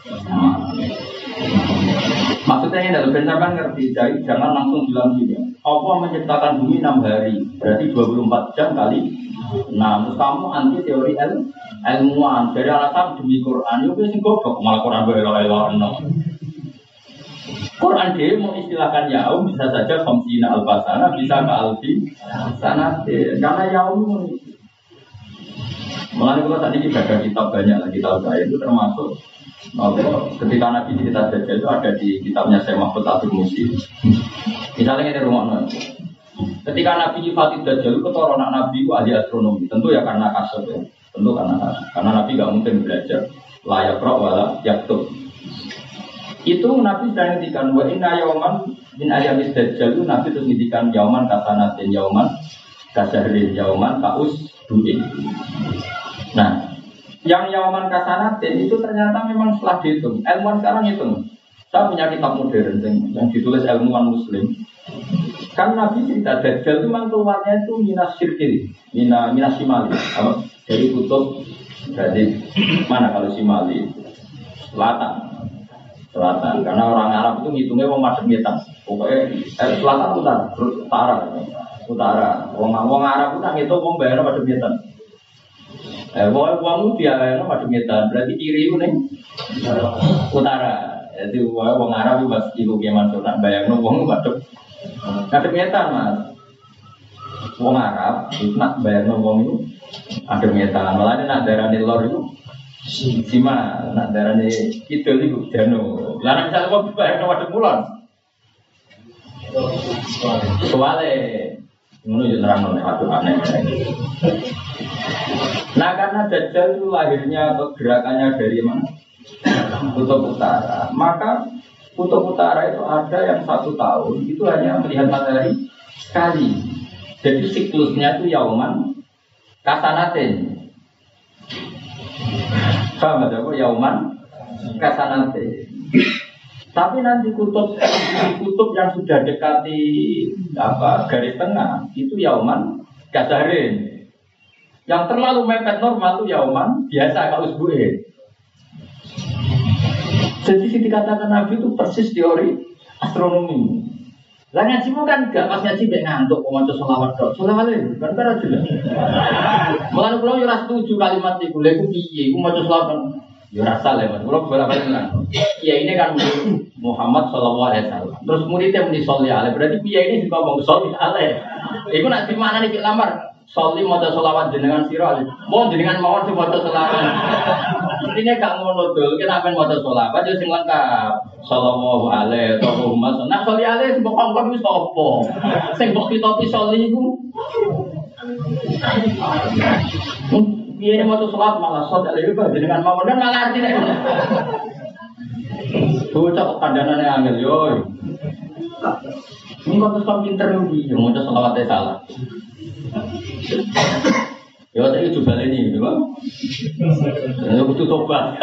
[SPEAKER 3] Maksudnya ini adalah sampean ngerti, jadi jangan langsung bilang gini. Allah menciptakan bumi 6 hari, berarti 24 jam kali. Nah, terus kamu anti teori ilmuwan dari alasan demi Quran, itu sing goblok malah Quran berlalu-lalu. Quran dia mau istilahkan yaum bisa saja khamsina al-basana, bisa ke alfi sanat. Karena yaum mulai kalau tadi kita baca kitab banyak lagi kitab saya itu termasuk ketika Nabi cerita Dajjal itu ada di kitabnya Syekh Mahfud Abdul Musi. Misalnya ini rumah ketika Nabi nyifati Dajjal itu keturunan Nabi itu ahli astronomi, tentu ya karena kasar ya, tentu karena Nabi nggak mungkin belajar layak roh wala yaktub. Itu Nabi sudah ngintikan wa inna yauman min ayamis dajjal itu Nabi terus ngintikan yauman kasanatin yauman kasahrin yauman kaus duin. Nah, yang yauman kasanatin itu ternyata memang setelah dihitung. Ilmuwan sekarang hitung. Saya punya kitab modern yang ditulis ilmuwan Muslim. Kan Nabi cerita dajjal itu memang keluarnya itu minas syirkil, minas simali. Dari kutub dari mana kalau simali? Selatan, karena orang Arab itu ngitungnya wong madhep ngetan. Pokoknya selatan utara. Wong Arab itu ngitung wong bayar madhep ngetan. Wong dia madhep ngetan, berarti kiri itu ning utara. Jadi wong Arab itu pas ibu kiaman nak bayangno wong madhep ngetan, Mas. Wong Arab itu nak bayangno wong itu madhep ngetan. Malah nek darane lor itu Sima, nak darahnya kidul itu dano. Lalu misalnya kau bayar nomor demulon, soalnya, menurut nerang oleh satu aneh. Nah karena Dajjal itu lahirnya atau gerakannya dari mana? Kutub Utara. Maka Kutub Utara itu ada yang 1 tahun itu hanya melihat matahari sekali. Jadi siklusnya itu yauman kasanatin. Paham ada apa? Yauman kasanate. Tapi nanti kutub yang sudah dekati garis tengah itu yauman kasarin. Yang terlalu mepet normal itu yauman biasa kalau usbu'in. Jadi dikatakan Nabi itu persis teori astronomi. Lah ngajimu kan gak pas ngaji mek ngantuk kok maca selawat tok. Selawat lho, kan ora jelas. Mulane kula yo ora setuju kalimat iku. Lha iku piye? Iku maca selawat yo ora salah, Mas. Kula bolak-balik nang. Kiai ini kan Muhammad sallallahu alaihi wasallam. Terus muridnya muni sholli alaihi. Berarti kiai ini ngomong sholli alaihi. Iku nak di mana nih lamar? Sholli maca selawat jenengan sira. Mau jenengan mawon sing maca selawat. Intinya gak ngono dul, kita akan maca selawat yo sing lengkap. Sallallahu alaihi wasallam. Nah sholli alaihi mbok kongkon wis apa? Sing mbok kitopi sholli iku. Piye maca selawat malah sholli alaihi jenengan mawon kan malah artine. Bocah kandhanane angel yo. Ini kok terus pinter iki, yo maca selawate salah. Ya saya coba ini, ya saya butuh tobat.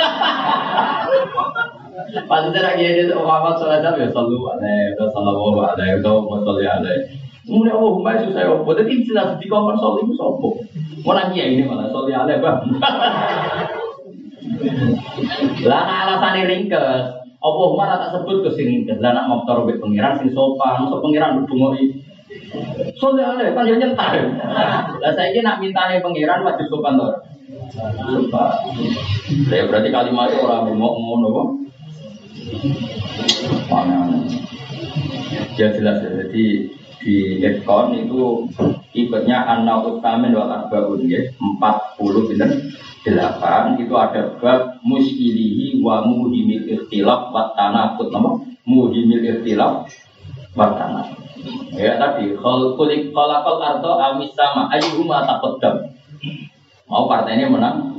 [SPEAKER 3] Maksudnya lagi ini Muhammad SAW ya sallallahu alaihi wasallam. Kemudian Muhammad susah ya, buat itu jelas di kamar soal itu sopo. Orang kia ini malah soal alaihi bang. Lah alasan ringkes, apa Umar tak sebut ke sini ringkes. Lah nak motor be pengiran sing sopan, so pengiran berdungoi. Soalnya kan dia nyentar. Lah saya ini nak mintanya pengiran wajib sopan tuh. Sopan. Ya berarti kalimat orang ngomong apa? Mana? Ya jelas ya. Jadi di Ekon itu ikutnya an-naut tamin wal arbaun ya 40 bener 8 itu ada bab musyilihi wa muhimil ikhtilaf wa tanaqud nama muhimil ikhtilaf wa tanaqud. Ya tadi kulik kolakol arto amis sama ayyuhuma taqaddam. Mau partainya menang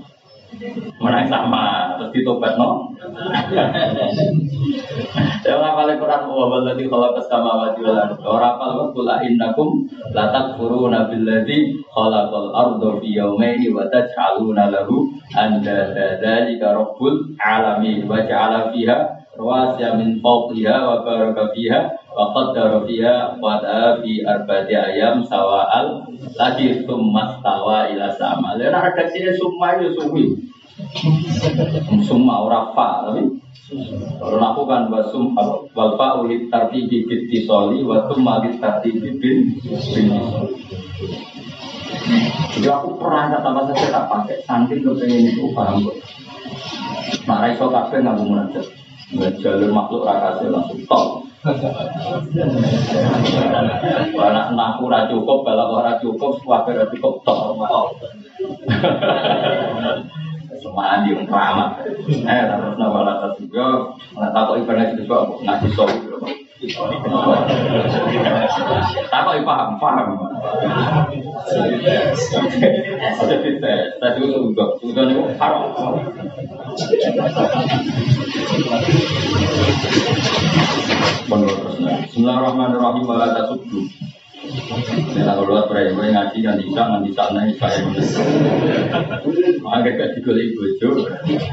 [SPEAKER 3] sama terus ditobat no. Ya ngapalin Quran Orang wawaladzi khalaqas samawati wal arda. Ora apal qul innakum la takfuruna billadzi khalaqal arda fi yawmayn wa taj'aluna lahu andada dzalika rabbul alamin wa ja'ala fiha rawasiya min fawqiha wa baraka fiha wa qaddara fiha qada fi arba'ati ayyam sawa'al lagi tsumma stawa ila sama. Lha ada sine summa yo suwi. Summa ora fa tapi kalau aku kan wasum wal fa ulit tartibi bittisali wa tsumma lit tartibi bin. Jadi aku pernah kata saya tak pakai saking kepengen itu paham kok. Nah, iso kabeh nganggo munajat. Jalur makhluk rakase langsung top. Anak naku ora cukup, balak ora cukup, kabeh ora cukup top. Semua di keramat. Terus nawala tas juga, takok ibadah itu kok ngaji sok. Takok paham. Jadi tadi udah nih haram. Bismillahirrahmanirrahim. Wala tasubbu. Nek kalau beraya ngaji kan di sana saya. Agak gak digoleki bojo.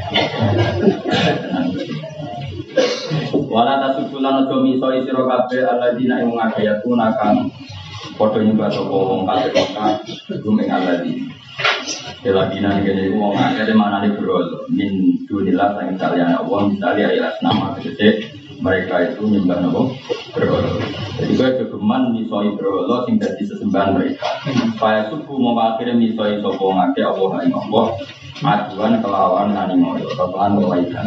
[SPEAKER 3] Wala tasubbu lan aja miso sira kabeh alladzina ing ngagayatuna kang padha nyembah sapa wong kabeh kok gumeng alladzina. Keladina ngene iku wong akeh manane berhala min dunillah sang kaliyan Allah misalnya ilas nama gede mereka itu nyembah nopo berhala. Jadi gue kegeman misoi berhala sing dadi sesembahan mereka. Supaya suku memakai misoi sapa ngake Allah ing Allah aduan kelawan nani ngoyo kelan kebaikan.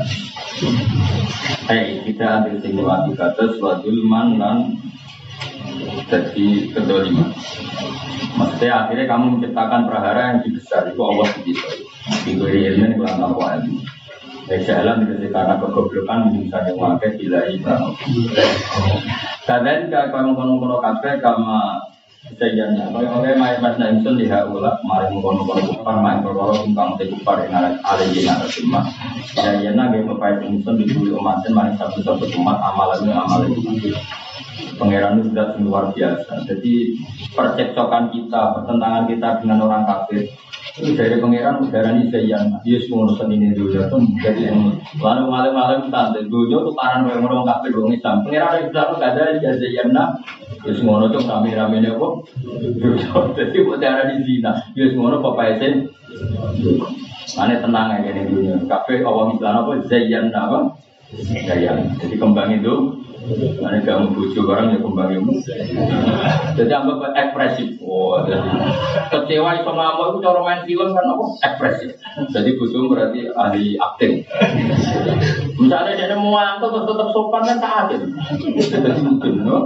[SPEAKER 3] Kita ambil simulasi kata suatu man jadi kedoliman. Maksudnya akhirnya kamu menciptakan prahara yang lebih besar itu Allah begitu. Diberi ilmu kurang tahu ilmu. Jalan itu karena kegoblokan misalnya wakai bila ibarat. Kadang kalau mengkono-kono kafe kama sejanya. Kalau mas Naimson lihat ulah, mari mengkono-kono kupar, main berkorok tentang kupar yang ada di negara semua. Jadi nabi bapak Naimson dibuli umatnya mari satu-satu umat amalan itu. Pangeran itu sudah luar biasa. Jadi percekcokan kita, pertentangan kita dengan orang kafir itu dari pangeran udara ini seyan. Dia semua urusan ini dulu pun jadi lalu malam-malam santai. Dulu tuh paran orang kafir orang Islam. Pangeran Islam gak ada seyan nak. Dia semua itu rame-rame nih kok. Jadi udara di zina. Dia semua itu papa esen. Mana tenang aja nih dunia. Kafir awam Islam apa seyan apa? Seyan. Jadi kembang itu. Mana kamu bujuk orang yang kembali jadi anggap ekspresif. Jadi kecewa itu ngamuk itu cara main film kan apa ekspresif. Jadi bujuk berarti ahli akting. Misalnya dia mau angkat terus tetap sopan kan tak adil. Jadi mungkin, no?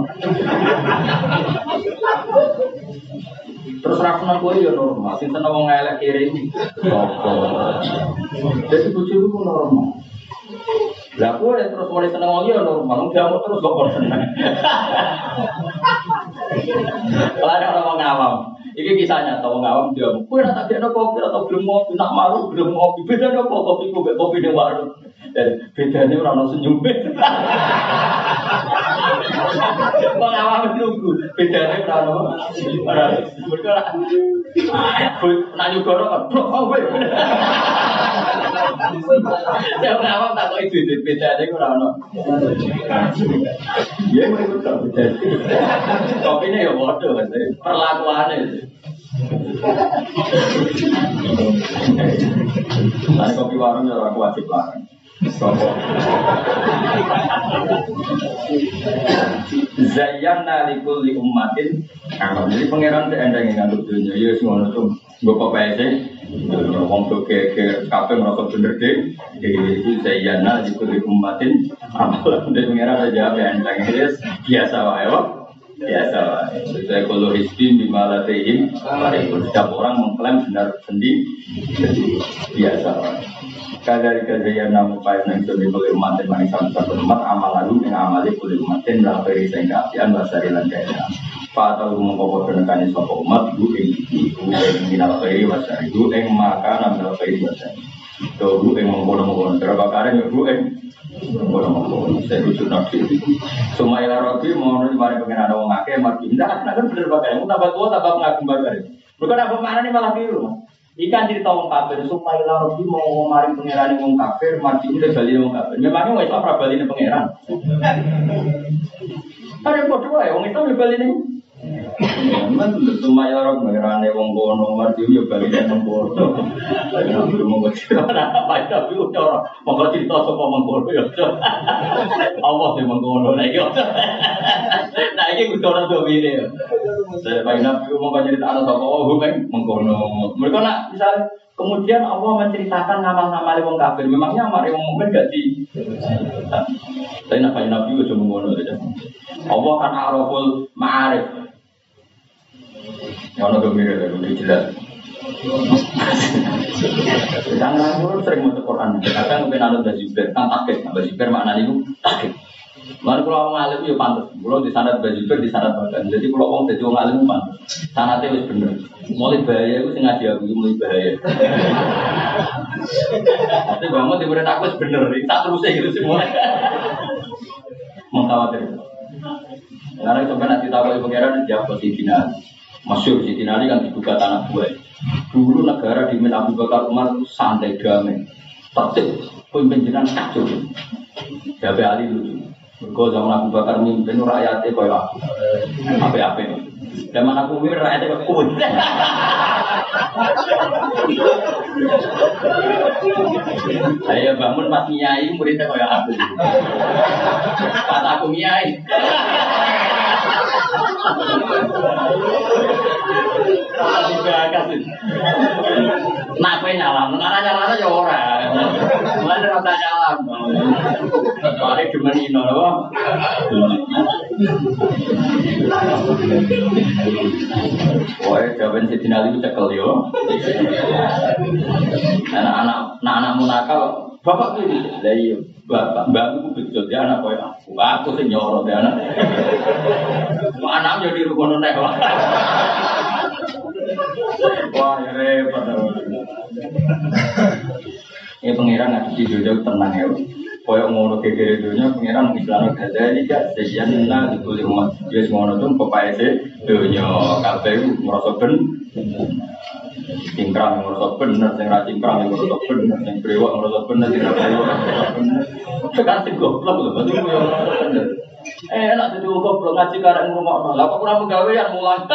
[SPEAKER 3] Terus rakyat gue ya normal. Sinten wong elek kiri ini. Jadi bujuk itu normal. Lah aku terus mulai seneng wong ya normal, jamu terus kok seneng. Kalau ada orang ngawam, ini kisahnya tahu ngawam dia. Kue nak tak ada kopi atau belum kopi, nak malu belum kopi. Beda ada kopi kopi di warung. Bedanya orang senyum. Pengawam nunggu, bedanya orang bergerak. Nak juga orang blok kopi. Saya pengawam tak kau itu bedanya orang. Ya mereka tak beda. Kopinya ya bodoh, perlakuannya. Nanti kopi warung ya aku wajib larang. Zayyana likulli ummatin. Jadi pangeran seendang yang ngandung dunia. Ya semua itu gue PPS. Ngomong tuh ke kafe merasa bener deh. Jadi zayyana likulli ummatin. Amalan dari pangeran aja seendang ini biasa wae. Biasa lah. Saya kalau hisbin di malatihim, setiap orang mengklaim benar sendiri, jadi biasa lah. Kadari yang namu payah nang suami boleh umat dan manis satu umat amal lalu yang amali boleh umat dan dalam peristiwa keapian bahasa rilan kaya. Pak tahu mengkopor penekan sopo umat bu ing minal khairi wasari bu ing maka namdal khairi wasari.
[SPEAKER 1] Tuh bu yang mengkono-mengkono, berapa kali ya bu yang mengkono-mengkono. Saya rujuk nabi. Semua ilah robi mau nih mari pengen ada orang ngake, mati. Nah kan bener bakar. Mau tambah tua tambah pengagum bakar. Bukan apa mana nih malah biru. Ikan cerita orang kafir. Semua ilah robi mau mari pengen orang kafir, mati udah balik orang kafir. Memangnya mau Islam pra balik pengeran. Ada yang bodoh ya, orang Islam balik nih. Memang semua orang mengerane wong kono mati yo bali nang kono. Ayo ngomong cerita apa tapi ora monggo cerita sapa mengkono yo. Allah sing mengkono nek yo. Nah iki kudu ora do wile yo. Saya nabi ngomong cerita ana sapa oh kan mengkono. Mereka nak misal kemudian Allah menceritakan nama-nama wong kafir. Memangnya amare wong mukmin gak di. Saya nabi yo cuma ngono aja. Allah kan araful ma'arif. Ya ono domire lebih jelas. Jangan ngurus sering maca Quran. Kadang mungkin anut Baziber, kan takik. Baziber maknane iku takik. Lan kula wong alim yo pantes. Kula di sanad Baziber di sanad Bagan. Jadi kula wong dadi wong alim pantes. Sanate wis bener. Mulai bahaya iku sing ngaji aku mulai bahaya. Tapi banget di murid aku wis bener. Tak terus gitu semua. Mengkhawatir. Karena sampai nanti tahu pengiran jawab posisi Masyur Sidina Ali kan dibuka tanah buah. Dulu negara di Abu Bakar Umar itu santai damai, tertib, pemimpinan kacau. Jabe Ali dulu. Mergo zaman Abu Bakar mimpin rakyatnya koyo aku. Apa-apa. Zaman aku mimpin rakyatnya koyo kuwi. Ayo bangun pas nyai muridnya koyo aku. Pas aku nyai. Nape nyalam, nara ya ora. Mulai rasa nyalam. Mari cuma ino loh. Wah, jawaban Sidina Ali cekel yo. Anak-anak nakal, bapak ini, lah iya, bapak mbakku betul dia anak koyo aku sing nyoro dia anak. Anak jadi rukono nek. Wah, ya repot. Ya pengiran ngaji jauh tenang ya. Koyo ngono gegere dunya pengiran Islam gada iki gak sesian nang dibuli umat. Wis ngono tuh pepaese dunya kabeh merasa ben. Cingkrang merasa bener, sing ra cingkrang merasa bener, sing brewok merasa bener, sing ra brewok merasa bener. Sekarang sing goblok lho, berarti yo bener. Enak jadi goblok ngaji karek ngomongno. Lah kok ora menggawe yang mulang.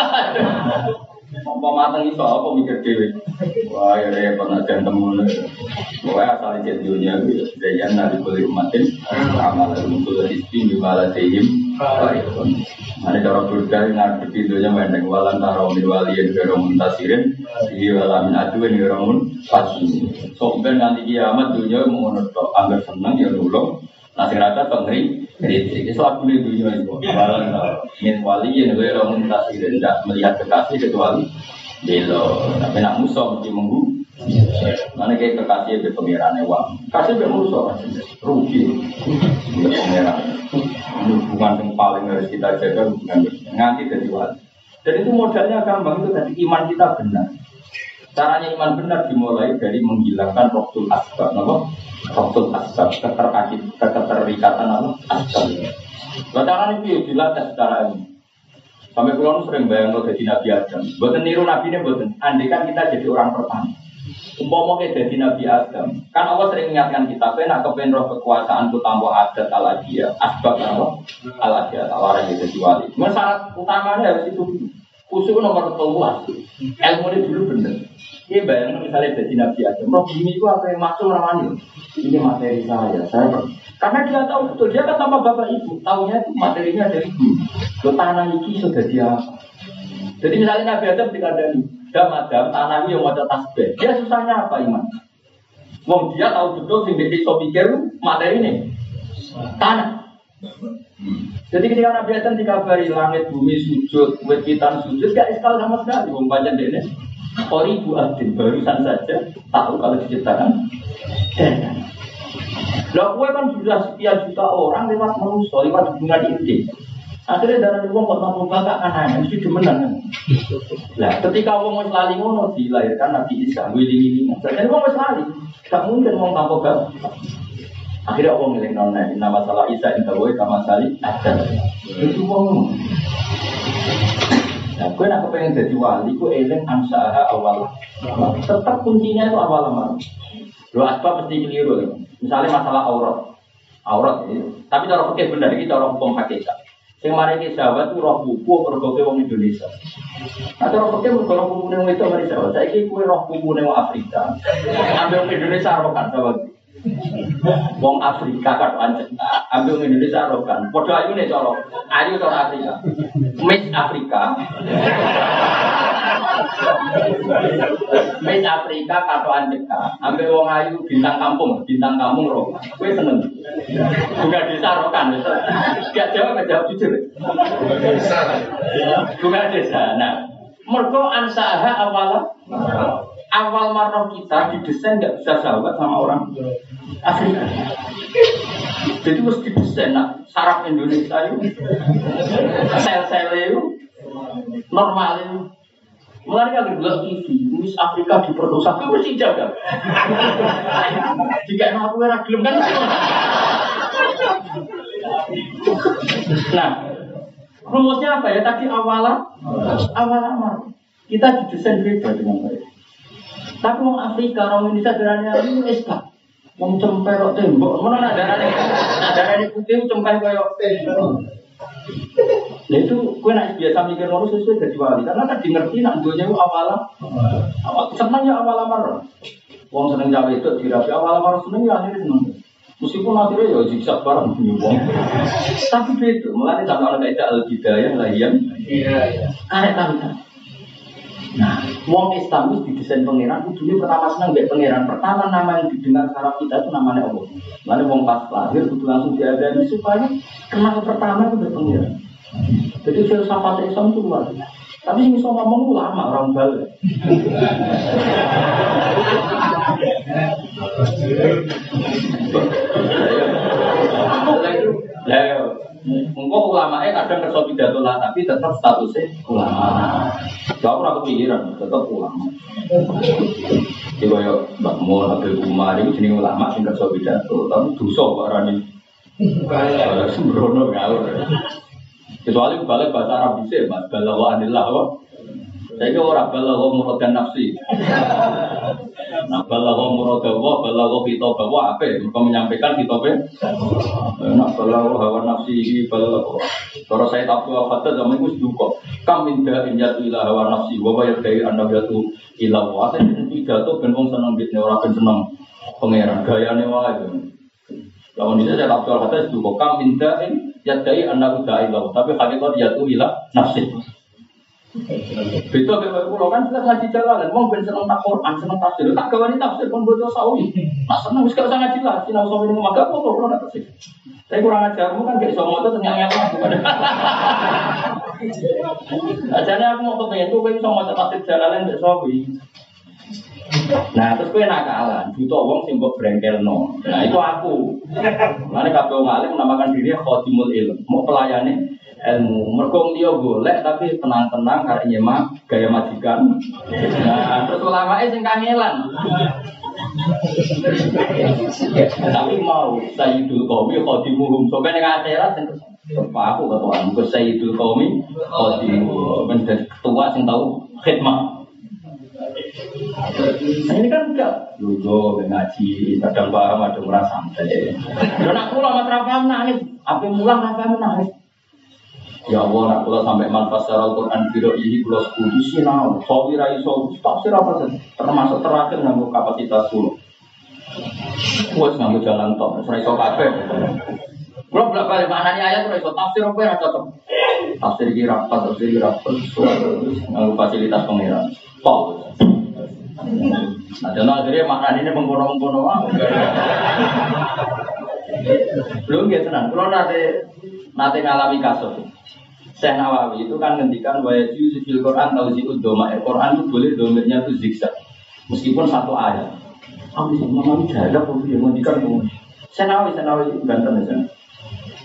[SPEAKER 1] Apa mateng iso apa mikir dhewe. Wah, ya repot aja temu. Pokoke asal iki dunia iki dayan nang kulit umatin amal untuk disting di malatihim. Ada cara berkali ngarep dunia mendeng walan tarawih waliyin garomun tasirin di walamin aduin garomun pasti. Sok ben nanti kiamat dunia mau ngono anggar seneng ya nulung. Nasi rata pengeri, kritik. Itu aku di dunia itu. Walau ingin wali yang gue orang mutasi tidak melihat kekasih kecuali belo. Tapi nak musuh mesti menggu. Mana kayak kekasih be pengiran uang. Kasih be musuh rugi. Pengiran. Hubungan yang paling harus kita jaga hubungan nganti dari wali. Dan itu modalnya gampang itu tadi iman kita benar. Caranya iman benar dimulai dari menghilangkan roktul asbab, apa? Roktul asbab, keterikatan apa? Asbab. Caranya itu dilatih secara ilmu. Sampai pulau sering bayang lo jadi Nabi Adam. Buatan niru Nabi ini buatan. Andai kan kita jadi orang pertama. Umpama kita jadi Nabi Adam. Kan Allah sering mengingatkan kita, nak kepen roh kekuasaanku tanpa adat al-adiyah. Asbab apa? Al-adiyah, tawaran jadi wali. Cuma syarat utamanya harus itu. Khusus nomor 12. Ilmu ini dulu bener. Ini bayangkan misalnya jadi Nabi Adam. Roh bumi itu apa yang masuk ramani? Ini materi saya. Karena dia tahu betul. Dia kan tanpa bapak ibu. Tahunya itu materinya dari bumi. Lo tanah ini sudah dia. Jadi misalnya Nabi Adam dikandani. Adam, tanah ini yang ada tasbih. Dia susahnya apa iman? Wong dia tahu betul sehingga dia pikir materi ini. Tanah. Jadi ketika Nabi Adam dikabari langit bumi sujud, wetan sujud, gak iskal sama sekali. Wong panjang dene. Ibu Adin barusan saja tahu kalau diciptakan. Lah kowe kan sudah sekian juta orang lewat manusia, lewat hubungan intim.
[SPEAKER 3] Akhirnya darah wong kok nampa bakak anane mesti demenan. Lah ketika wong wis lali ngono dilahirkan Nabi Isa wiling-wilingan. Jadi wong wis lali, gak mungkin wong tanpa bakak. Akhirnya wong ngelingno nek nama salah Isa inta wae kama sali ada. Itu wong. Nah, gue nak kepengen jadi wali, gue eling ansaha awal. Tetap kuncinya itu awal amal. Lo asbab mesti keliru. Misalnya masalah aurat, tapi cara fikih benar iki cara hukum hakikat. Sing mari ki sahabat ku roh buku pergoke wong Indonesia. Nah, cara fikih mergo roh buku wong itu mari sahabat. Saiki kuwi roh buku wong Afrika. Ambil wong Indonesia rokan sahabat. Wong Afrika kan pancen. Ambil wong Indonesia rokan. Padha ayune cara. Ayu cara Afrika. Miss Afrika. Miss Afrika katoan cekak. Ambil wong ayu bintang kampung rokan. Kowe seneng. Bukan desa rokan. Gak jawab jujur. Bukan desa. Nah, mergo ansaha awal marah kita didesain nggak bisa sahabat sama orang Afrika. Jadi mesti didesain saraf Indonesia itu, sel-sel itu normal itu. Mulai agar bilang TV, Miss Afrika diperkosa, itu mesti jaga. Jika aku gelem kan. Nah, rumusnya apa ya? Tadi awal amal. Kita didesain beda dengan baik. Tapi orang Afrika, orang Indonesia darahnya ini esbak. Wong cempe kok tembok, mana darahnya putih cempe kayak tembok. Nah itu, gue nak biasa mikir ngono sesuai dari wali, karena tadi ngerti nak dunia itu awal senangnya awal amar. Wong seneng cawe itu dirapi awal amar seneng ya akhirnya seneng. Meskipun akhirnya ya zigzag bareng wong. Tapi itu, mulai sama orang kayak al-bidayah lahian. Karek tahu. Nah, wong Islam itu didesain pangeran, kudunya pertama senang mbek pangeran. Pertama nama yang didengar saraf kita itu namanya Allah. Lalu wong pas lahir kudu langsung diadani supaya kenal pertama itu mbek pangeran. Jadi filsafat Islam itu luar. Tapi sing iso ngomong ulama orang bal. Engkau ulamanya kadang kerja pidato lah, tapi tetap statusnya ulama. Gak pernah kepikiran, tetap ulama. Jadi kalau Mbak Mun, Habib Umar itu jenis ulama sing kerja pidato, tapi dosa Pak Rani. Sembrono ngawur. Kecuali balik bahasa Arab bisa, Mas. Balagha anillah kok. Saya kira orang balagha muradan nafsi. Nah, balagha muradallah, balagha kitabah apa? Mereka menyampaikan kitabnya. Nah, balagha hawa nafsi, balagha. Kalau saya tak tahu apa zaman itu juga. Kam minta injatu ila hawa nafsi, wa bayar dari anda jatuh ila wa. Saya pidato ben wong seneng bitne ora ben seneng pangeran gayane wae. Lawan ini saya tak tahu apa juga. Kam minta yadai anda udah ila, tapi hakikat jatuh ila nafsi. Betul kalau kan jelas ngaji jalan, mau ben seneng tak Quran, seneng tafsir, tak gawani tafsir pun bodoh sawi. Nah seneng wis gak usah ngaji lah, sinau sawi ning maga kok ora tafsir. Tapi kurang ajarmu kan gak iso moto ternyata bukan. Ajane aku mau kepengen kowe iso maca tafsir jalalan mbek sawi. Nah terus kowe nakalan, butuh wong sing mbok brengkelno. Nah itu aku. Mane kabeh wong alim menamakan diri khadimul ilm, mau pelayane ilmu. Mergo dia golek tapi tenang-tenang karena nyemak gaya majikan. Nah, terus ulamae sing kangelan. Tapi mau Sayyidul Qaumi khadimuhum. Sampai ning akhirat sing aku ketua, muga Sayyidul Qaumi khadimuhum. Menjadi ketua sing tahu khidmat. Nah, ini kan enggak lugu ngaji, kadang paham ada merasa santai. Dan aku lama terapam nangis, apa mulang apa nangis. Ya Allah, nak kula sampai manfaat secara Al-Quran biro ini kula sepuluh sinau, sawi rai sawi, tafsir apa saja, termasuk terakhir nganggo kapasitas 10. Kuat nganggo jalan tok, ora iso kabeh. Kula bolak-balik maknane ayat ora iso tafsir apa ora cocok. Tafsir iki rapat, nganggo fasilitas pengiran. Tok. Nah, dan akhirnya maknane ini mengkono-mengkono belum ya tenang, kula nate ngalami kasus. Syekh Nawawi itu kan ngendikan bahwa di Quran tahu si udoma Quran itu boleh domirnya itu zigzag meskipun satu ayat. Aku sih Nawawi jaga pun dia ngendikan Syekh Nawawi ganteng ya.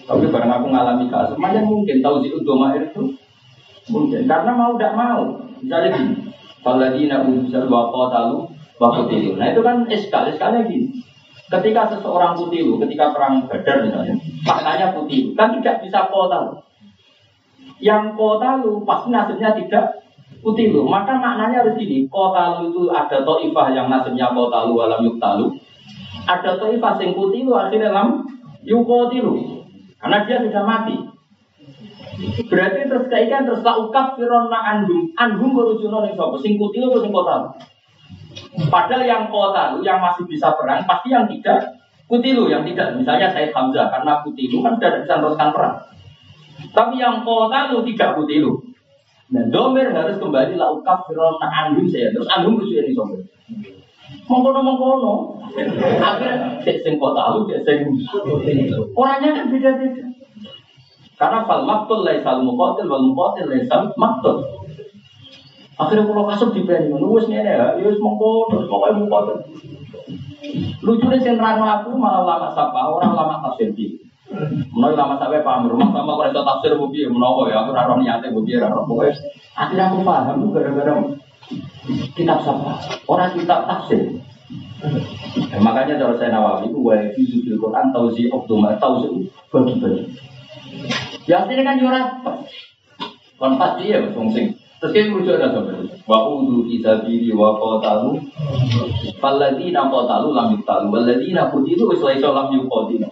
[SPEAKER 3] Tapi bareng aku ngalami kasus, semuanya mungkin tahu sih domair itu mungkin karena mau tidak mau. Misalnya gini, Faladina unsur waqatalu waqtilu. Nah itu kan eskalnya gini. Ketika seseorang kutilu, ketika perang Badar misalnya, maknanya kutilu, kan tidak bisa kotalu. Yang kotalu pasti nasibnya tidak kutilu. Maka maknanya harus gini, kotalu itu ada to'ifah yang nasibnya kotalu alam yuktalu. Ada to'ifah yang kutilu akhirnya alam yukotilu. Karena dia sudah mati. Berarti terus kaitan terus laukaf fironna anhum berujuno ning sapa sing kutilu atau sing kotalu. Padahal yang kotalu yang masih bisa perang pasti yang tidak kutilu, yang tidak misalnya Said Hamzah karena kutilu kan sudah bisa teruskan perang. Tapi yang kotalu tidak kutilu. Dan domir harus kembali laukaf fironna anhum saya. Terus anhum berujuno ning sapa. Mengkono. Akhirnya sing kotalu sing orangnya kan beda-beda. Karena fal maqtul laisal muqatil wal muqatil laisal maqtul. Akhirnya kalau kasut diberi wis ngene ya, wis mengkono, pokoke muqatil. Lucune sing rano aku malah lama sapa, orang lama tafsir iki. Menawa lama sampai paham rumah sama kok iso tafsir piye menawa ya aku ora ro niate piye ora ro pokoke. Akhirnya aku paham gara-gara kitab siapa? Orang kitab tafsir. Makanya cara saya Nawawi itu wa fi zikil Quran tauzi optuma tauzi bagi-bagi. Ya aslinya kan ora kon pasti ya wong sing terus ki merujuk ada sampeyan. Wa udu fi sabili wa qatalu falladzina qatalu lam yuqtalu walladzina qutilu wis laisa lam yuqatilu.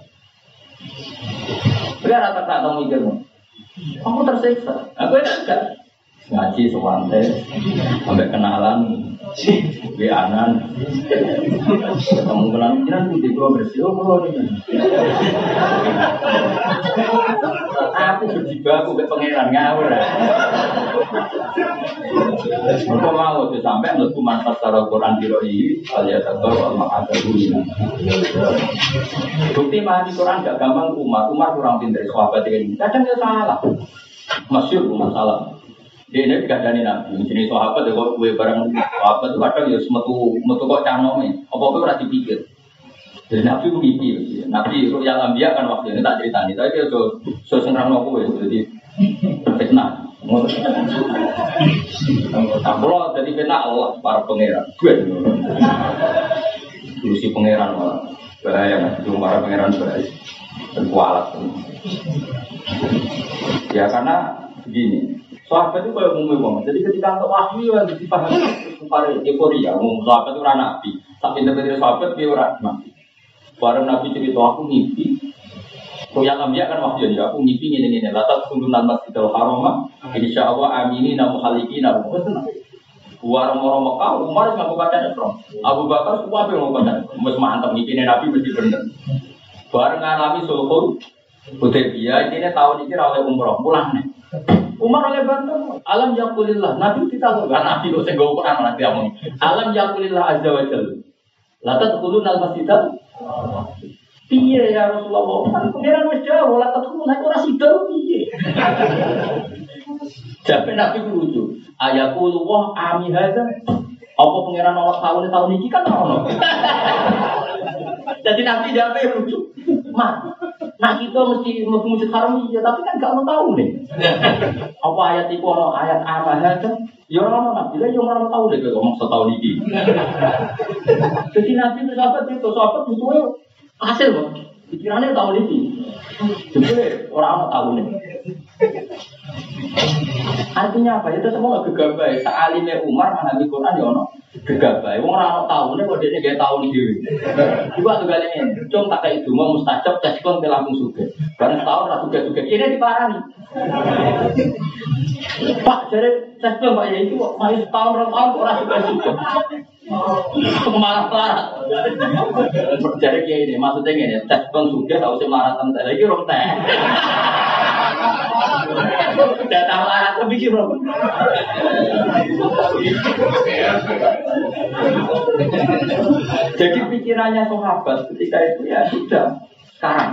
[SPEAKER 3] Biar tak tahu mikirmu. Kamu tersiksa. Aku enggak ngaji sewante sampai kenalan bianan ketemu kenalan putih gua bersih oh ini aku berjibaku ke pangeran ngawur aku mau tuh sampai menurutku manfaat secara Quran diroi alias atau al-ma'adabunina bukti mahal Quran gak gampang Umar kurang pintar sahabat ini kadang dia salah masyhur Umar salah. Dia ini gak ada nabi, jenis sahabat ya kok gue bareng sahabat itu kadang ya metu kok canome, apa-apa ora dipikir. Jadi nabi mimpi, nabi yang ambia kan waktu ini tak ceritani, tapi dia so sengrang kowe jadi fitnah. Kalau jadi fitnah Allah para pangeran, gue si pangeran malah bahaya, cuma para pangeran bahaya dan kualat. Ya karena begini. Sahabat itu kayak umumnya banget. Jadi ketika untuk wahyu yang dipahami kepada euforia, sahabat itu orang nabi. Tapi pinter-pinter sahabat dia orang nabi. Bareng nabi cerita aku ngimpi. Kau yang ambil kan wahyu ya. Aku ngimpi ini. Latat kundunan masjidil haram. Insya Allah amini namu haliki namu. Warung-warung Mekah, Umar nggak baca Islam. Abu Bakar semua yang mau baca. Mus mantap ngimpi nabi mesti bener. Bareng ngalami sulhul Hudaybiyah ini tahun ini oleh umroh pulang nih. Umar oleh bantu alam yakulillah nabi kita tuh kan nabi kok senggo Quran nanti ngomong alam yakulillah azza wa jalla la tadkhulun al masjidal piye ya Rasulullah kan pangeran wis jawab la tadkhulun ora sida piye jape nabi lucu ayaqulu wa ami hadza apa pangeran Allah tahun iki kan ono jadi nabi jape lucu mah nah kita mesti masjid haram ya tapi kan gak mau tahu nih apa ayat itu ono ayat apa aja ya orang nabi lah yang orang tahu deh kalau ngomong setahun ini jadi nabi itu sahabat butuh hasil loh pikirannya tahun ini jadi orang tahu nih artinya apa itu semua gegabah sealimnya Umar menghami Quran ya ono gegabah orang tahu nih kok dia gak tahu nih juga tuh kali ini cung tak kayak itu mau mustajab cekon ke langsung suge karena setahun rasa suge ini diparani Pak jadi cekon Pak ya itu masih setahun orang suge marah-marah jadi kayak ini maksudnya ini cekon suge tahu sih marah tentang lagi rom teh datang marah tapi gimana jadi pikirannya sahabat ketika itu ya sudah sekarang.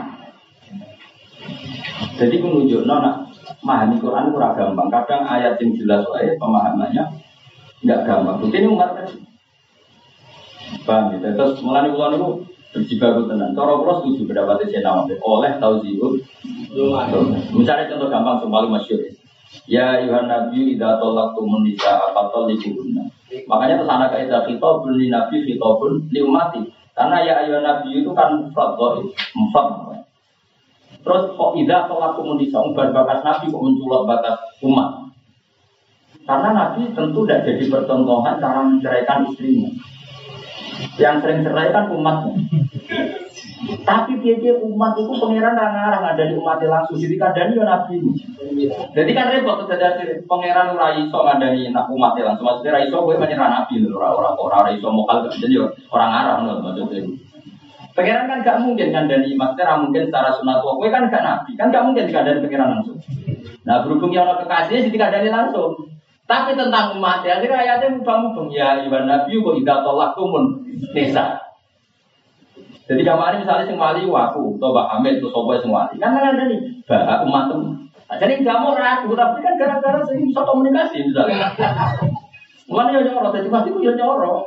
[SPEAKER 3] Jadi menunjuk nona memahami Quran kurang gampang. Kadang ayat yang jelas wae pemahamannya nggak gampang. Ini Umar tadi. Paham ya? Terus mulai ulang itu berjibaku tenan. Cara kula setuju pendapat Nawawi oleh tauziul Misalnya contoh gampang yang paling masyhur. Ya ayuhan nabi idza talaqtumun nisaa fatalliquhunna. Makanya terus anak kaidah khitabun li nabi khitabun li ummati. Karena ya ayuhan nabi itu kan mufrad dhaif, mufrad. Terus kok idza talaqtumun nisaa umbar batas nabi kok menculot batas umat. Karena nabi tentu tidak jadi percontohan cara menceraikan istrinya. Yang sering cerai kan umatnya. Tapi dia umat itu pangeran ngarang ada di umatnya langsung jadi kadang ya nabi. Jadi kan repot terjadi pangeran rai so ngandani nak umatnya langsung maksudnya rai so gue menyerah nabi orang rai so mokal jadi orang Arab loh maksudnya. Pangeran kan gak mungkin ngandani maksudnya mungkin secara sunat gue kan gak nabi kan gak mungkin dikandani pangeran langsung. Nah berhubung yang orang kekasihnya jadi dikandani langsung. Tapi tentang umatnya akhirnya ayatnya mubang ya iwan nabi kok tidak tolak tumun nisa. Jadi kemarin misalnya sing wali waku, atau Mbak Hamid, atau Sopo sing wali, kan ada nih, bah umat tem. Jadi nggak mau ragu, tapi kan gara-gara sing bisa komunikasi misalnya. Mana yang nyorot, jadi pasti aku yang nyorot.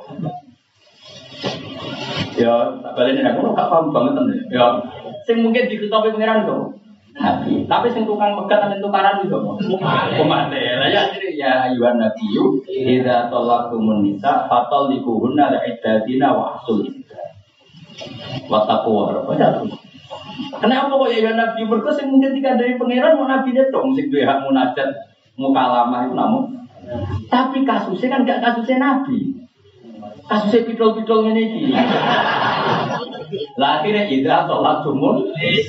[SPEAKER 3] Ya, balik ini aku nggak paham banget nih. Ya, sing mungkin diketahui pangeran itu. Tapi sing tukang pegat dan tukaran itu. Umat ya ayuhan nabiyyu idza talaqtumun nisa fatalliquhunna li'iddatina wa ahsul Wataku kenapa kok ya nabi berkes yang mungkin tiga dari pangeran mau nabi dong sing duwe hak munajat mukalamah itu namun tapi kasusnya kan gak kasusnya nabi kasusnya pidol-pidol ini lah akhirnya idza talaqtumun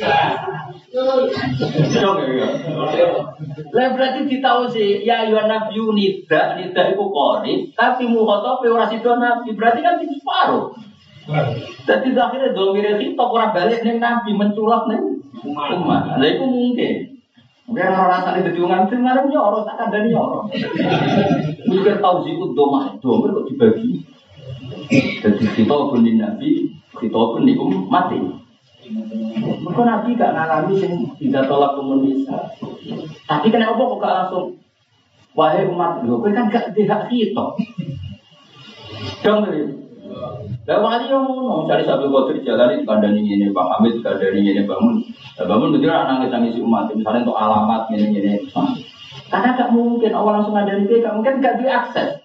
[SPEAKER 3] dong ya lah berarti ditahu sih ya ayuhan nabi nida itu qori tapi mukhatab ora sida nabi berarti kan separuh. Jadi akhirnya domire kita orang balik neng nabi menculak neng umat. Nah itu mungkin. Biar orang rasanya berjuangan itu ngarep nyorot tak ada nyorot. Mikir tahu sih itu domah domir kok dibagi. Jadi kita pun di nabi kita pun di mati. Maka nabi gak ngalami sing tidak tolak komunisme. Tapi kenapa kok gak langsung wahai umat lho kowe kan gak dihak kita. Dong lah wali yang ngono, cari satu kotor jalan di kandang ini, Bang Hamid di kandang ini bangun betul anak nangis umat, misalnya untuk alamat ini. Karena tak mungkin awal langsung ada di PK, mungkin gak diakses.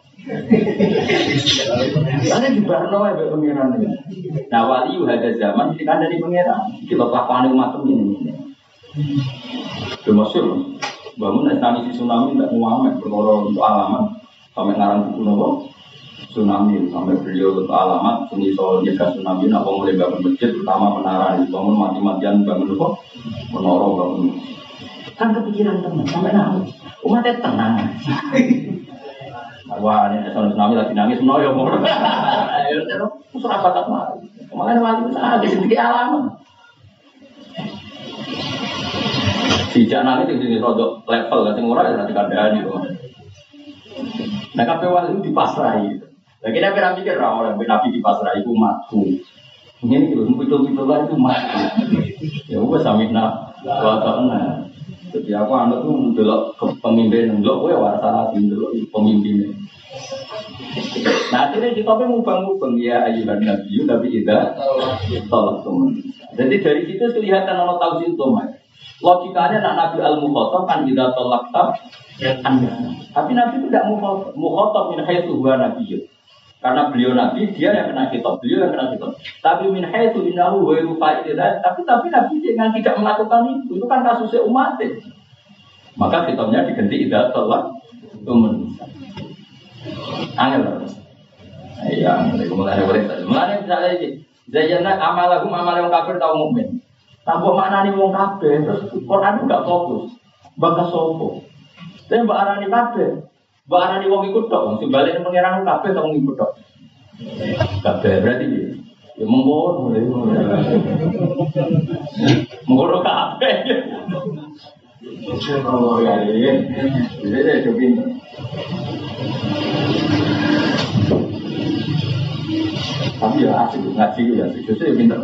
[SPEAKER 3] Karena di Barno ya pengiran ini. Nah wali ada zaman di kandang di pengiran, kita kelakuan umat ini. Termasuk bangun nangis tsunami tidak muamet berkorol untuk alamat sampai ngarang buku nopo. Tsunami sampai beliau untuk alamat sini soal jaga tsunami apa mulai bangun masjid terutama menara bangun mati-matian bangun apa menara bangun kan kepikiran teman sampai nangis umatnya tenang wah ini soal tsunami lagi nangis menara mau surah bakat mah kemarin wali besar di sini alamat sejak nangis di sini rodok level kan semua ada di kandang itu nah kabeh wali itu dipasrai. Lagi nabi pikir orang nabi di pasar itu matu. Ini itu betul lah itu matu. Ya gue samina wakana. Jadi aku anak tuh mendelok pemimpin mendelok gue warasana mendelok pemimpinnya. Nah akhirnya kita mubang ya ayuhan nabi tapi tidak tolak teman. Jadi dari situ kelihatan orang tahu situ mas. Logikanya nak nabi al-mukhatab kan tidak tolak tapi nabi itu tidak mukhatab min haitsu huwa nabiyyun. Karena beliau nabi, dia yang kena kitab, beliau yang kena kitab. Tapi min haitsu innahu wa yufa'idah, tapi nabi yang tidak melakukan itu kan kasusnya umat. Maka kitabnya diganti idza tolak tumun. Angel. Iya, mulai misalnya iki. Zayyana amalahum amal yang kafir tau mukmin. Tanpa maknane wong kafir, terus Quran enggak fokus. Bakas sopo. Tapi mbak arani kabeh, mbak arani wong ikut tok, sing bali nang pangeran kabeh tok wong ikut tok. Kabeh berarti ya mengkono. Mengkono kabeh. Oh ya ya. Jadi itu pinter. Tapi ya asik ngaji ya, justru pinter.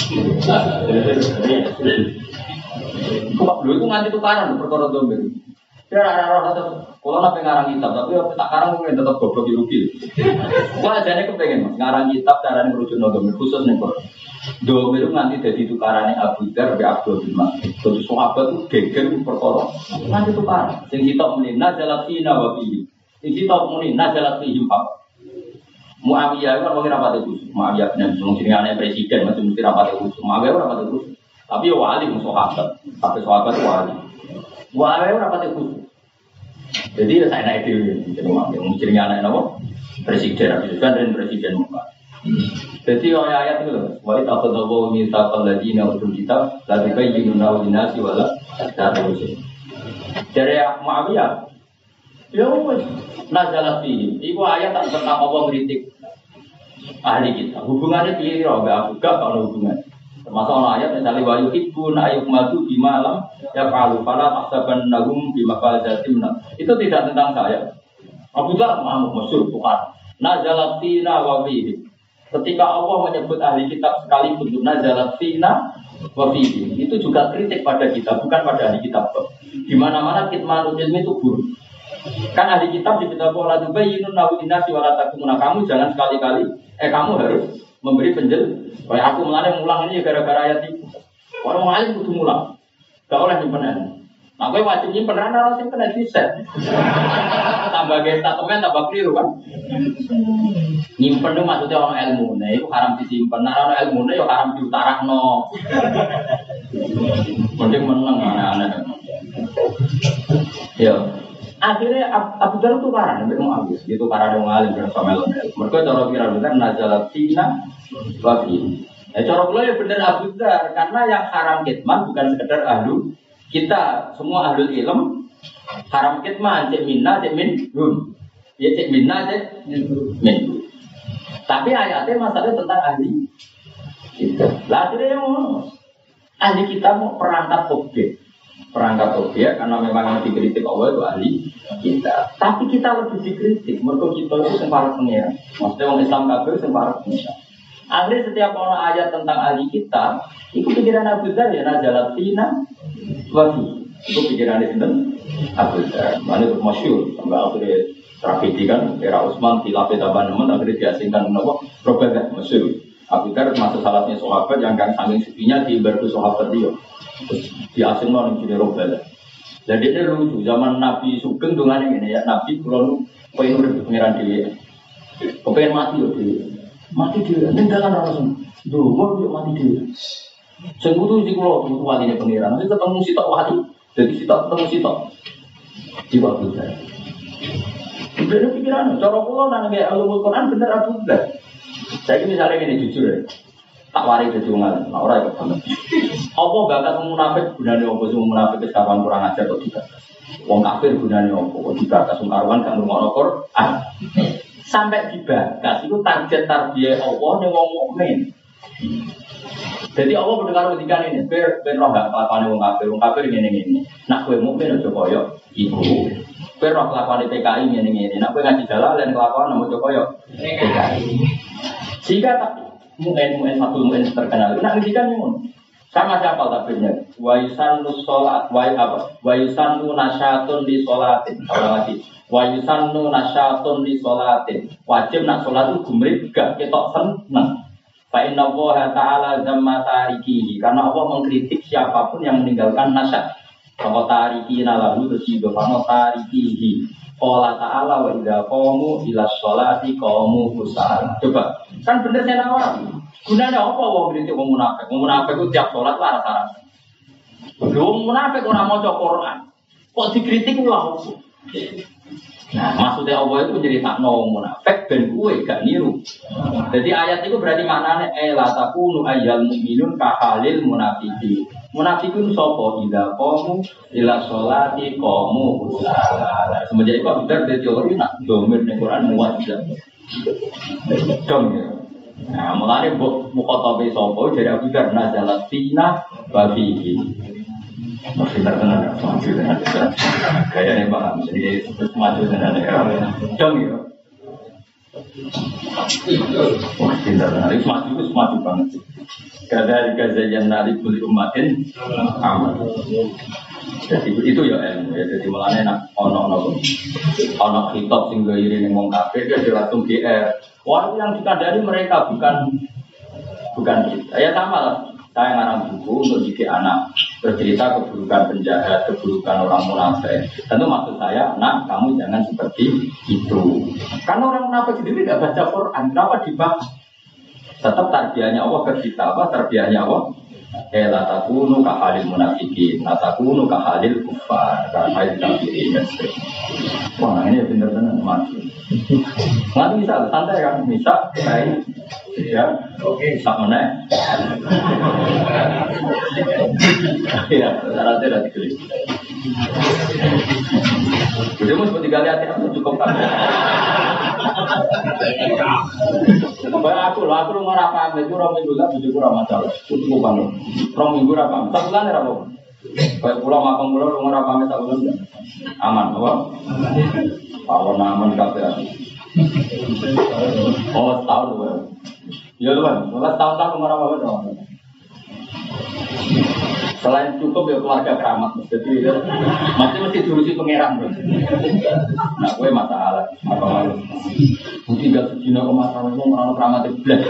[SPEAKER 3] Kok dulu itu nganti tukaran perkara domir. Dia rara-rara kalau nak pengarang kitab, tapi tak karang mungkin tetap goblok rugi. Wah, jadi kepengen mas ngarang kitab caranya merujuk nodomir khusus nih kok.
[SPEAKER 4] Domir nanti jadi tukarannya Abu Dar be Abdul bin Mas'ud. Terus sahabat itu geger perkara. Nanti tukaran. Sing sitok muni nazalat fina wa fihi. Sing sitok muni nazalat fihi pak. Muawiyah kan wong rapat itu. Muawiyah bin Abi jenenge presiden macam mesti rapat itu. Muawiyah rapat itu. Tapi yo wali sahabat. Tapi sahabat wali. Muawiyah rapat itu. Jadi ya saya naik dulu. Jadi Muawiyah jenenge anak napa? Presiden dan presiden Muhammad. Jadi ayat itu loh. Wa ta'khudhu mitsaqal ladina utul kitab la tubayyinuna lin-nasi wa la ta'lamun. Dari Muawiyah, ya wis nazalat fihi. Iku ayat tentang Allah kritik ahli kita. Hubungannya piye ora enggak kalau hubungan. Termasuk ayat misalnya wa yuhibbun ayyuhmadu bima lam yaf'alu fala tahsabannahum bimafazatim. Itu tidak tentang saya. Abu Dhar masyhur bukan. Nazalat fina wa fihi. Ketika Allah menyebut ahli kitab sekalipun nazalat fina wa fihi, itu juga kritik pada kita, bukan pada ahli kitab. Di mana-mana kitmanul ilmi itu buruk. Kan ahli kitab di kitab Allah tubayyinun lahu linnasi wa la takumuna. Kamu jangan sekali-kali kamu harus memberi penjelasan. Kayak aku mulang ini gara-gara ayat itu. Orang alim kudu mulang. Gak oleh nyimpen. Nah, gue wajib nyimpen ana sing kena diset. Tambah statement tambah keliru kan. Nyimpen itu maksudnya orang ilmu. Nah, itu haram disimpen. Nah, orang ilmu itu haram diutarakno. Mending meneng aneh-aneh. Ya. Akhirnya Abu Dhar tukaran sampai Muawiyah. Itu para wong alim sama elmu. Mergo cara kira-kira nazalat fina wa fi. Cara kula ya bener Abu Dhar karena yang haram kitman bukan sekedar ahlu kita semua ahlul ilm haram kitman cek minna cek minhum. Ya cek minna cek minhum. Tapi ayatnya masalahnya tentang ahli kita. Lah akhirnya yang ahli kita mau perangkat objek karena memang yang dikritik Allah itu ahli kita. Tapi kita lebih dikritik mergo kita itu sing para pengira. Maksudnya orang Islam kafir sing para pengira. Akhirnya setiap orang ayat tentang ahli kita, itu pikiran Abu Dhar ya nazalat fina wa fi. Itu pikiran itu Abu Dhar. Mana itu masyhur sampai akhirnya tragedi kan era Utsman khilafah Tabanemen akhirnya diasingkan kenapa? Robadah masyhur. Abu Dhar termasuk salahnya sahabat yang kan saking sepinya di berku sahabat dia. Diasingkan di Robadah. Jadi ini lucu zaman Nabi Sugeng dongane ngene ya Nabi kula nu pengen urip pengiran dhewe. Kepengen mati yo dhewe. Mati dhewe ning dalan ora langsung. Ndonga yo mati dhewe. Sing kudu iki kula kudu waline pengiran. Nek ketemu sitok wali, dadi sitok ketemu sitok. Jiwa kita. Bener pikiran, cara kula nang nggih ulumul Quran bener Abu Dhar. Saya misalnya ngene jujur ya. Tak wari dadi wong alim, ora ikut banget. Apa bakat munafik gunane apa sing munafik wis kapan kurang ajar kok dibakas. Wong kafir gunane apa kok dibakas wong karuan gak ngrungokno Quran. Sampai dibakas itu target tarbiyah Allah ning wong mukmin. Jadi Allah mendengar ketika ini, ben roh gak kelakuane wong kafir ngene-ngene. Nak kowe mukmin aja koyo iku. Kowe roh kelakuane PKI ngene-ngene. Nak kowe ngaji Jalalain kelakuan aja koyo PKI. Jika mu'en satu mu'en terkenal, nak ngendikan ngono. Sama siapa takbirnya? Wa yusannu sholat, wa yusannu nasyatun di sholatin. Lagi. Wa yusannu nasyatun di sholatin. Wajib nak sholat itu gumrit gak ketok seneng. Fa inna Allah ta'ala zamma tarikihi. Karena Allah mengkritik siapapun yang meninggalkan nasyat. Fa tarikina lahu tusidofano tarikihi. Allah Ta'ala wa idha qamu ila sholati qamu kusala. Coba, kan bener saya nawar. Gunanya apa wong ngritik wong munafik? Wong munafik itu tiap sholat lah rasa-rasa. Wong munafik ora maca Quran. Kok dikritik ulah opo? Nah, maksudnya Allah itu nyeritakno wong munafik ben kowe gak niru. Jadi ayat itu berarti maknane la takunu ayyal mu'minun ka halil munafiqin. Munafikun sapa ida qamu ila sholati qamu kusala. Semenjak itu bener dadi teori nak domir ning Quran muwajjah. Dong ya. Nah, mulane mukhatabe sapa dari Abu Dhar nazalat fina wa fihi. Masih terkenal maju dengan kayaknya paham jadi maju dengan dong ya. Wah, terkenal itu maju banget sih. Kadar kazayan nari kuli umatin aman. Jadi itu ya ilmu ya. Jadi mulane nak ono hitop sing gairi ning wong kafir dia langsung GR. Wah, yang dikandani mereka bukan bukan kita. Ya sama lah. Saya ngarang buku untuk didik anak bercerita keburukan penjahat, keburukan orang munafik. Tentu maksud saya, nak kamu jangan seperti itu. Karena orang munafik sendiri tidak baca Quran, kenapa dibahas? Tetap tarbiyahnya Allah ke kita, apa tarbiyahnya Allah? La takunu kahalil munafikin, la takunu kahalil kufar, kahalil kafirin. Wah, ini benar-benar mati. Nanti bisa, santai kan, bisa, baik. Ya, oke, sama nih. Ya, rata-rata udah diklik. Jadi mau seperti kali hati-hati cukup kan? Aku ngorang paham itu orang minggu lah, bujuk kurang masalah. Cukup kan? Orang minggu apa? Satu bulan ya apa? Kayak pulau makan pulau ngorang paham satu bulan aman, apa? Kalau aman kafe. Oh, setahun tuh. Ya tuh kan, setahun ngorang apa dong? Selain cukup ya keluarga keramat, jadi mesti diurusi pangeran bro. Nah, gue masalah, apa malu? Mungkin gak sejina ke masalah itu orang keramat itu belas.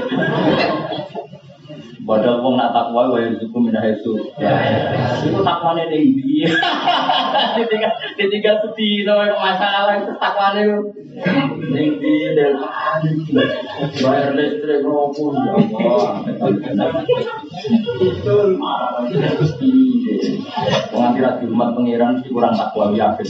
[SPEAKER 4] Padahal wong nak takwa wae rezeki minah itu. Itu takwane tinggi. Ketika sedih to masalah itu takwane tinggi dan bayar listrik ropo ya Allah. Wong kira di umat pangeran kurang takwa yakin.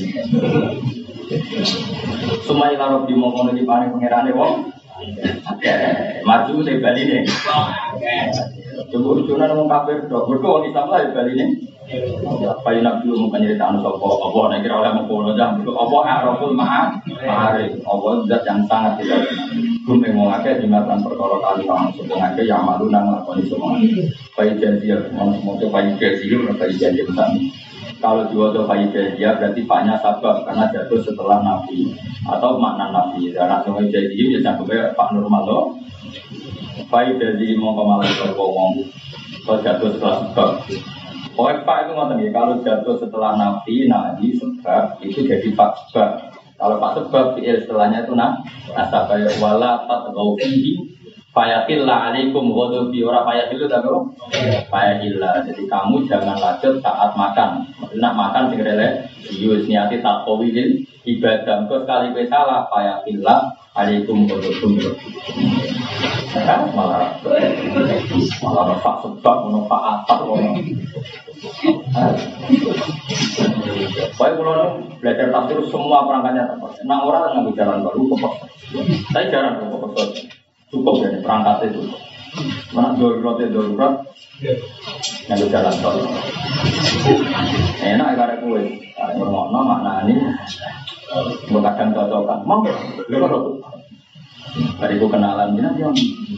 [SPEAKER 4] Sumai karo di mongkon iki paring pangerane wong. Maju saya bali nih. Coba ujunan ngomong kafir dok. Berkau Islam lah bali nih. Apa yang nak dulu mungkin cerita anu sopo. Apa nak kira oleh mengkono jam. Apa araful ma'arif. Apa zat yang sangat tidak. Gumeng mengake dimakan perkara kali orang sebengake yang malu nang lakoni semua. Baik janji ya, semoga baik janji ya, baik janji besar. Kalau diwajib baik janji ya berarti paknya sabab karena jatuh setelah Nabi atau makna Nabi. Dan langsung janji ya sampai pak normal loh. Baik janji mau kemarin berbohong. Kalau jatuh setelah sebab. Pokoknya pak itu ngomong ya kalau jatuh setelah Nabi sebab itu jadi pak sebab. Kalau pak sebab istilahnya itu nasabah wala tatgaufihi fayaqilla alaikum ghadabi ora fayaqillu ta kok fayaqilla. Jadi kamu jangan lanjut saat makan. Nak makan sing rele wis niati taqwil ibadah kok sekali kowe salah fayaqilla alaikum ghadabi. Malah pak sebab ono pak atap ono. Baik kalau belajar tafsir semua perangkatnya tepat. Nah orang ngambil jalan baru kok. Saya jarang kok cukup ya perangkat itu. Mana darurat ngambil jalan baru. Enak karena kue. Ngomong makna ini kadang cocokan. Mau dari ku kenalan dia dia.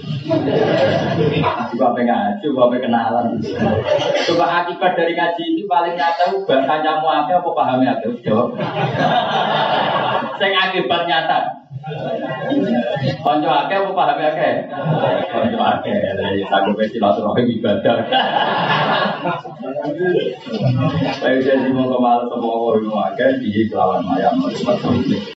[SPEAKER 4] Coba ngaji, coba kenalan. Coba akibat dari ngaji ini paling nyata bahasa nyamu apa pahamnya ada jawab. Sing akibat nyata. Konco akeh apa pahamnya akeh? Konco akeh. Sanggup silaturahim ibadah. Baik jadi mau kemana semua orang akeh di kelawan mayam.